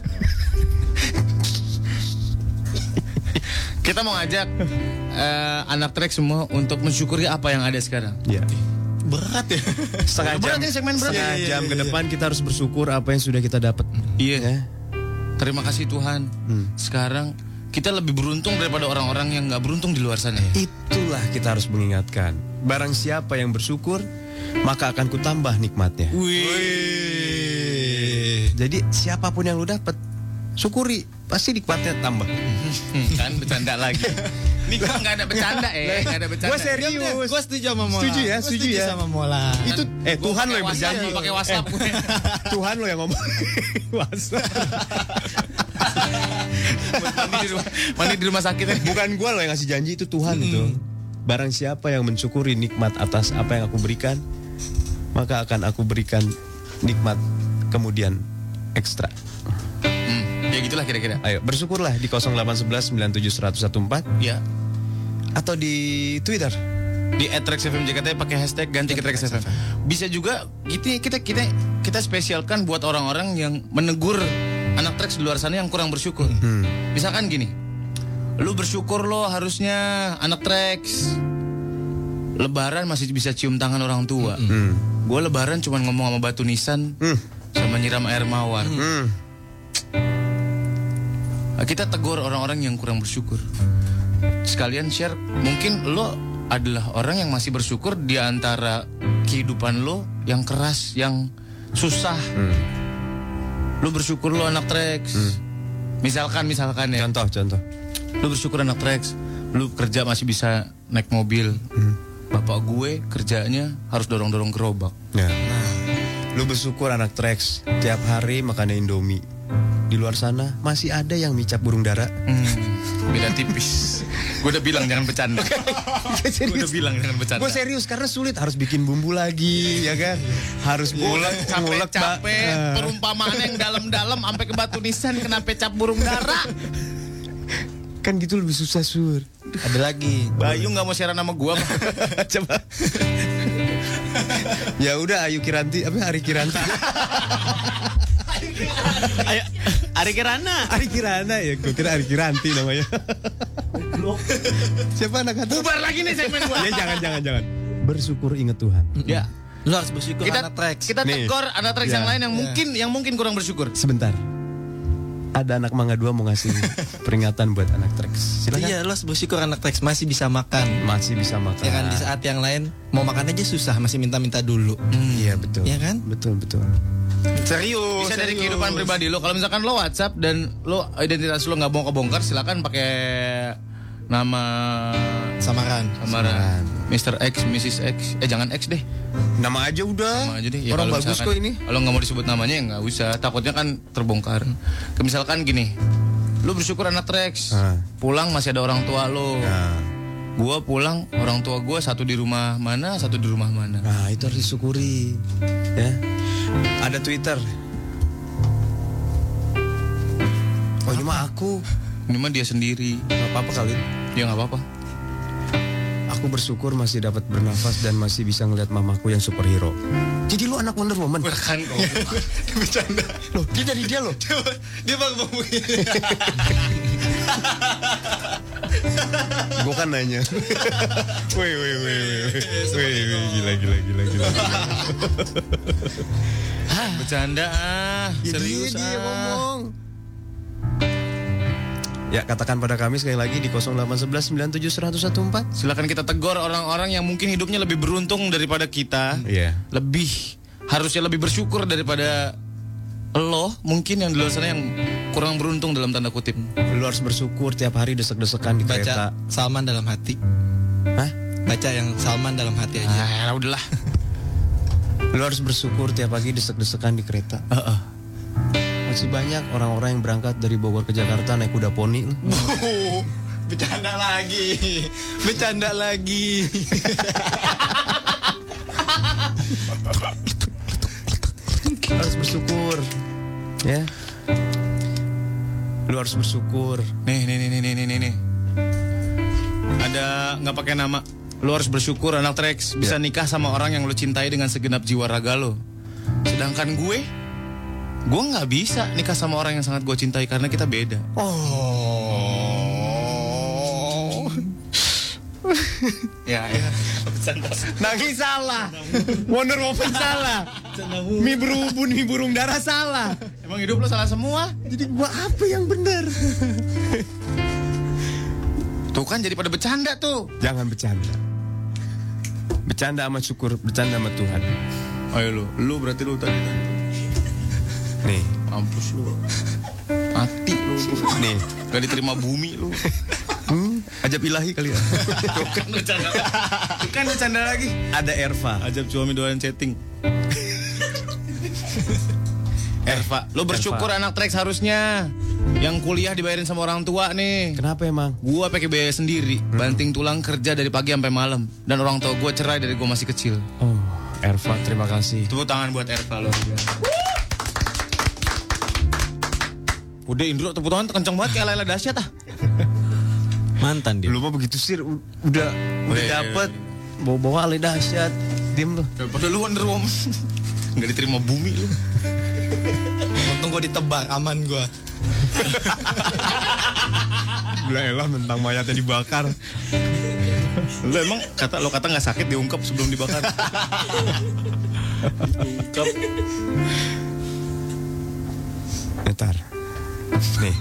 Kita mau ngajak anak trek semua untuk mensyukuri apa yang ada sekarang. Iya. Berat ya. Setengah Berat ini segmen berat. Setengah jam ke depan kita harus bersyukur apa yang sudah kita dapat. Iya. Ya. Terima kasih Tuhan. Sekarang kita lebih beruntung daripada orang-orang yang nggak beruntung di luar sana. Itulah kita harus mengingatkan. Barang siapa yang bersyukur, maka akan kutambah nikmatnya. Wih. Jadi siapapun yang lu dapat, syukuri, pasti nikmatnya tambah. Kan bercanda lagi. Ini gue nggak ada bercanda nggak ada bercanda. Gue serius. Gue setuju sama Mola. Setuju ya. sama Mola. Itu Tuhan lo yang berjanji. Pakai WhatsApp gue. Tuhan lo yang ngomong. WhatsApp. Mandi di rumah sakit. Bukan gue lo yang ngasih janji, itu Tuhan itu. Barang siapa yang mensyukuri nikmat atas apa yang aku berikan, maka akan aku berikan nikmat kemudian ekstra. Ya gitulah kira-kira. Ayo bersyukurlah di 0811 97114 Ya. atau di Twitter Di @traxfmJKT pakai hashtag ganti ke traxfm. Bisa juga kita spesialkan buat orang-orang yang menegur anak Trax di luar sana yang kurang bersyukur. Misalkan gini, lu bersyukur lo harusnya anak Trax Lebaran masih bisa cium tangan orang tua. Gue Lebaran cuma ngomong sama batu nisan sama nyiram air mawar. Kita tegur orang-orang yang kurang bersyukur. Sekalian share, mungkin lo adalah orang yang masih bersyukur di antara kehidupan lo yang keras, yang susah. Lo bersyukur lo anak Trax. Misalkan ya. Contoh. Lo bersyukur anak Trax, lo kerja masih bisa naik mobil. Bapak gue kerjanya harus dorong-dorong gerobak. Ya. Lu bersyukur anak Trax tiap hari makan Indomie. Di luar sana masih ada yang micap burung dara. Beda tipis. Gue udah bilang jangan bercanda. Gue serius karena sulit, harus bikin bumbu lagi, ya kan? Harus ngulek capek. Perumpamaan yang dalam-dalam sampai ke batu nisan kena pecap burung dara. Kan gitu lebih susah, Sur. Ada lagi. Bayu nggak mau siaran sama gue. Coba. Ya udah, Ayu Kiranti, Ari Kiranti. Ayo, Ari Kirana ya, gue kira Ari Kiranti namanya. Siapa anak kata? Bubar lagi nih segmen gue. Ya jangan. Bersyukur ingat Tuhan. Ya. Lu harus bersyukur anak Trax. Kita tegur anak Trax yang lain yang mungkin kurang bersyukur. Sebentar. Ada anak Mangga 2 mau ngasih peringatan buat anak Trax. Silakan. Iya, lu harus bersyukur anak Trax masih bisa makan. Ya kan, di saat yang lain mau makan aja susah, masih minta-minta dulu. Iya, betul. Iya kan? Betul. Serius. Bisa dari kehidupan pribadi lo. Kalau misalkan lo WhatsApp dan lo identitas lo nggak mau kebongkar, silakan pakai nama samaran. Mr. X, Mrs. X. Jangan X deh. Nama aja udah. Nama aja deh. Orang bagus kok ini. Kalau nggak mau disebut namanya ya nggak usah. Takutnya kan terbongkar. Misalkan gini, lo bersyukur anak Trax. Pulang masih ada orang tua lo. Gua pulang orang tua gue satu di rumah mana. Nah itu harus disyukuri. Ya. Ada Twitter. Oh ini mah aku. Ini mah dia sendiri. Gak apa-apa kali. Ya nggak apa-apa. Aku bersyukur masih dapat bernafas dan masih bisa ngeliat mamaku yang superhero. Jadi lu anak Wonder Woman? Bukan kok. Bercanda. Loh, dia dari dia loh. Dia bang ngomong begini. Gue kan nanya. Wih, gila. Bercanda serius dia ngomong. Ya, katakan pada kami sekali lagi di 0811 97 1014. Silakan kita tegur orang-orang yang mungkin hidupnya lebih beruntung daripada kita. Harusnya lebih bersyukur daripada lo mungkin yang di luar sana yang kurang beruntung dalam tanda kutip. Lo harus bersyukur tiap hari desek-desekan di kereta. Baca Salman dalam hati. Hah? Baca yang Salman dalam hati aja. Udahlah. Lo harus bersyukur tiap pagi desek-desekan di kereta. Masih banyak orang-orang yang berangkat dari Bogor ke Jakarta naik kuda poni. Bercanda lagi. Harus bersyukur. Ya. Lu harus bersyukur. Nih. Ada nggak pakai nama. Lu harus bersyukur anak Trax bisa nikah sama orang yang lu cintai dengan segenap jiwa raga lo. Sedangkan gue nggak bisa nikah sama orang yang sangat gue cintai karena kita beda. Ya. Nangis salah. Wonder Woman salah. Mi berubun, mi burung dara salah. Emang hidup lo salah semua? Jadi gua apa yang benar? Tuh kan jadi pada bercanda tuh. Jangan bercanda. Bercanda sama syukur, bercanda sama Tuhan. Ayo lu berarti lu tadi. Nih, mampus lu. Mati lu. Nih, gak diterima bumi lu. Ajab ilahi kali ya. Tuh kan bercanda lagi. Ada Erva. Ajab suami doain chatting. Erva, lo bersyukur anak Trax harusnya. Yang kuliah dibayarin sama orang tua nih. Kenapa emang? Gua pakai biaya sendiri, banting tulang kerja dari pagi sampai malam. Dan orang tua gua cerai dari gua masih kecil. Oh, Erva, terima kasih. Tepuk tangan buat Erva lo. Udah Indro, tepuk tangan kenceng banget kayak Laila dahsyat ah. Mantan dia. Lu mah begitu sih, udah dapet. bawa-bawa ale dahsyat. Diam lu. Daripada lu Wonder Woman. Nggak diterima bumi lu. Untung gue ditebar, aman gue. Gila elah mentang mayatnya dibakar. Lu emang kata nggak sakit diungkap sebelum dibakar. Diungkap. Ntar. Nih.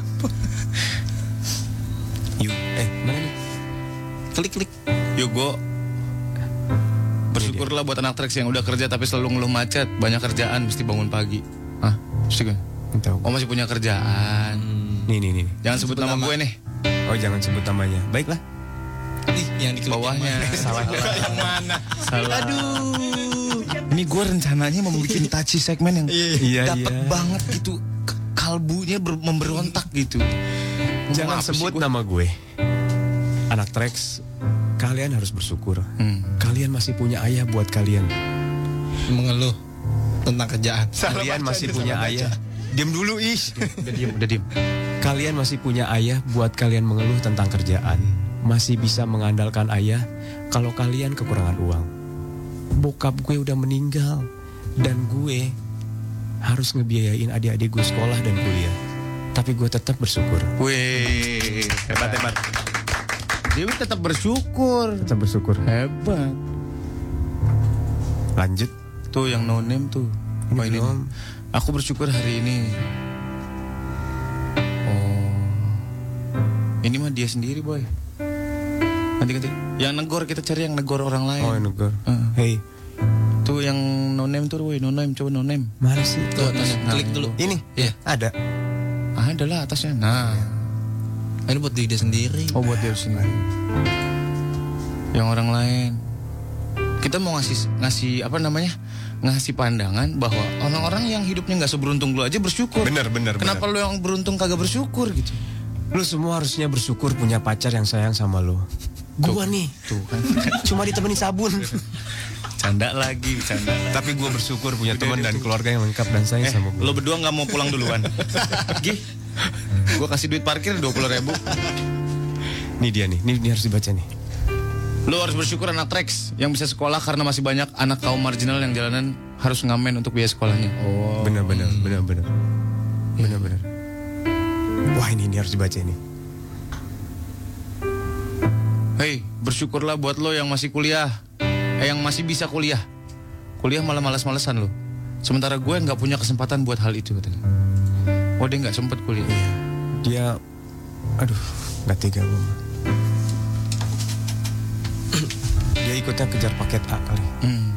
Yuk, mana nih? Klik. Yuk gue bersyukurlah buat anak Trax yang udah kerja tapi selalu ngeluh macet, banyak kerjaan, mesti bangun pagi. Hah? Mesti kan? Tahu. Oh masih punya kerjaan. Nih. Jangan sebut nama gue nih. Oh jangan sebut namanya. Baiklah. Ih, yang di Bawahnya. Salah. Yang mana? Salah. Aduh. Ini gue rencananya mau bikin touchy segmen yang dapet banget gitu. Kalbunya memberontak gitu. Jangan sebut nama gue. Anak Trax, kalian harus bersyukur. Kalian masih punya ayah buat kalian. Mengeluh tentang kerjaan. Kalian masih punya ayah. Diam dulu Is. Udah diem. Kalian masih punya ayah buat kalian mengeluh tentang kerjaan. Masih bisa mengandalkan ayah kalau kalian kekurangan uang. Bokap gue udah meninggal dan gue harus ngebiayain adik-adik gue sekolah dan kuliah. Tapi gue tetap bersyukur. Wih, hebat. Dewi tetap bersyukur. Tetap bersyukur. Hebat. Lanjut. Tuh yang no name tuh. Ini Oh, ini. belum. Aku bersyukur hari ini. Oh. Ini mah dia sendiri, boy. Ganti. Yang negor kita cari yang negor orang lain. Oh, negor. Heeh. Hey, Tuh yang no name tuh, boy. No name, coba no name. mana sih? Tuh, atas, klik dulu. Ini? Iya. Ada. Ada lah atasnya. Nah. Ini buat diri dia sendiri. Oh, buat dia sendiri. Yang orang lain. Kita mau ngasih apa namanya? Ngasih pandangan bahwa orang-orang yang hidupnya nggak seberuntung lu aja bersyukur. Bener. Kenapa lu yang beruntung kagak bersyukur gitu? Lu semua harusnya bersyukur punya pacar yang sayang sama lu. Gua nih. Tuh kan. Cuma ditemenin sabun. Canda lagi. Tapi gue bersyukur punya teman dan keluarga yang lengkap dan sayang sama gue. Lo berdua nggak mau pulang duluan? Gih, gue kasih duit parkir 20.000. Nih dia nih, ini harus dibaca nih. Lo harus bersyukur anak Trax yang bisa sekolah karena masih banyak anak kaum marginal yang jalanan harus ngamen untuk biaya sekolahnya. Oh, Benar. Wah ini harus dibaca ini. Hei, bersyukurlah buat lo yang masih kuliah, yang masih bisa kuliah. Kuliah malah malas-malesan lo. Sementara gue nggak punya kesempatan buat hal itu katanya. Oh dia nggak sempet kuliah. Dia, aduh, nggak tega gue. Dia ikutnya kejar paket A kali.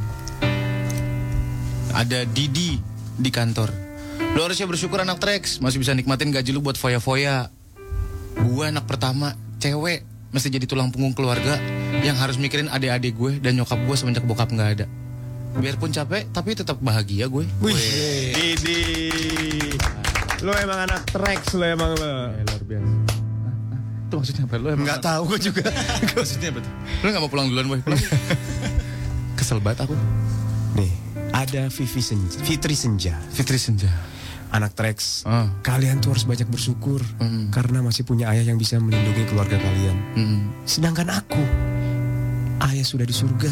Ada Didi di kantor. Lo harusnya bersyukur anak Trax masih bisa nikmatin gaji lu buat foya-foya. Gue anak pertama, cewek, mesti jadi tulang punggung keluarga yang harus mikirin adik-adik gue dan nyokap gue semenjak bokap nggak ada. Biarpun capek, tapi tetap bahagia gue. Wih, Didi, lo emang anak Trax, lo emang lo. Luar biasa. Itu maksudnya apa? Lo emang Nggak tahu gue juga. maksudnya apa tuh? Lo nggak mau pulang duluan, boy? Pulang. Kesel banget aku. Nih, ada Fitri Senja. Fitri Senja. Anak Trax, Ah. kalian tuh harus banyak bersyukur karena masih punya ayah yang bisa melindungi keluarga kalian. Sedangkan aku, ayah sudah di surga.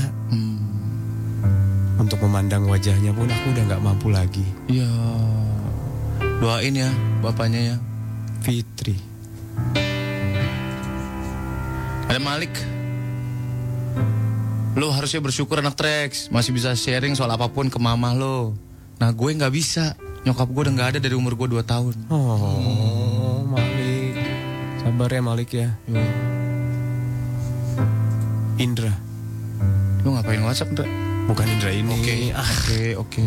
Untuk memandang wajahnya pun aku udah nggak mampu lagi. Iya. Doain ya bapaknya ya. Fitri. Ada Malik. Lo harusnya bersyukur anak Trax masih bisa sharing soal apapun ke mama lo. Nah gue nggak bisa. Nyokap gue udah nggak ada dari umur gue 2 tahun. Oh, Malik. Sabar ya Malik ya. Indra. Lo ngapain WhatsApp, Indra? Bukan Indra ini. Oke.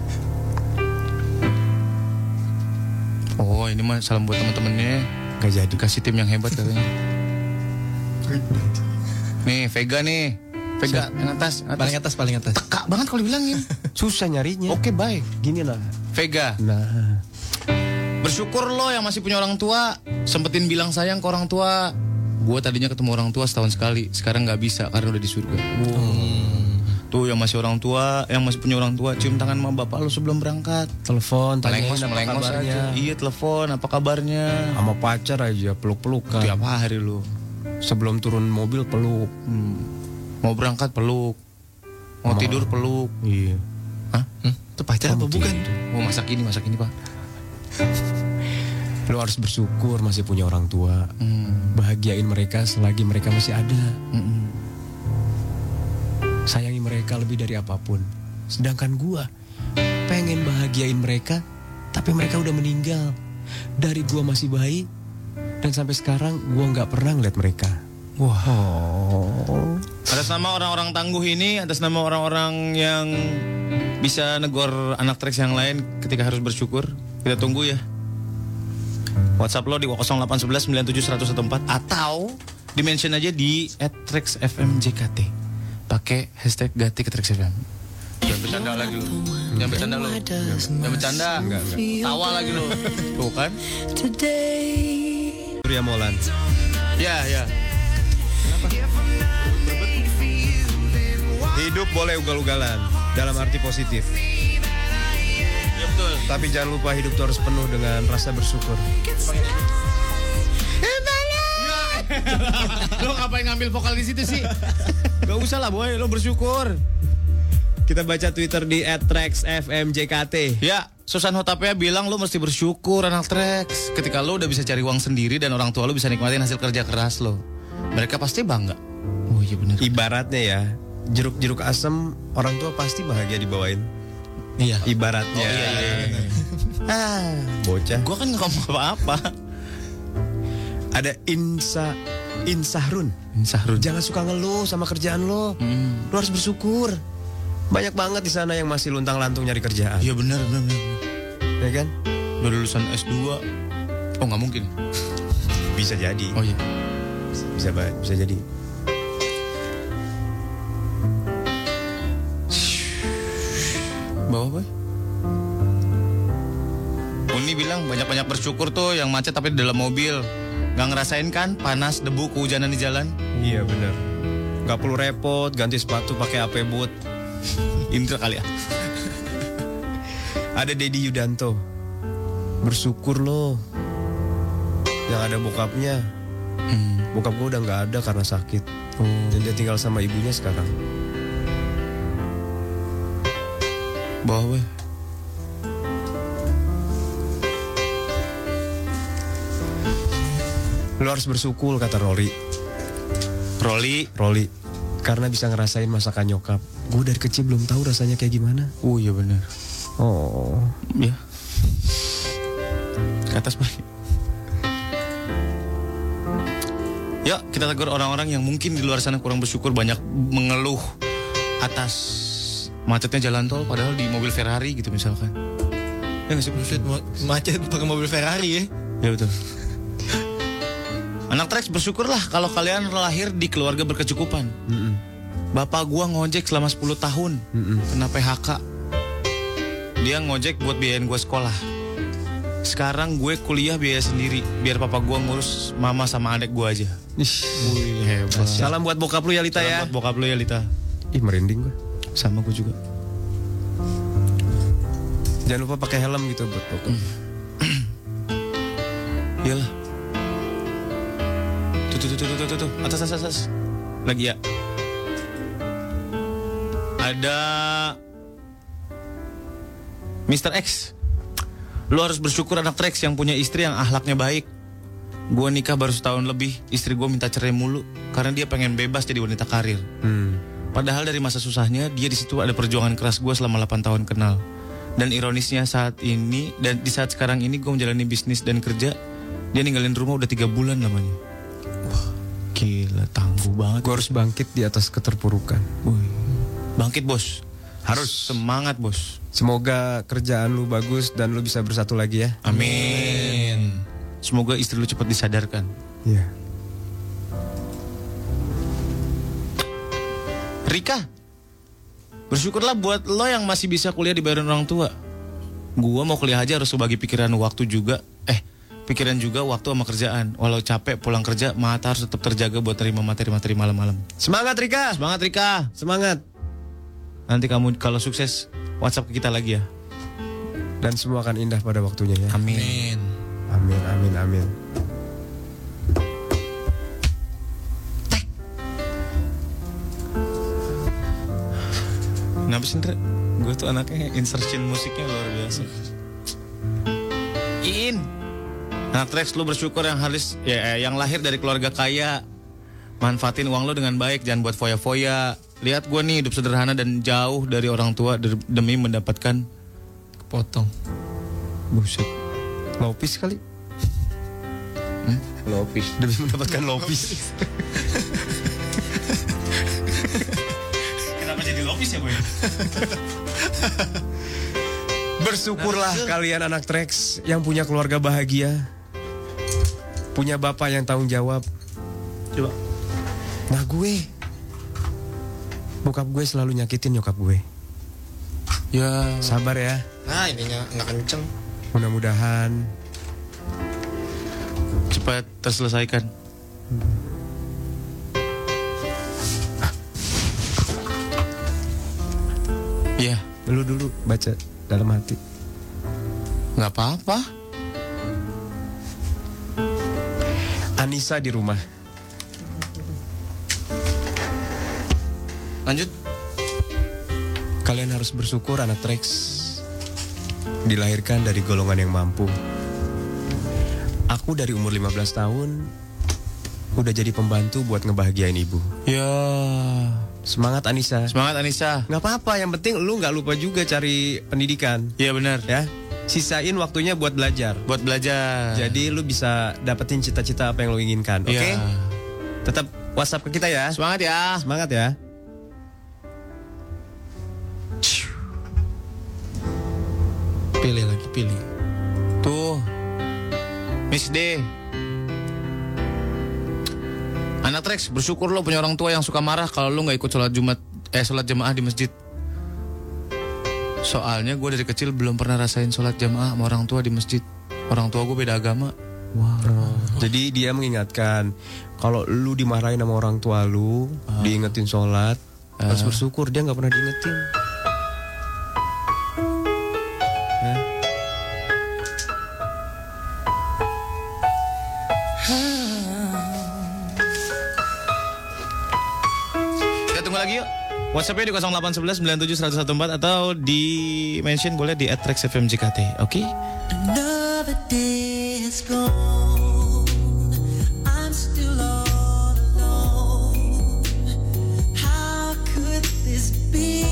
Oh, ini mah salam buat teman-temannya. Gak jadi. Dikasih tim yang hebat katanya. Nih, Vega nih. Vega yang atas. Paling atas. Teka banget kalau dibilangin. Susah nyarinya. Oke, baik. Gini lah. Vega. Nah. Bersyukur lo yang masih punya orang tua. Sempetin bilang sayang ke orang tua. Gue tadinya ketemu orang tua setahun sekali. Sekarang gak bisa karena udah di surga. Tuh yang masih orang tua, yang masih punya orang tua, cium tangan sama bapak lo sebelum berangkat. Telepon, tanyain apa Melengos kabarnya. aja. Iya, telepon, apa kabarnya? Sama pacar aja peluk-pelukan. Tiap hari lo. Sebelum turun mobil peluk. Mau berangkat peluk. Mau tidur peluk. Iya. Hah? Itu pacar apa bukan? Mau masak ini Pak. Lo harus bersyukur masih punya orang tua. Bahagiain mereka selagi mereka masih ada. Sayangi mereka lebih dari apapun. Sedangkan gua pengen bahagiain mereka, tapi mereka udah meninggal. Dari gua masih bayi dan sampai sekarang gua nggak pernah ngeliat mereka. Wah. Atas nama orang-orang tangguh ini, atas nama orang-orang yang bisa negor anak Trax yang lain ketika harus bersyukur, kita tunggu ya. WhatsApp lo di 0811 97 114 atau di-mention aja di @TraxFMJKT. Pakai hashtag Gati ke Trax FM. Jangan bercanda lagi lo. Jangan bercanda lo. Jangan bercanda. Enggak. Tawa lagi lo. Tuh kan? Surya Molan. Ya. Hidup boleh ugal-ugalan dalam arti positif. Ya betul. Tapi jangan lupa hidup itu harus penuh dengan rasa bersyukur. Lo ngapain ngambil vokal di situ sih? Gak usah lah boy, lo bersyukur. Kita baca Twitter di @TraxFMJKT. Ya, Susan Hotapea bilang lo mesti bersyukur anak Trax. Ketika lo udah bisa cari uang sendiri dan orang tua lo bisa nikmatin hasil kerja keras lo. Mereka pasti bangga. Oh iya benar. Ibaratnya ya, jeruk-jeruk asem orang tua pasti bahagia dibawain. Iya. Ibaratnya. Oh, iya. Bocah. Gue kan gak ngomong apa-apa. Ada Insahrun. Sahrun. Jangan suka ngeluh sama kerjaan lo. Lo harus bersyukur. Banyak banget di sana yang masih luntang-lantung nyari kerjaan. Iya benar. Ya kan? Udah lulusan S2. Oh nggak mungkin. Bisa jadi. Oh iya. Bisa jadi. Bawa boy. Uni bilang banyak-banyak bersyukur tuh yang macet tapi di dalam mobil. Gak ngerasain kan panas, debu, kehujanan di jalan? Iya benar. Gak perlu repot ganti sepatu pakai AP boot. Indra kali ya. Ada Dedi Yudanto. Bersyukur lo. Yang ada bokapnya. Bokap gue udah gak ada karena sakit. Dan dia tinggal sama ibunya sekarang. Bawa boy. Lo harus bersyukur kata Rory. Karena bisa ngerasain masakan nyokap. Gue dari kecil belum tahu rasanya kayak gimana. Oh iya benar. Oh. Ya. Ke atas boy. Yuk kita tegur orang-orang yang mungkin di luar sana kurang bersyukur, banyak mengeluh atas macetnya jalan tol padahal di mobil Ferrari gitu misalkan. Ya nggak sih? Macet pakai mobil Ferrari ya. Ya betul. Anak Trax bersyukurlah kalau kalian lahir di keluarga berkecukupan. Bapak gua ngojek selama 10 tahun. Kena PHK. Dia ngojek buat biayain gua sekolah. Sekarang gue kuliah biaya sendiri biar papa gua ngurus mama sama adik gua aja. Wih, hebat. Salam buat bokap lu ya Lita ya. Buat bokap lu ya Lita. Ih merinding gue. Sama gue juga. Jangan lupa pakai helm gitu buat bokap. Iyalah. Tuh. Atas. Lagi ya. Ada Mr. X. Lu harus bersyukur anak Trax yang punya istri yang akhlaknya baik. Gua nikah baru setahun lebih, istri gua minta cerai mulu karena dia pengen bebas jadi wanita karir. Padahal dari masa susahnya dia di situ ada perjuangan keras gua selama 8 tahun kenal. Dan ironisnya saat ini dan di saat sekarang ini gua menjalani bisnis dan kerja, dia ninggalin rumah udah 3 bulan lamanya. Wah, gila tangguh banget. Gue harus bangkit di atas keterpurukan. Wih. Bangkit bos. Harus semangat bos. Semoga kerjaan lu bagus dan lu bisa bersatu lagi ya. Amin. Semoga istri lu cepat disadarkan. Iya. Rika, bersyukurlah buat lo yang masih bisa kuliah dibayarin orang tua. Gua mau kuliah aja harus bagi pikiran waktu juga. Pikiran juga waktu sama kerjaan. Walau capek pulang kerja, mata harus tetap terjaga buat terima materi-materi malam-malam. Semangat Rika. Semangat Rika. Semangat. Nanti kamu kalau sukses WhatsApp ke kita lagi ya. Dan semua akan indah pada waktunya ya. Amin. Amin. Kenapa sih Ndra? Gue tuh anaknya insertion musiknya luar biasa. Anak Trax, lu bersyukur yang yang lahir dari keluarga kaya. Manfaatin uang lu dengan baik, jangan buat foya-foya. Lihat gue nih hidup sederhana dan jauh dari orang tua demi mendapatkan Potong. Buset. Lopis kali. lopis. Demi mendapatkan lopis. Kenapa jadi lopis ya, Boy? Bersyukurlah kalian anak Trax yang punya keluarga bahagia. Punya bapak yang tanggung jawab. Coba. Nah bokap gue selalu nyakitin nyokap gue. Ya, Sabar ya. Nah ininya nggak kenceng. Mudah-mudahan cepat terselesaikan. Ya, lu dulu baca dalam hati. nggak apa-apa. Anissa di rumah. Lanjut. Kalian harus bersyukur anak Trax dilahirkan dari golongan yang mampu. Aku dari umur 15 tahun udah jadi pembantu buat ngebahagiain ibu. Ya, Semangat Anissa. semangat Anissa. Nggak apa-apa, yang penting lu nggak lupa juga cari pendidikan. Iya benar. Ya, sisain waktunya buat belajar. Buat belajar. Jadi lu bisa dapetin cita-cita apa yang lu inginkan. Oke? Iya. Tetap WhatsApp ke kita ya. Semangat ya. Semangat ya. Pilih. Tuh, Miss D. Anak Trax, bersyukur lo punya orang tua yang suka marah kalau lo nggak ikut sholat jamaah di masjid. Soalnya gue dari kecil belum pernah rasain sholat jamaah sama orang tua di masjid. Orang tua gue beda agama. Jadi dia mengingatkan kalau lu dimarahin sama orang tua lu, diingetin sholat, harus bersyukur dia nggak pernah diingetin. Kita tunggu lagi yuk. WhatsApp-nya di 0811 97 114 atau di mention boleh di @traxfmjkt. Oke? Another day is gone. I'm still all alone. How could this be?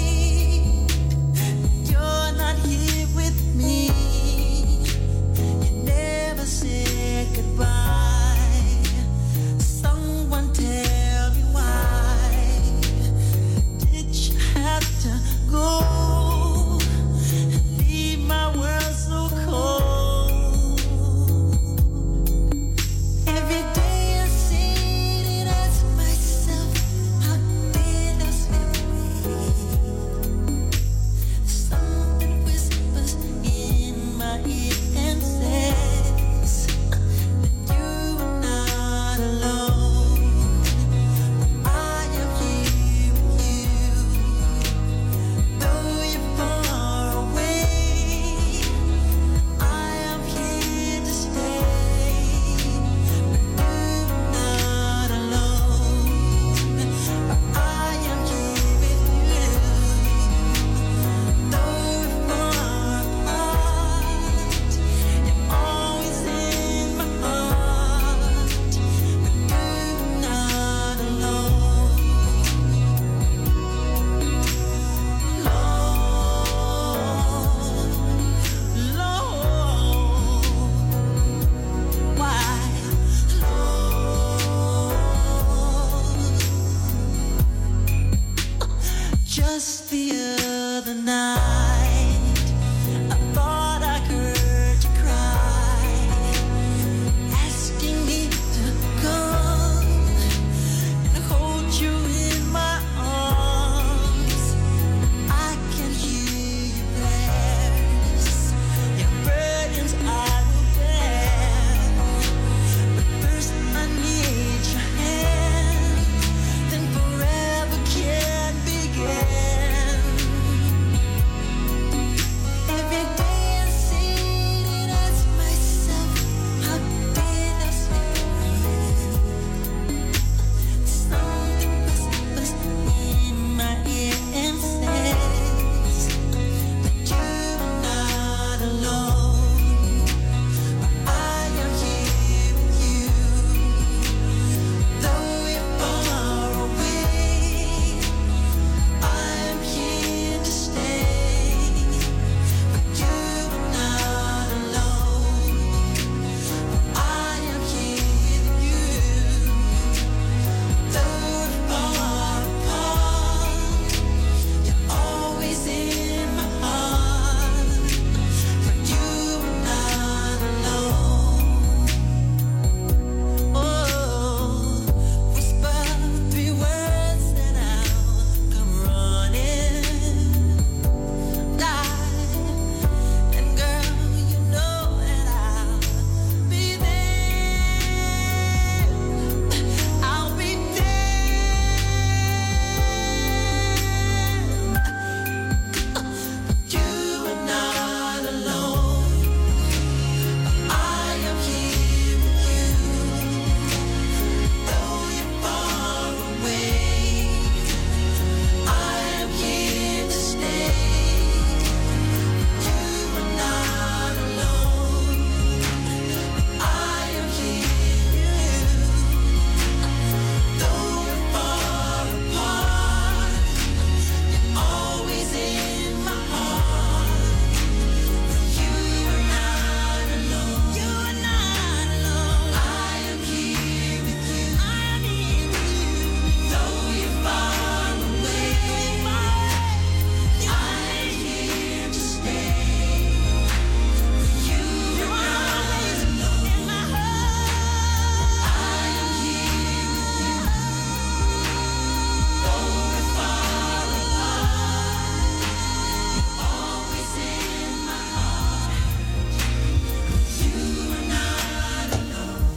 You're not here with me. You never said goodbye. Someone tell me why did you have to go? Leave my world so cold.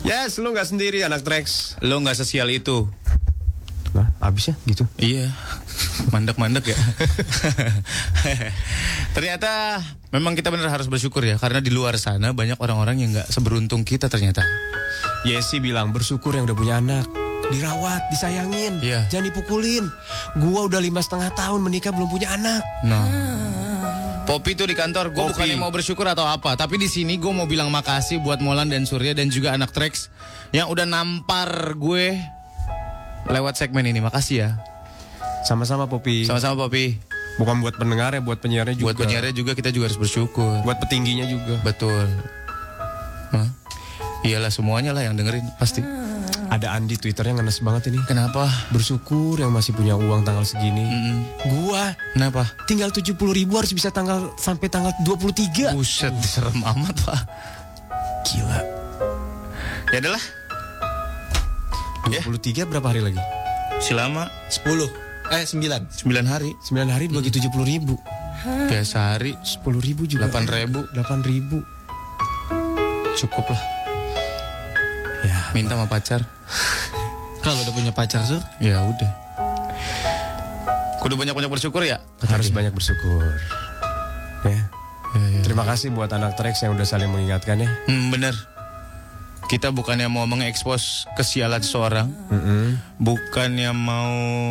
Yes, lu nggak sendiri anak Trax. Lo nggak sesial itu. Nah, abis ya gitu. Iya, mandek-mandek ya. Ternyata memang kita benar harus bersyukur ya, karena di luar sana banyak orang-orang yang nggak seberuntung kita ternyata. Yesi bilang bersyukur yang udah punya anak. Dirawat, disayangin, Iya. jangan dipukulin. Gua udah 5,5 tahun menikah belum punya anak. Nah, Poppy tuh di kantor, gue Poppy. bukannya mau bersyukur atau apa, tapi di sini gue mau bilang makasih buat Molan dan Surya dan juga anak Trax yang udah nampar gue lewat segmen ini. Makasih ya. Sama-sama Popi. Sama-sama Poppy. Bukan buat pendengar ya, buat penyiarnya juga. Buat penyiarnya juga kita juga harus bersyukur. Buat petingginya juga. Betul. Hah? Iyalah semuanya lah yang dengerin pasti. Ada Andi Twitternya ngenes banget ini. Kenapa? Bersyukur yang masih punya uang tanggal segini. Gua Kenapa? tinggal 70.000 harus bisa sampai tanggal 23. Buset, serem amat Pak. Gila. Ya adalah 23 berapa hari lagi? selama 10. 9. 9 hari. 9 hari bagi 70.000. Biasa hari 10.000 juga. 8.000. 8.000. Cukup lah. Ya, Minta sama pacar. Kalau udah punya pacar Sur, Ya udah. Kudu banyak-banyak bersyukur ya. harus banyak bersyukur. Ya. Terima kasih buat anak Trax yang udah saling mengingatkan ya. Bener. Kita bukannya mau mengekspos kesialan seseorang, bukannya mau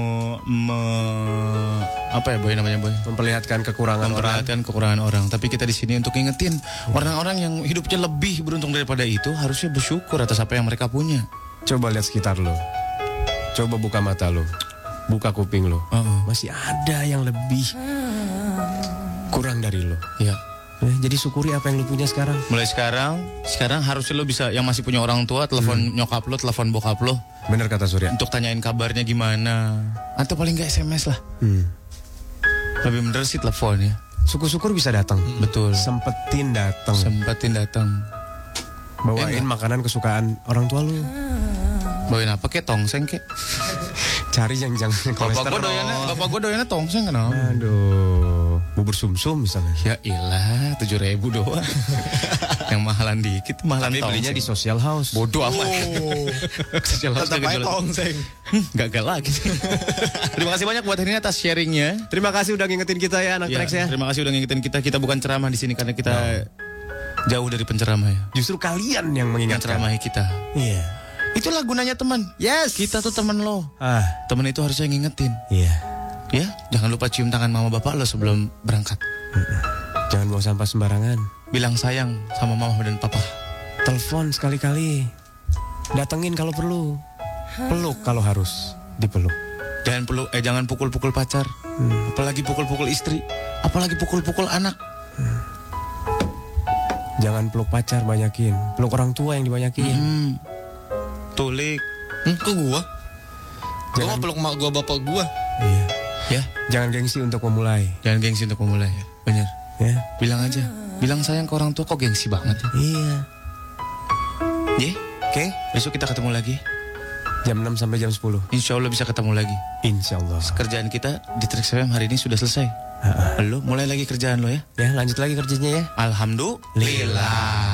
apa ya boy namanya boy? Memperlihatkan kekurangan orang. Memperhatikan kekurangan orang. Tapi kita di sini untuk ngingetin orang-orang yang hidupnya lebih beruntung daripada itu harusnya bersyukur atas apa yang mereka punya. Coba lihat sekitar lo. Coba buka mata lo. Buka kuping lo. Masih ada yang lebih kurang dari lo. Ya. Ya, jadi syukuri apa yang lo punya sekarang. Mulai sekarang harusnya lo bisa yang masih punya orang tua telepon nyokap lo, telepon bokap lo Bener kata Surya. untuk tanyain kabarnya gimana. Atau paling nggak SMS lah. Lebih bener sih telepon ya. Syukur-syukur bisa datang. Betul. Sempetin datang. Sempatin datang. Bawain makanan kesukaan orang tua lo. Bawain apa kek? Tongseng kek? Cari yang jangan kolesterol. Bapak gue doyannya tongseng kenapa? Aduh, bubur sum-sum misalnya. Ya ilah 7.000 doang. Yang mahalan dikit, mahalan Tapi tongseng. belinya di social house. Bodoh amat. Social house tetap kagak aja jualan. tongseng. Gagal lagi. Terima kasih banyak buat ini atas sharingnya. Terima kasih udah ngingetin kita ya anak Ya, Trax ya. terima kasih udah ngingetin kita. Kita bukan ceramah di sini karena kita jauh dari penceramah ya. Justru kalian yang Yang mengingatkan. ceramahi kita. Iya. Itulah gunanya teman. Yes. Kita tuh teman lo. Teman itu harusnya ngingetin. Iya. Ya, jangan lupa cium tangan mama bapak lo sebelum berangkat. Jangan buang sampah sembarangan. Bilang sayang sama mama dan papa. Telepon sekali-kali. Datengin kalau perlu. Peluk kalau harus dipeluk. Jangan pukul-pukul pacar. Apalagi pukul-pukul istri. Apalagi pukul-pukul anak. Jangan peluk pacar banyakin. Peluk orang tua yang dibanyakin. Tulik. Ke gua? Gua mau peluk mak gua, bapak gua. Iya. Ya, Jangan gengsi untuk memulai. jangan gengsi untuk memulai ya. Bener. Ya. Bilang aja. Bilang sayang ke orang tua kok gengsi banget. Iya. Ye, Oke. besok kita ketemu lagi. Jam 6 sampai jam 10. Insya Allah bisa ketemu lagi. Insya Allah. Kerjaan kita di Trax FM hari ini sudah selesai. Lo mulai lagi kerjaan lo ya. Ya lanjut lagi kerjanya ya. Alhamdulillah.